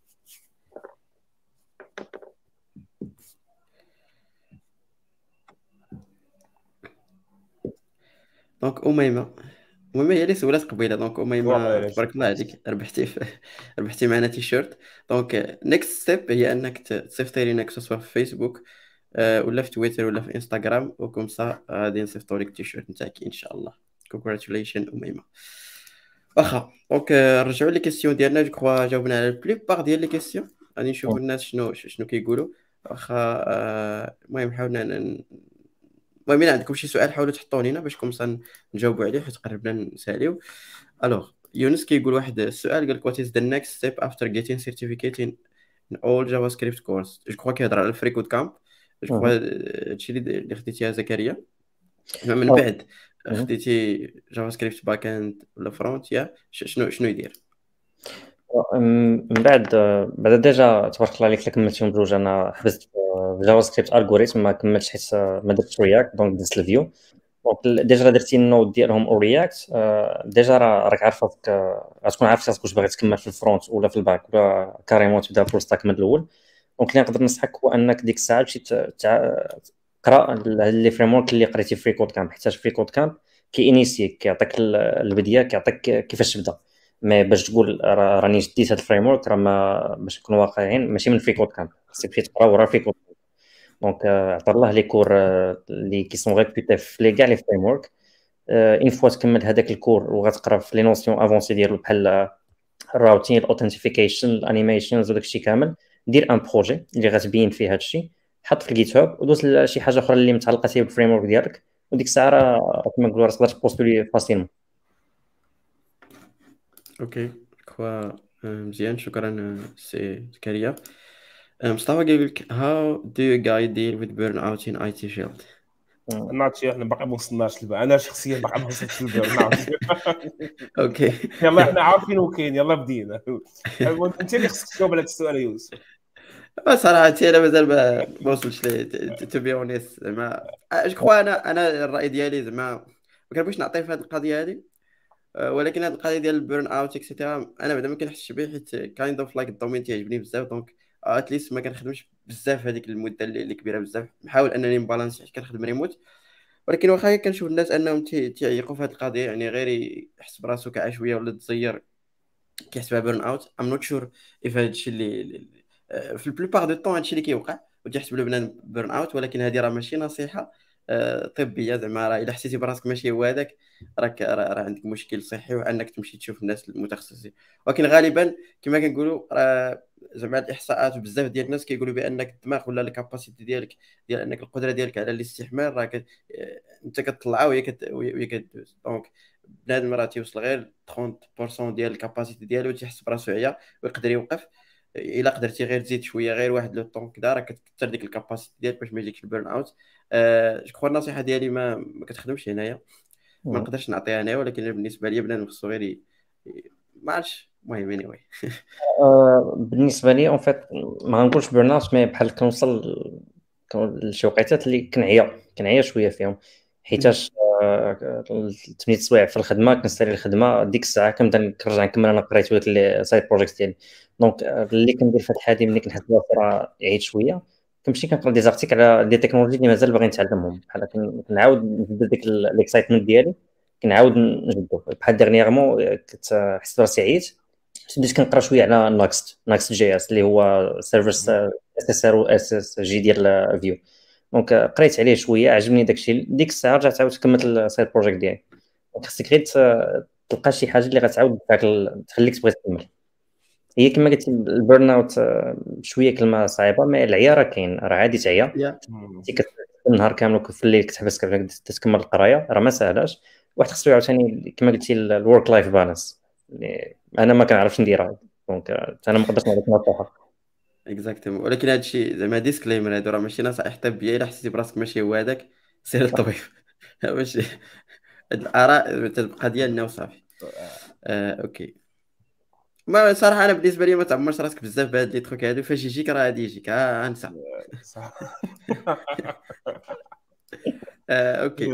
دونك اميمه المهم هي اللي سولات قبيله. دونك اميمه تبارك الله عليك ربحتي في... ربحتي معنا تيشيرت. دونك نيكست ستيب هي انك تصيفطي لينا سواء في فيسبوك أه ولا في تويتر ولا في انستغرام، وكم سا غادي نصيفطوا لك التيشيرت نتاعك ان شاء الله. كونغراتوليشن اميمه. واخا دونك نرجعوا لي كيسيون ديالنا، جو كخوا جاوبنا على البليبار ديال لي كيسيون. غادي نشوفوا الناس شنو شنو كيقولوا. واخا المهم حاولنا ن... المهم الا عندكم شي سؤال حاولوا تحطوه لينا باش كومسا نجاوبوا عليه حيت قربنا نساليو. الوغ يونس كيقول واحد السؤال، قال what is the next step after getting certificate in all JavaScript course. جو كخوا كيهضر على الفريكود كامب. جو كخوا هادشي اللي خديتيها زكريا من بعد خديتي جافا سكريبت باك اند ولا فرونت يا شنو شنو يدير من بعد بعد ديجا تبارك الله عليك كملتهم بجوج. انا حبست في جافا سكريبت الغوريثم ما كملتش حيت ما درتش رياكت، دونك درت الفيو. دونك ديجا درتي النود ديالهم او رياكت، ديجا راك عارف غتكون عارف راسك واش باغي تكمل في الفرونت ولا في الباك ولا كاريمون تبدا فول ستاك من الاول. دونك اللي نقدر ننصحك هو انك ديك الساعه تمشي تقرا لي فريمورك اللي قريتي في فريكود كامب، حيت فريكود كامب كيانيسيك كيعطيك البدايه كيعطيك كيفاش تبدا. مي باش تقول راني جديت هاد الفريمورك راه باش نكون واقعيين ماشي من فريكود كامب، خصك تمشي تقرا ورا فريكود. دونك عطى الله لي كور اللي كي سون ريبوتي في لي كاع لي فريم ورك. اون فوا تكمل هذاك الكور وغتقرا في لي نوسيون افونسي ديالو بحال الراوتين الاوثنتيفيكيشن الانيميشنز وداك الشيء كامل. دير ان بروجي اللي غتبين فيه هذا الشيء، حط في الجيت هاب ودوز لشي حاجه اخرى اللي متعلقه بالفريم ورك ديالك، وديك الساعه راه كما نقولوا راه تقدر تبوستولي فاسيلمون. اوكي كوا مزيان، شكرا سي زكريا. مصطفى قال لك how do you guys deal with burnout in اي تي field؟ ناتشي احنا باقي ما وصلناش للبرن، انا شخصيا باقي ما وصلتش للبرن اوت. اوكي يلا احنا عارفين وكاين، يلا بدينا. انت اللي خصك تجاوب على هذا السؤال يا يوسف. صراحه انا مازال ما ما وصلتش ليه تو بي اونيست. زعما جو كخوا انا انا الراي ديالي زعما ما كنبغيش نعطي في هذه القضيه هذه، ولكن هذه القضيه ديال البيرن اوت اكسيتيرا انا بعدا ما كنحسش به، حيت كايند اوف لايك الدومين تيعجبني بزاف، دونك اتليست ما كنخدمش بزاف هذيك المده اللي اللي كبيره بزاف. نحاول انني نبالانسي حيت كنخدم ريموت، ولكن واخا كنشوف الناس انهم تي- تيعيقوا في هذه القضيه، يعني غير يحس براسو كعشويه ولا تزير كيحسبها بيرن اوت. ام نوت شور اف هذا الشيء اللي اللي- آه، في البلوبار دو طون هذا الشيء اللي كيوقع وتيحسب له بنان بيرن اوت، ولكن هذه راه ماشي نصيحه آه، طبيه. زعما راه الا حسيتي براسك ماشي هو هذاك، راك راه راه عندك مشكل صحي وانك تمشي تشوف الناس المتخصصين. ولكن غالبا كما كنقولوا راه زعما الاحصاءات بزاف ديال الناس كيقولوا بانك الدماغ ولا الكاباسيتي ديالك ديال انك القدره ديالك على الاستحمال راه كت... آه، انت كتطلعها وهي كت... وهي كدوز. دونك بنادم راه تيوصل غير ثلاثين بالمية ديال الكاباسيتي ديالو تيحس براسو عيا ويقدر يوقف. الا قدرتي غير تزيد شويه غير واحد لو طون كدا راه كتكثر ديك الكاباسيتي ديالك باش ما يجيكش البيرن اوت. أه جو النصيحه ديالي ما ما كتخدمش هنايا، ما نقدرش نعطيها هنايا، ولكن بالنسبه لي بنادم خصو غير ي- ي- ما عرفتش. المهم اني واي بالنسبه لي اون فيت ما غنقولش بيرن اوت، مي بحال كنوصل لشي وقيتات اللي كنعيا كنعيا شويه فيهم، حيتاش ثمانية سوايع في الخدمه كنسالي الخدمه ديك الساعه كنبدا نرجع نكمل انا قريت وداك لي سايد بروجيكت ديالي. دونك اللي كندير في هاد الحاله ملي كنحس راه عييت شويه كنمشي كنقرا دي زارتيكل على دي تكنولوجي اللي مازال باغي نتعلمهم، بحال كن- كنعاود نجبد ديك الاكسايتمنت ديالي، كنعاود نجبدو. بحال ديرنييرمون كنت راسي عييت بديت كنقرا شويه على ناكست ناكست جي اس اللي هو سيرفيس اس اس ار و اس اس جي ديال فيو. دونك قريت عليه شويه عجبني داكشي، ديك الساعه رجعت عاود كملت السايد بروجيكت ديالي. دونك خصك غير ت- تلقى شي حاجه اللي غتعاود داك ال- تخليك تبغي تكمل. هي كما قلت البيرن اوت آه، شويه كلمه صعيبه، ما العيا راه كاين، راه عادي تعيا يا انت كت- النهار كامل وفي الليل كتحبس كيفاش تكمل القرايه، راه ما ساهلاش. واحد خصو عاوتاني كما قلتي الورك لايف بالانس اللي انا ما كنعرفش نديرها، دونك آه، انا ما نقدرش نعطيك نصيحه. اكزاكتومون. ولكن هذا الشيء زعما ديسكليمر، هادو راه ماشي نصائح طبيه. الا حسيتي براسك ماشي هو هذاك سير للطبيب. ماشي هاد الاراء تبقى ديالنا وصافي. آه، اوكي. ما صراحه انا بالنسبه لي ما تعمرش راسك بزاف بهاد لي تروك هادو، فاش يجيك راه غادي يجيك ها انسى. صح. آه، اوكي.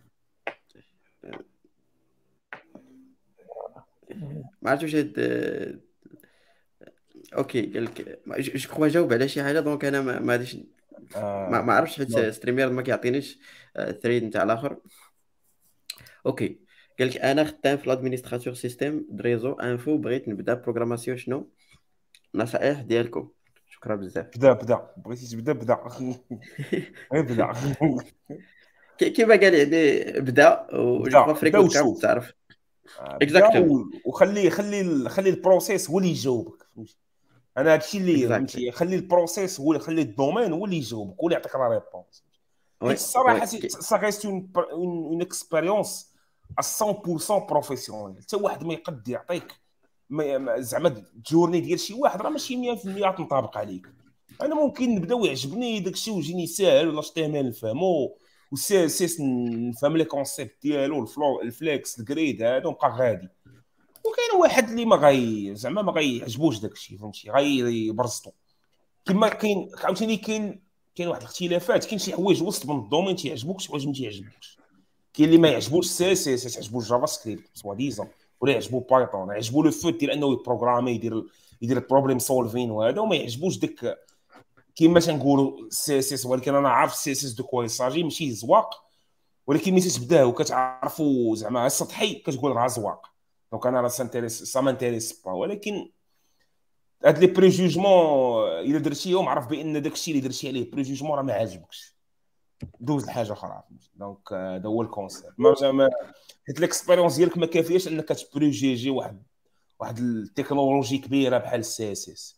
ما عرفتش واش هاد آه، اوكي قال لك جو كخوا جاوب على شي حاجه، دونك انا ما ما غاديش ما آه، ما عرفتش حيت نوض. ستريمير ما كيعطينيش الثريد نتاع الاخر. اوكي. قال لك انا خدام في الادمينستراتور سيستيم دريزو انفو، بغيت نبدا بروغراماسيون، شنو النصائح ديالكم؟ شكرا بزاف. بدا بدا بغيتي تبدا بدا. غير بدا. كي- كيما قال يعني بدا، وجو بدا كخوا بدا فريكونت كاب وشوف. تعرف. آه، بدا اكزاكتومون و- وخلي خلي خلي البروسيس هو اللي يجاوبك، فهمتي؟ انا هادشي اللي اكزاكتلي. فهمتي، خلي البروسيس هو خلي الدومين هو اللي يجاوبك، هو اللي يعطيك لا ريبونس. وي حيت الصراحه وي سا ريست اون اون اكسبيريونس مية بالمية بروفيسيونيل. حتى واحد ما يقد يعطيك ما- ما- زعما الجورني ديال شي واحد راه ماشي مية بالمية تنطابق عليك. انا ممكن نبدا ويعجبني داكشي ويجيني ساهل ولا اتش تي ام ال نفهمو والسي اس اس نفهم لي كونسيبت ديالو الفلو الفليكس الجريد هذا ونبقى غادي. وكاين واحد اللي ما غاي زعما ما غايعجبوش داكشي، فهمتي؟ غايبرزطو. كما كاين عاوتاني كاين كاين واحد الاختلافات، كاين شي حوايج وسط من الدومين تيعجبوك شي حوايج ما تيعجبوكش. كاين اللي ما يعجبوش سي اس اس، يعجبو الجافا سكريبت سوا ديزون، ولا يعجبو بايثون، يعجبو لو فوت ديال انه يبروغرامي يدير يدير البروبليم سولفين وهذا، وما يعجبوش داك كيما تنقولوا سي اس اس. ولكن انا عارف سي اس اس دو كوا يساجي ماشي زواق، ولكن ملي تبداه وكتعرفوا زعما السطحي كتقول راه زواق. دونك انا راه سانتيريس سا مانتيريس با. ولكن هاد لي بريجوجمون الا درتيهم عرف بان داكشي اللي درتي عليه بريجوجمون راه ما عاجبكش، دوز لحاجه اخرى. دونك هذا هو الكونسيبت. ما ما حيت ليكسبيريونس ديالك ما كافياش انك تبروجيجي واحد واحد التكنولوجي كبيره بحال السي اس اس.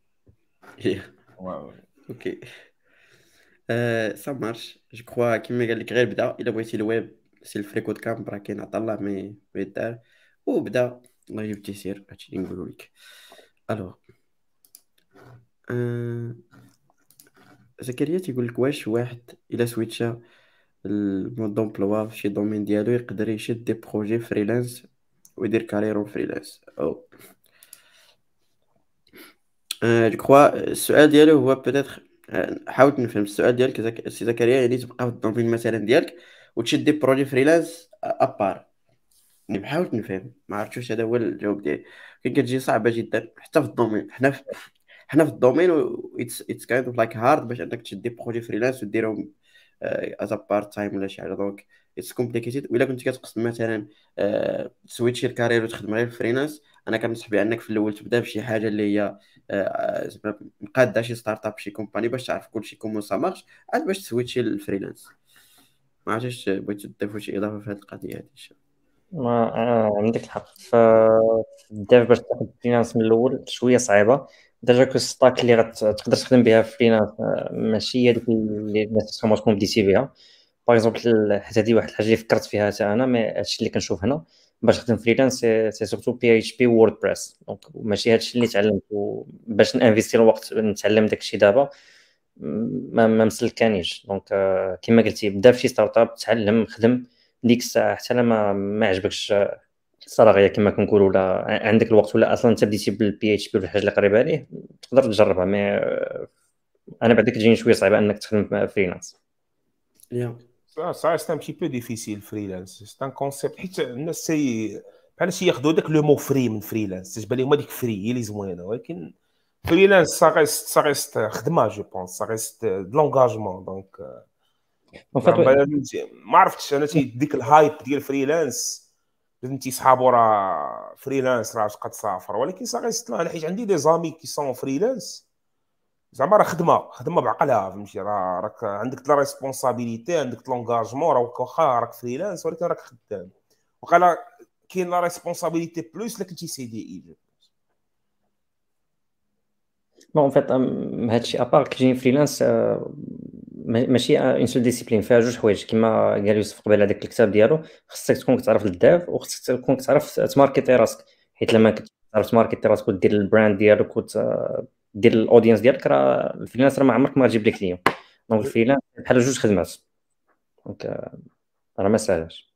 اوكي سا مارش جو كخوا كيما قال لك غير بدا الا بغيتي الويب سي الفريكود كامب راه كاين عطا الله مي يدار وبدا الله يجيب التيسير هادشي اللي نقولو لك. الوغ أه... زكريا تيقول لك واش واحد الا سويتشا المود دومبلوا في شي دومين ديالو يقدر يشد دي بروجي فريلانس ويدير كاريرو فريلانس او أه... جو كخوا السؤال ديالو هو بيتيتر حاولت نفهم السؤال ديالك زك... سي زكريا، يعني تبقى في الدومين مثلا ديالك وتشد دي بروجي فريلانس ابار. يعني حاولت نفهم ما عرفتش هذا هو الجواب ديالي. كي كتجي صعبه جدا حتى في الدومين. حنا في حنا في الدومين اتس اتس كايند اوف لايك هارد باش انك تشد دي بروجي فريلانس وديرهم از بارت تايم ولا شي حاجه. دونك اتس كومبليكيتد. وإلا كنت كتقصد مثلا آه، تسويتشي الكارير وتخدم غير الفريلانس، انا كنصح بانك في الاول تبدا بشي حاجه اللي هي آه، زعما مقاده شي ستارت اب شي كومباني باش تعرف كلشي كومون سا مارش، عاد باش تسويتشي للفريلانس. ما عرفتش بغيتو تضيفوا شي اضافه في هذه القضيه هذه. ما آه عندك الحق. ف ديف باش تاخد فريلانس من الاول شويه صعيبه. ديجا كو ستاك اللي غتقدر تخدم بها فريلانس ماشي هي ديك اللي الناس تكون تكون بديتي بها. باغ اكزومبل حتى هذه واحد الحاجه اللي فكرت فيها حتى انا، مي هادشي اللي كنشوف هنا باش نخدم فريلانس سي سورتو بي اتش بي ووردبريس. دونك ماشي هادشي اللي تعلمت باش نانفيستي الوقت نتعلم داكشي دابا ما ما مسلكانيش. دونك كما قلتي بدا في شي ستارت اب تعلم خدم ديك الساعه حتى لما ما عجبكش الصراغيه كما كنقولوا ولا عندك الوقت ولا اصلا انت بديتي بالبي اتش بي ولا حاجه اللي قريبه عليه تقدر تجربها. مي انا بعدا كتجيني شويه صعيبه انك تخدم فريلانس. يا Ça, ça reste un petit peu difficile, freelance. C'est un concept. حيت الناس سي بحال شي ياخذوا داك لو مو فري من فريلانس، تجبر لهم هذيك فري هي اللي زوينه، ولكن فريلانس سا ريست سا ريست خدمه. جو بونس سا ريست دو لونغاجمون. دونك ما عرفتش انا تي ديك الهايب ديال فريلانس لازم تيصحابوا راه فريلانس راه تبقى تسافر، ولكن سا ريست لا. حيت عندي دي زامي كي سون فريلانس زعما راه خدمه خدمه بعقلها، فهمتي؟ راه راك عندك لا ريسبونسابيلتي، عندك لونغاجمون، راه واخا راك فريلانس ولكن راك خدام. وقال كاين لا ريسبونسابيلتي بلوس الا كنتي سي دي اي. بون فيت هادشي ابار كيجيني فريلانس ماشي اون سول ديسيبلين، فيها جوج حوايج كما قال يوسف قبيله هذاك الكتاب ديالو. خصك تكون كتعرف الديف وخصك تكون كتعرف تماركيتي راسك، حيت لما كتعرف تماركيتي راسك ودير البراند ديالك ودير الاودينس ديالك راه الفريلانس راه ما عمرك ما تجيب لك كليون. دونك الفريلانس بحال جوج خدمات. دونك راه ما ساهلاش.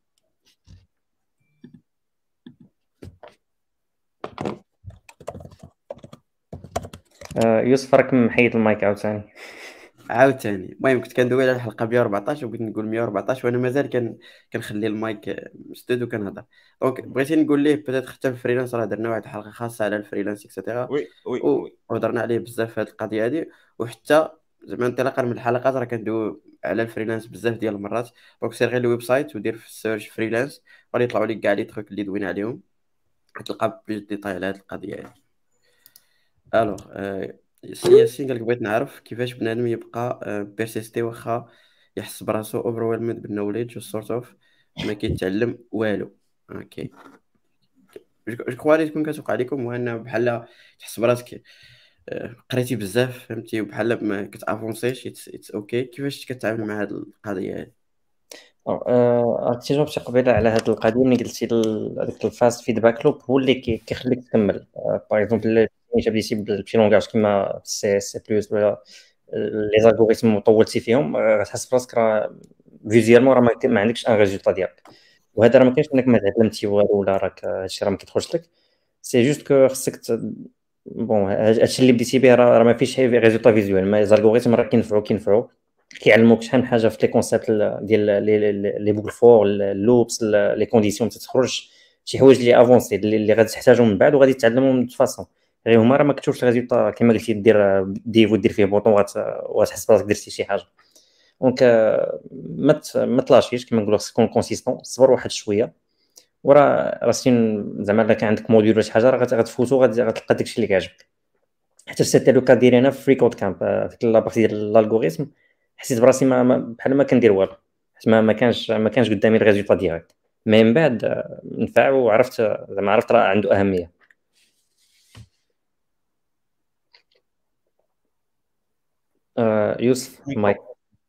يوسف راك محيد المايك عاوتاني عاوتاني. المهم كنت كندوي على الحلقه مية وأربعطاش وبغيت نقول مية وأربعطاش وانا مازال كان كنخلي المايك مسدود وكنهضر. دونك بغيتي نقول ليه بيتيت حتى الفريلانس راه درنا واحد الحلقه خاصه على الفريلانس اكسيتيرا وي وي وي وهضرنا عليه بزاف في هذه القضيه هذه. وحتى زعما انطلاقا من الحلقات راه كندوي على الفريلانس بزاف ديال المرات. دونك سير غير الويب سايت ودير في السيرش فريلانس غادي يطلعوا لك كاع لي تروك اللي دوينا عليهم، غتلقى بلوس ديتاي على هذه القضيه هذه. الوغ سي ياسين قالك بغيت نعرف كيفاش بنادم يبقى بيرسيستي واخا يحس براسو اوفرويلمد بالنوليدج سورت اوف ما كيتعلم والو. اوكي جو كخوا تكون كتوقع لكم هو ان بحال تحس براسك قريتي بزاف فهمتي وبحال ما كتافونسيش. اتس اوكي. كيفاش كتعامل مع هذه القضيه هذه؟ عرفتي جاوبتي قبيله على هذه القضيه ملي قلتي هذاك الفاست فيدباك لوب هو اللي كيخليك تكمل. باغ اكزومبل ملي بديتي بشي لونغاج كيما سي سي بلس ولا لي زالغوريثم وطولتي فيهم غتحس براسك راه فيزيالمون راه ما عندكش ان ريزولطا ديالك. وهذا راه ما كاينش انك ما تعلمتي والو ولا راك هادشي راه ما كيدخلش لك. سي جوست كو خصك بون هادشي اللي بديتي به راه ما فيش ريزولطا فيزيوال. ما زالغوريثم راه كينفعوا كينفعوا كيعلموك شحال من حاجه في لي كونسيبت ديال لي بوكل فور اللوبس لي كونديسيون تتخرج شي حوايج اللي افونسي اللي غادي تحتاجهم من بعد وغادي تعلمهم دو فاصون غير هما راه ما كتشوفش الريزولطا كما قلتي دير ديف ودير فيه بوطون وتحس براسك درتي شي حاجه. دونك ما ما تلاشيش كما نقولوا خصك تكون كونسيستون صبر واحد شويه وراه راسين زعما الا كان عندك موديول ولا شي حاجه راه غتفوتو غتلقى داكشي اللي كيعجبك. حتى سيتي لو كا ديالي انا في فريكود كامب ديك لابارتي ديال الالغوريثم، حسيت براسي ما ما- بحال ما كندير والو، حيت ما ما كانش ما كانش قدامي الريزولتا ديريكت. مي من بعد آه، نفع، وعرفت آه، زعما عرفت راه عنده اهميه. آه، يوسف مايك.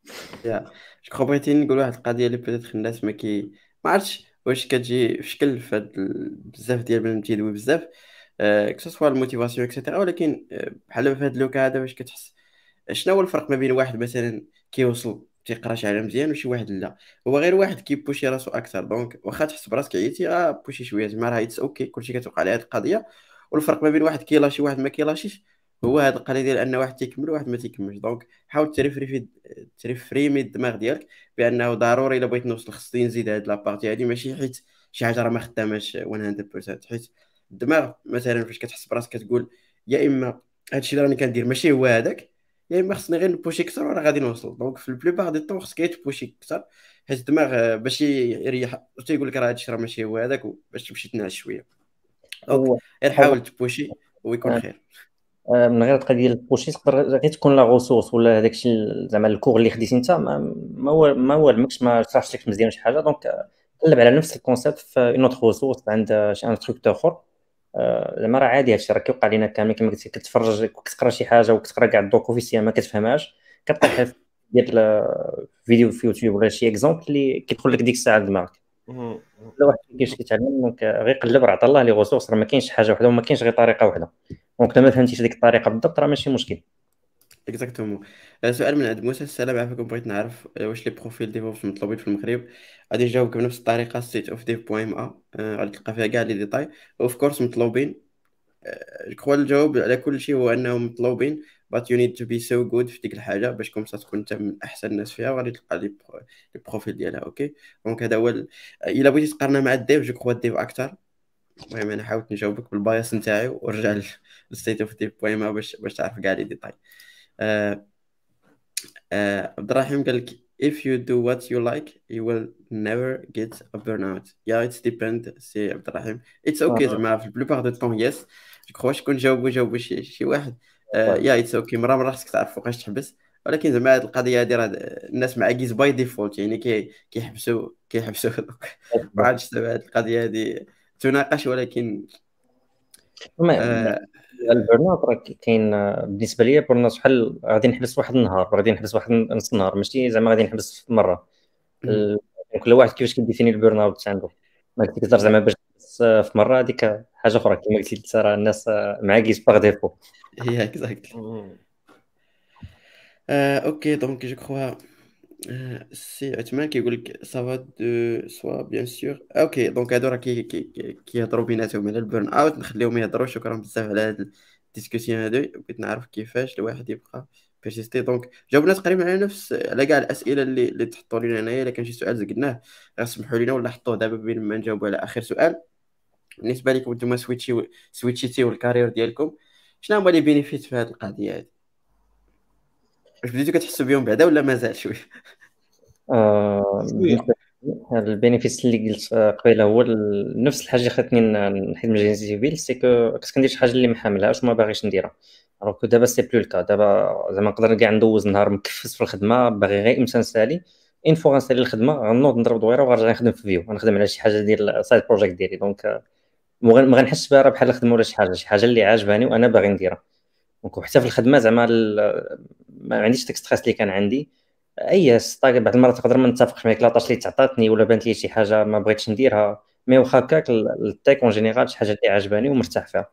يا جو كخوا بغيتي نقول واحد القضيه اللي بيتيت الناس ما كي ما عرفتش واش كتجي في شكل في هاد ال- بزاف ديال بنادم تيدوي بزاف، آه كسوا الموتيفاسيون اكسيتيرا، ولكن آه بحال في هاد لوكا هذا واش كتحس شنو هو الفرق ما بين واحد مثلا كيوصل تيقرا شي حاجه مزيان وشي واحد لا؟ هو غير واحد كيبوشي راسو اكثر، دونك واخا تحس براسك عييتي غا بوشي شويه زعما راه اتس اوكي، كلشي كتوقع على هاد القضيه. والفرق ما بين واحد كيلاشي واحد ما كيلاشيش هو هاد القضيه ديال ان واحد تيكمل وواحد ما تيكملش. دونك حاول تريفري في تريفريمي الدماغ ديالك بانه ضروري الا بغيت نوصل خصني نزيد هاد لابارتي هادي، ماشي حيت شي حاجه راه ما خداماش مية بالمية، حيت الدماغ مثلا فاش كتحس براسك كتقول يا اما هادشي اللي راني كندير ماشي هو هذاك، يا اما خصني غير نبوشي اكثر وراه غادي نوصل. دونك في البليبار دي طون خصك غير تبوشي اكثر، حيت الدماغ آه، باش يريح تيقول لك راه هادشي راه ماشي هو هذاك، باش تمشي تنعس شويه. دونك هو غير حاجه حاول تبوشي ويكون آه، خير. آه، من غير القضيه ديال البوشي تقدر غير تكون لا غوسورس ولا هذاك الشيء زعما الكور اللي خديتي انت ما ما هو ما هو المكش ما شرحش لك مزيان شي حاجه. دونك آه، قلب على نفس الكونسيبت في اون اوتر ريسورس عند شي انستركتور اخر. آه، زعما راه عادي هادشي راه كيوقع لينا كامل، كما قلتي كتفرج كتقرا شي حاجه وكتقرا كاع الدوك اوفيسيال ما كتفهمهاش، كطيح في ديال آه، فيديو في يوتيوب ولا شي اكزومبل اللي كيدخل لك ديك الساعه لدماغك. مم. لا واحد ما كاينش كيتعلم، دونك آه، غير قلب راه عطا الله لي ريسورس، راه ما كاينش حاجه وحده وما كاينش غير طريقه وحده. دونك الا ما فهمتيش ديك الطريقه بالضبط راه ماشي مشكل. اكزاكتومون. سؤال من عند موسى: السلام عليكم، بغيت نعرف آه، واش لي بروفيل ديفوبس مطلوبين في المغرب؟ غادي نجاوبك بنفس الطريقه، ستيت اوف ديف بوين ام ا غادي تلقى فيها كاع لي ديتاي. اوف كورس مطلوبين. جو كخوا الجواب على كل شيء هو انهم مطلوبين، but you need to be so good في ديك الحاجه باش كومسا تكون انت من احسن الناس فيها، وغادي تلقى لي برو- لي بروفيل ديالها. اوكي، دونك هذا هو ال- الا بغيتي تقارنها مع الديف جو كخوا الديف اكثر. المهم انا حاولت نجاوبك بالبايس نتاعي ورجع للستيت اوف ديف بوين ام باش باش تعرف كاع لي ديتاي. آه، آه، عبد الرحيم قال لك if you do what you like you will never get a burnout. yeah it depend سي عبد الرحيم. it's okay آه، زعما في البلوبار دو طون يس. جو كخوا شكون جاوبو جاوبو شي شي واحد. طيب. يا اتس اوكي، مرة مرة خصك تعرف فوقاش تحبس. ولكن زعما هاد القضية هادي راه الناس معاكيز باي ديفولت، يعني كي كيحبسوا كيحبسوا دوك. ما عرفتش زعما هاد القضية هادي تناقش، ولكن المهم آه البرن اوت راه كاين آه، بالنسبه لي برن اوت بحال غادي نحبس واحد النهار، غادي نحبس واحد نص النهار، ماشي زعما غادي نحبس في مره. مم. ال- كل واحد كيفاش كيديفيني البيرن اوت عنده. ما تقدر زعما باش تحبس آه، في مره هذيك حاجه اخرى، كما قلتي انت راه الناس آه، معاكيس باغ ديفو. هي اكزاكتلي. مم. آه اوكي دونك جو كخوا آه، سي عثمان كيقول لك سافا دو سوا بيان سور. اوكي دونك هادو راه كي كي كي- كيهضروا بيناتهم على البيرن اوت، نخليهم يهضروا. شكرا بزاف على هاد الديسكسيون هادو، بغيت نعرف كيفاش الواحد يبقى بيرسيستي. دونك جاوبنا تقريبا على نفس على كاع الاسئله اللي اللي تحطوا لنا هنايا. الا كان شي سؤال زقناه غير سمحوا لنا، ولا حطوه دابا بين ما نجاوبوا على اخر سؤال. بالنسبه لكم نتوما سويتشي سويتشيتيو الكارير ديالكم، شنو هما لي بينيفيت في هاد القضيه هادي؟ واش بديتو كتحسوا بهم بعدا ولا مازال شويه؟ آه، شويه. بالنسبه لي البينيفيس اللي قلت آه، قبيله هو ال- نفس الحاجه اللي خلتني ن- نحيد من الجيني سيفيل، سي كو كنت كندير شي حاجه اللي ما حاملهاش وما باغيش نديرها. الوغ كو دابا سي بلو الكا. دابا زعما نقدر كاع ندوز نهار مكفس في الخدمه باغي غير امتى نسالي، ان فوا غنسالي الخدمه غنوض نضرب دويره وغنرجع نخدم في فيو، غنخدم على شي حاجه ديال سايد بروجيكت ديالي. دونك آه، ما غن- ما غنحسش بها راه بحال الخدمه ولا شي حاجه، شي حاجه اللي عاجباني وانا باغي نديرها. دونك حتى في الخدمه زعما ال- ما عنديش داك ستريس اللي كان عندي. اي ستاك بعض المرات تقدر ما نتفقش معاك لاطاش اللي تعطاتني ولا بانت لي شي حاجه ما بغيتش نديرها، مي واخا هكاك ال- التيك اون جينيرال شي حاجه اللي عجباني ومرتاح فيها.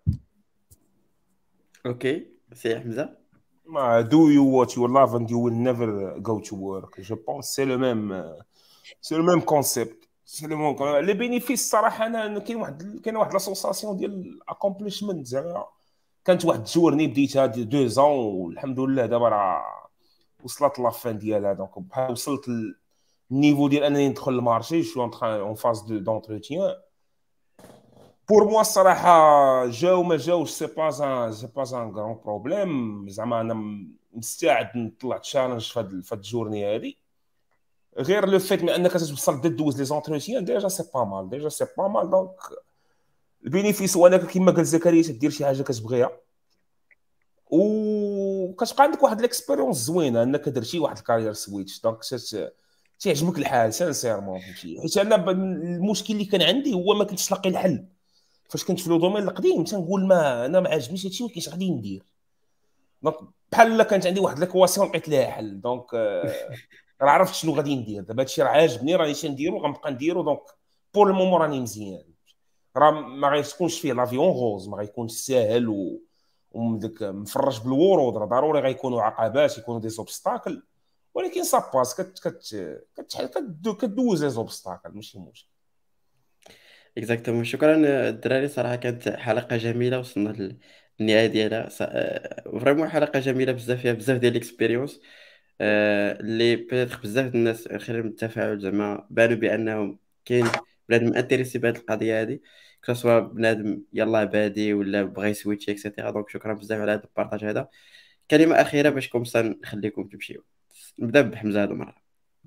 اوكي سي حمزه. ما do you what you love and you will never go to work. Je pense c'est le même c'est le même concept. C'est le même les bénéfices صراحه انا كاين واحد كاين واحد لاسوساسيون ديال accomplishment زعما كانت واحد الجورني بديتها دي دو زون والحمد لله دابا راه وصلت لافان ديالها. دونك بحال وصلت النيفو ديال انني ندخل المارشي شو اون فاز دو دونتروتيان. بور موا الصراحه جاو ما جاوش سي با ان سي با ان غران بروبليم. زعما انا مستعد نطلع تشالنج في هاد في هاد الجورني هادي. غير لو فيت من انك توصل دوز لي زونتروتيان ديجا سي با مال ديجا سي با مال. دونك البينيفيس هو انك كيما قال زكريا تدير شي حاجه كتبغيها وكتبقى عندك واحد ليكسبيريونس زوينه انك درتي واحد الكارير سويتش. دونك تيعجبك الحال سانسيرمون، فهمتي؟ حيت انا المشكل اللي كان عندي هو ما كنتش لاقي الحل. فاش كنت في لو دومين القديم تنقول ما انا ما عجبنيش هادشي، ولكن اش غادي ندير؟ دونك بحال كانت عندي واحد ليكواسيون لقيت لها حل. دونك راه عرفت شنو غادي ندير دابا. هادشي راه عاجبني، راني تنديرو، غنبقى نديرو. دونك بور المومون راني مزيان. راه ما غيكونش فيه لافيون غوز، ما غيكونش ساهل و ومدك مفرش بالورود. راه ضروري غيكونوا عقبات، يكونوا دي زوبستاكل، ولكن ساباس كت كت كت كدوز لي زوبستاكل، ماشي مشكل. اكزاكتومون. شكرا الدراري، صراحه كانت حلقه جميله، وصلنا للنهايه ديالها. فريمون حلقه جميله بزاف، فيها بزاف ديال الاكسبيريونس اللي بيتيتر بزاف د الناس خلال من التفاعل زعما بانوا بانهم كاين بنادم انتريسي بهذه القضيه هذه، كسوا بنادم يلاه بادي ولا بغى يسويتشي اكسيتيرا. دونك شكرا بزاف على هذا البارطاج هذا. كلمه اخيره باش كومسا نخليكم تمشيو. نبدا بحمزه هذا المره.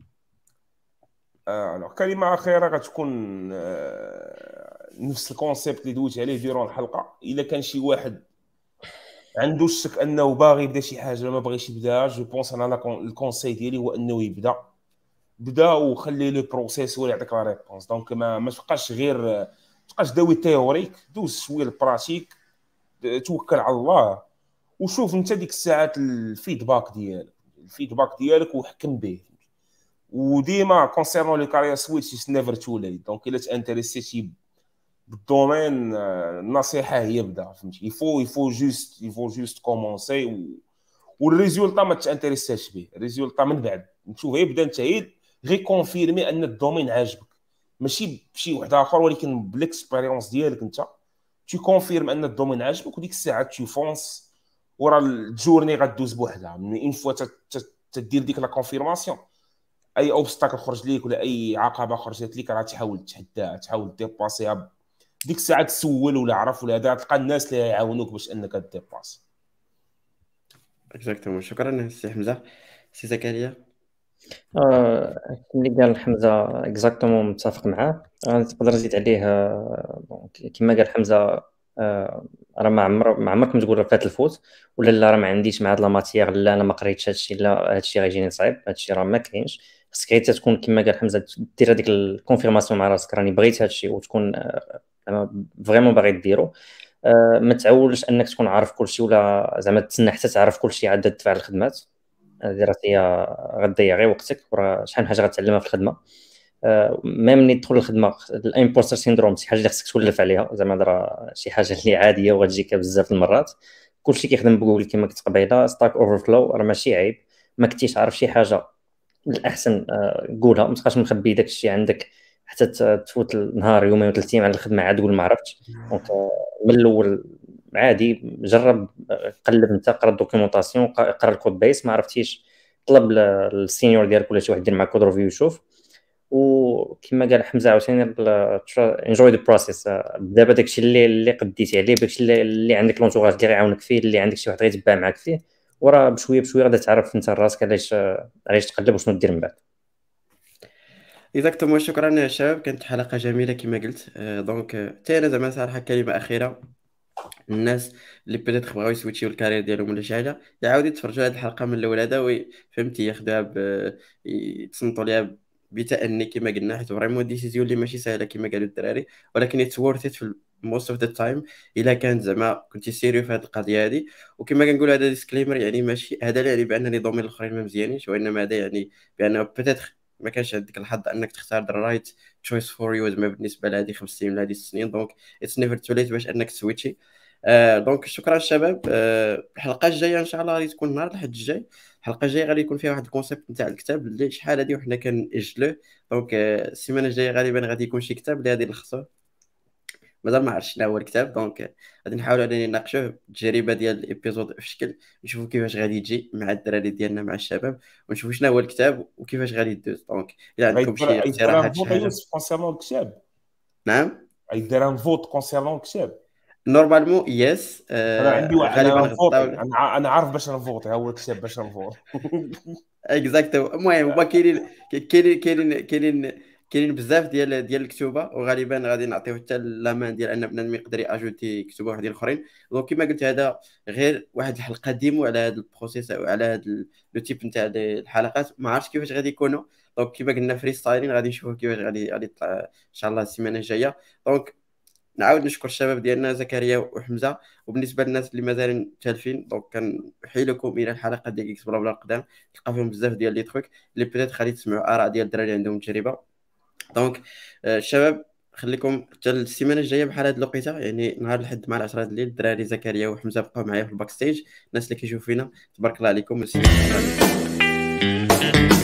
آه كلمه اخيره غتكون آه نفس الكونسيبت اللي دويت عليه ديرون الحلقه. الا كان شي واحد عنده الشك انه باغي يبدا شي حاجه ما باغيش يبدا، جو بونس انا الكونساي ديالي هو انه يبدا بدا وخلي لو بروسيس هو اللي يعطيك لا ريبونس. دونك ما ما تبقاش غير ما تبقاش داوي تيوريك، دوز شويه البراتيك، توكل على الله وشوف انت ديك الساعات الفيدباك ديالك الفيدباك ديالك وحكم به. وديما كونسيرنون لو كارير سويتش از نيفر تو ليت. دونك الا تانتريسيتي بالدومين النصيحه هي بدا، فهمتي؟ يفو يفو جوست يفو جوست كومونسي والريزولطا ما تانتريساش به. الريزولطا من بعد نشوف يبدا انت غير كونفيرمي ان الدومين عاجبك، ماشي بشي واحد اخر، ولكن بالاكسبيريونس ديالك انت تي كونفيرم ان الدومين عاجبك، وديك الساعه تي فونس ورا الجورني غدوز بوحدها. من اون فوا تدير ديك لا كونفيرماسيون، اي اوبستاكل خرج ليك ولا اي عقبه خرجت ليك راه تحاول تحداها، تحاول ديباسيها. ديك الساعه تسول ولا عرف ولا هذا، تلقى الناس اللي يعاونوك باش انك ديباسي. اكزاكتومون. شكرا سي حمزه. سي زكريا. آه، اللي قال حمزه اكزاكتومون متفق معاه. نقدر نزيد عليه آه، كما قال حمزه. آه، راه ما عمر ما عمرك ما تقول راه فات الفوت ولا لا راه ما عنديش مع هاد لا ماتيير، لا انا ما قريتش هادشي، لا هادشي غيجيني صعيب. هادشي راه ما كاينش. خصك غير تكون كما قال حمزه دير هذيك الكونفيرماسيون مع راسك راني بغيت هادشي، وتكون فريمون باغي ديرو. آه، ما تعولش انك تكون عارف كلشي ولا زعما تسنى حتى تعرف كلشي عاد تدفع الخدمات. هذه راه هي غتضيع غير وقتك، وراه شحال من حاجه غتعلمها في الخدمه. آه، ميم ملي تدخل الخدمه الامبوستر سيندروم شي حاجه اللي خصك تولف عليها، زعما راه شي حاجه اللي عاديه وغتجيك بزاف المرات. كلشي كيخدم بجوجل كما قلت قبيله. ستاك اوفر فلو راه ماشي عيب. ما كنتيش عارف شي حاجه الاحسن آه، قولها، ما تبقاش مخبي داك الشيء عندك حتى تفوت النهار يومين وثلاث ايام على الخدمه عاد تقول ما عرفتش. دونك آه، من الاول عادي جرب، آه، قلب انت، قرا الدوكيومونطاسيون، قرا الكود بيس. ما عرفتيش طلب السينيور ديالك ولا شي واحد يدير معك كود ريفيو يشوف. وكما قال حمزه عاوتاني انجوي ذا بروسيس. دابا داكشي اللي اللي قديتي عليه، داكشي اللي, اللي عندك لونتوراج اللي غيعاونك فيه، اللي عندك شي واحد غيتبع معاك فيه، وراه بشويه بشويه غادي تعرف انت راسك علاش علاش تقلب وشنو دير من بعد. اكزاكتومون. شكرا يا شباب، كانت حلقه جميله كما قلت. آه، دونك حتى انا زعما صراحه كلمه اخيره، الناس اللي بدات بغاو يسويتشيو الكارير ديالهم ولا شي حاجه يعاودوا يتفرجوا على هذه الحلقه من الاول هذا، وفهمتي ياخذوها ب يتصنتوا ليها بتأني كما قلنا، حيت فريمون ديسيزيون اللي ماشي سهله كما قالوا الدراري، ولكن اتس وورث ات في موست اوف ذا تايم الا كانت زعما كنتي سيريو في هذه القضيه هذه. وكما كنقول هذا ديسكليمر، يعني ماشي هذا لا يعني بان لي دومين الاخرين ما مزيانينش، وانما هذا يعني بان بيتيتر ما كانش عندك الحظ انك تختار ذا رايت تشويس فور يو زعما بالنسبه لهذه خمس سنين ولا هذه ست سنين. دونك اتس نيفر تو ليت باش انك تسويتشي. آه دونك شكرا شباب. آه الحلقه الجايه ان شاء الله غادي تكون نهار الاحد الجاي. الحلقه الجايه غادي يكون فيها واحد الكونسيبت نتاع الكتاب اللي شحال هادي وحنا كنأجلوه. دونك آه السيمانه الجايه غالبا غادي يكون شي كتاب اللي غادي نلخصوه، مازال ما عرفتش شنو هو الكتاب. دونك آه، غادي نحاولوا اننا نناقشوه التجربه ديال الابيزود في شكل، نشوفوا كيفاش غادي يجي مع الدراري ديالنا مع الشباب، ونشوفوا شنو هو الكتاب وكيفاش غادي يدوز. دونك الا عندكم شي غيدير ان اقتراحات شي فوت حاجه. يوسف كونسيرنون الكتاب. نعم. غيدير ان فوت كونسيرنون الكتاب. نورمالمون يس. انا عندي آه واحد غالبا انا نفوتي، غطاو. انا انا عارف باش نفوتي، ها هو الكتاب باش نفوت. اكزاكتو. المهم هما كاينين كاينين كاينين كاينين كاينين بزاف ديال ديال الكتوبه، وغالبا غادي نعطيو حتى لامان ديال ان بنادم يقدر ياجوتي كتوبه وحدين اخرين. دونك كما قلت هذا غير واحد الحلقه ديمو على هذا البروسيس او على هذا لو تيب نتاع الحلقات. ما عرفتش كيفاش غادي يكونوا. دونك كما قلنا فري ستايلين، غادي نشوفوا كيفاش غادي غادي يطلع ان شاء الله السيمانه الجايه. دونك نعاود نشكر الشباب ديالنا زكريا وحمزه. وبالنسبه للناس اللي مازالين تالفين، دونك كنحيلكم الى الحلقه ديال اكس بلا بلا القدام، تلقى فيهم بزاف ديال لي تروك اللي بيتيت غادي تسمعوا اراء ديال الدراري عندهم تجربه. دونك آه، الشباب خليكم حتى السيمانه الجايه بحال هاد الوقيته، يعني نهار الحد مع العشرة د الليل. الدراري زكريا وحمزه بقاو معايا في الباك ستيج. الناس اللي كيشوفوا فينا تبارك الله عليكم. والسيمانه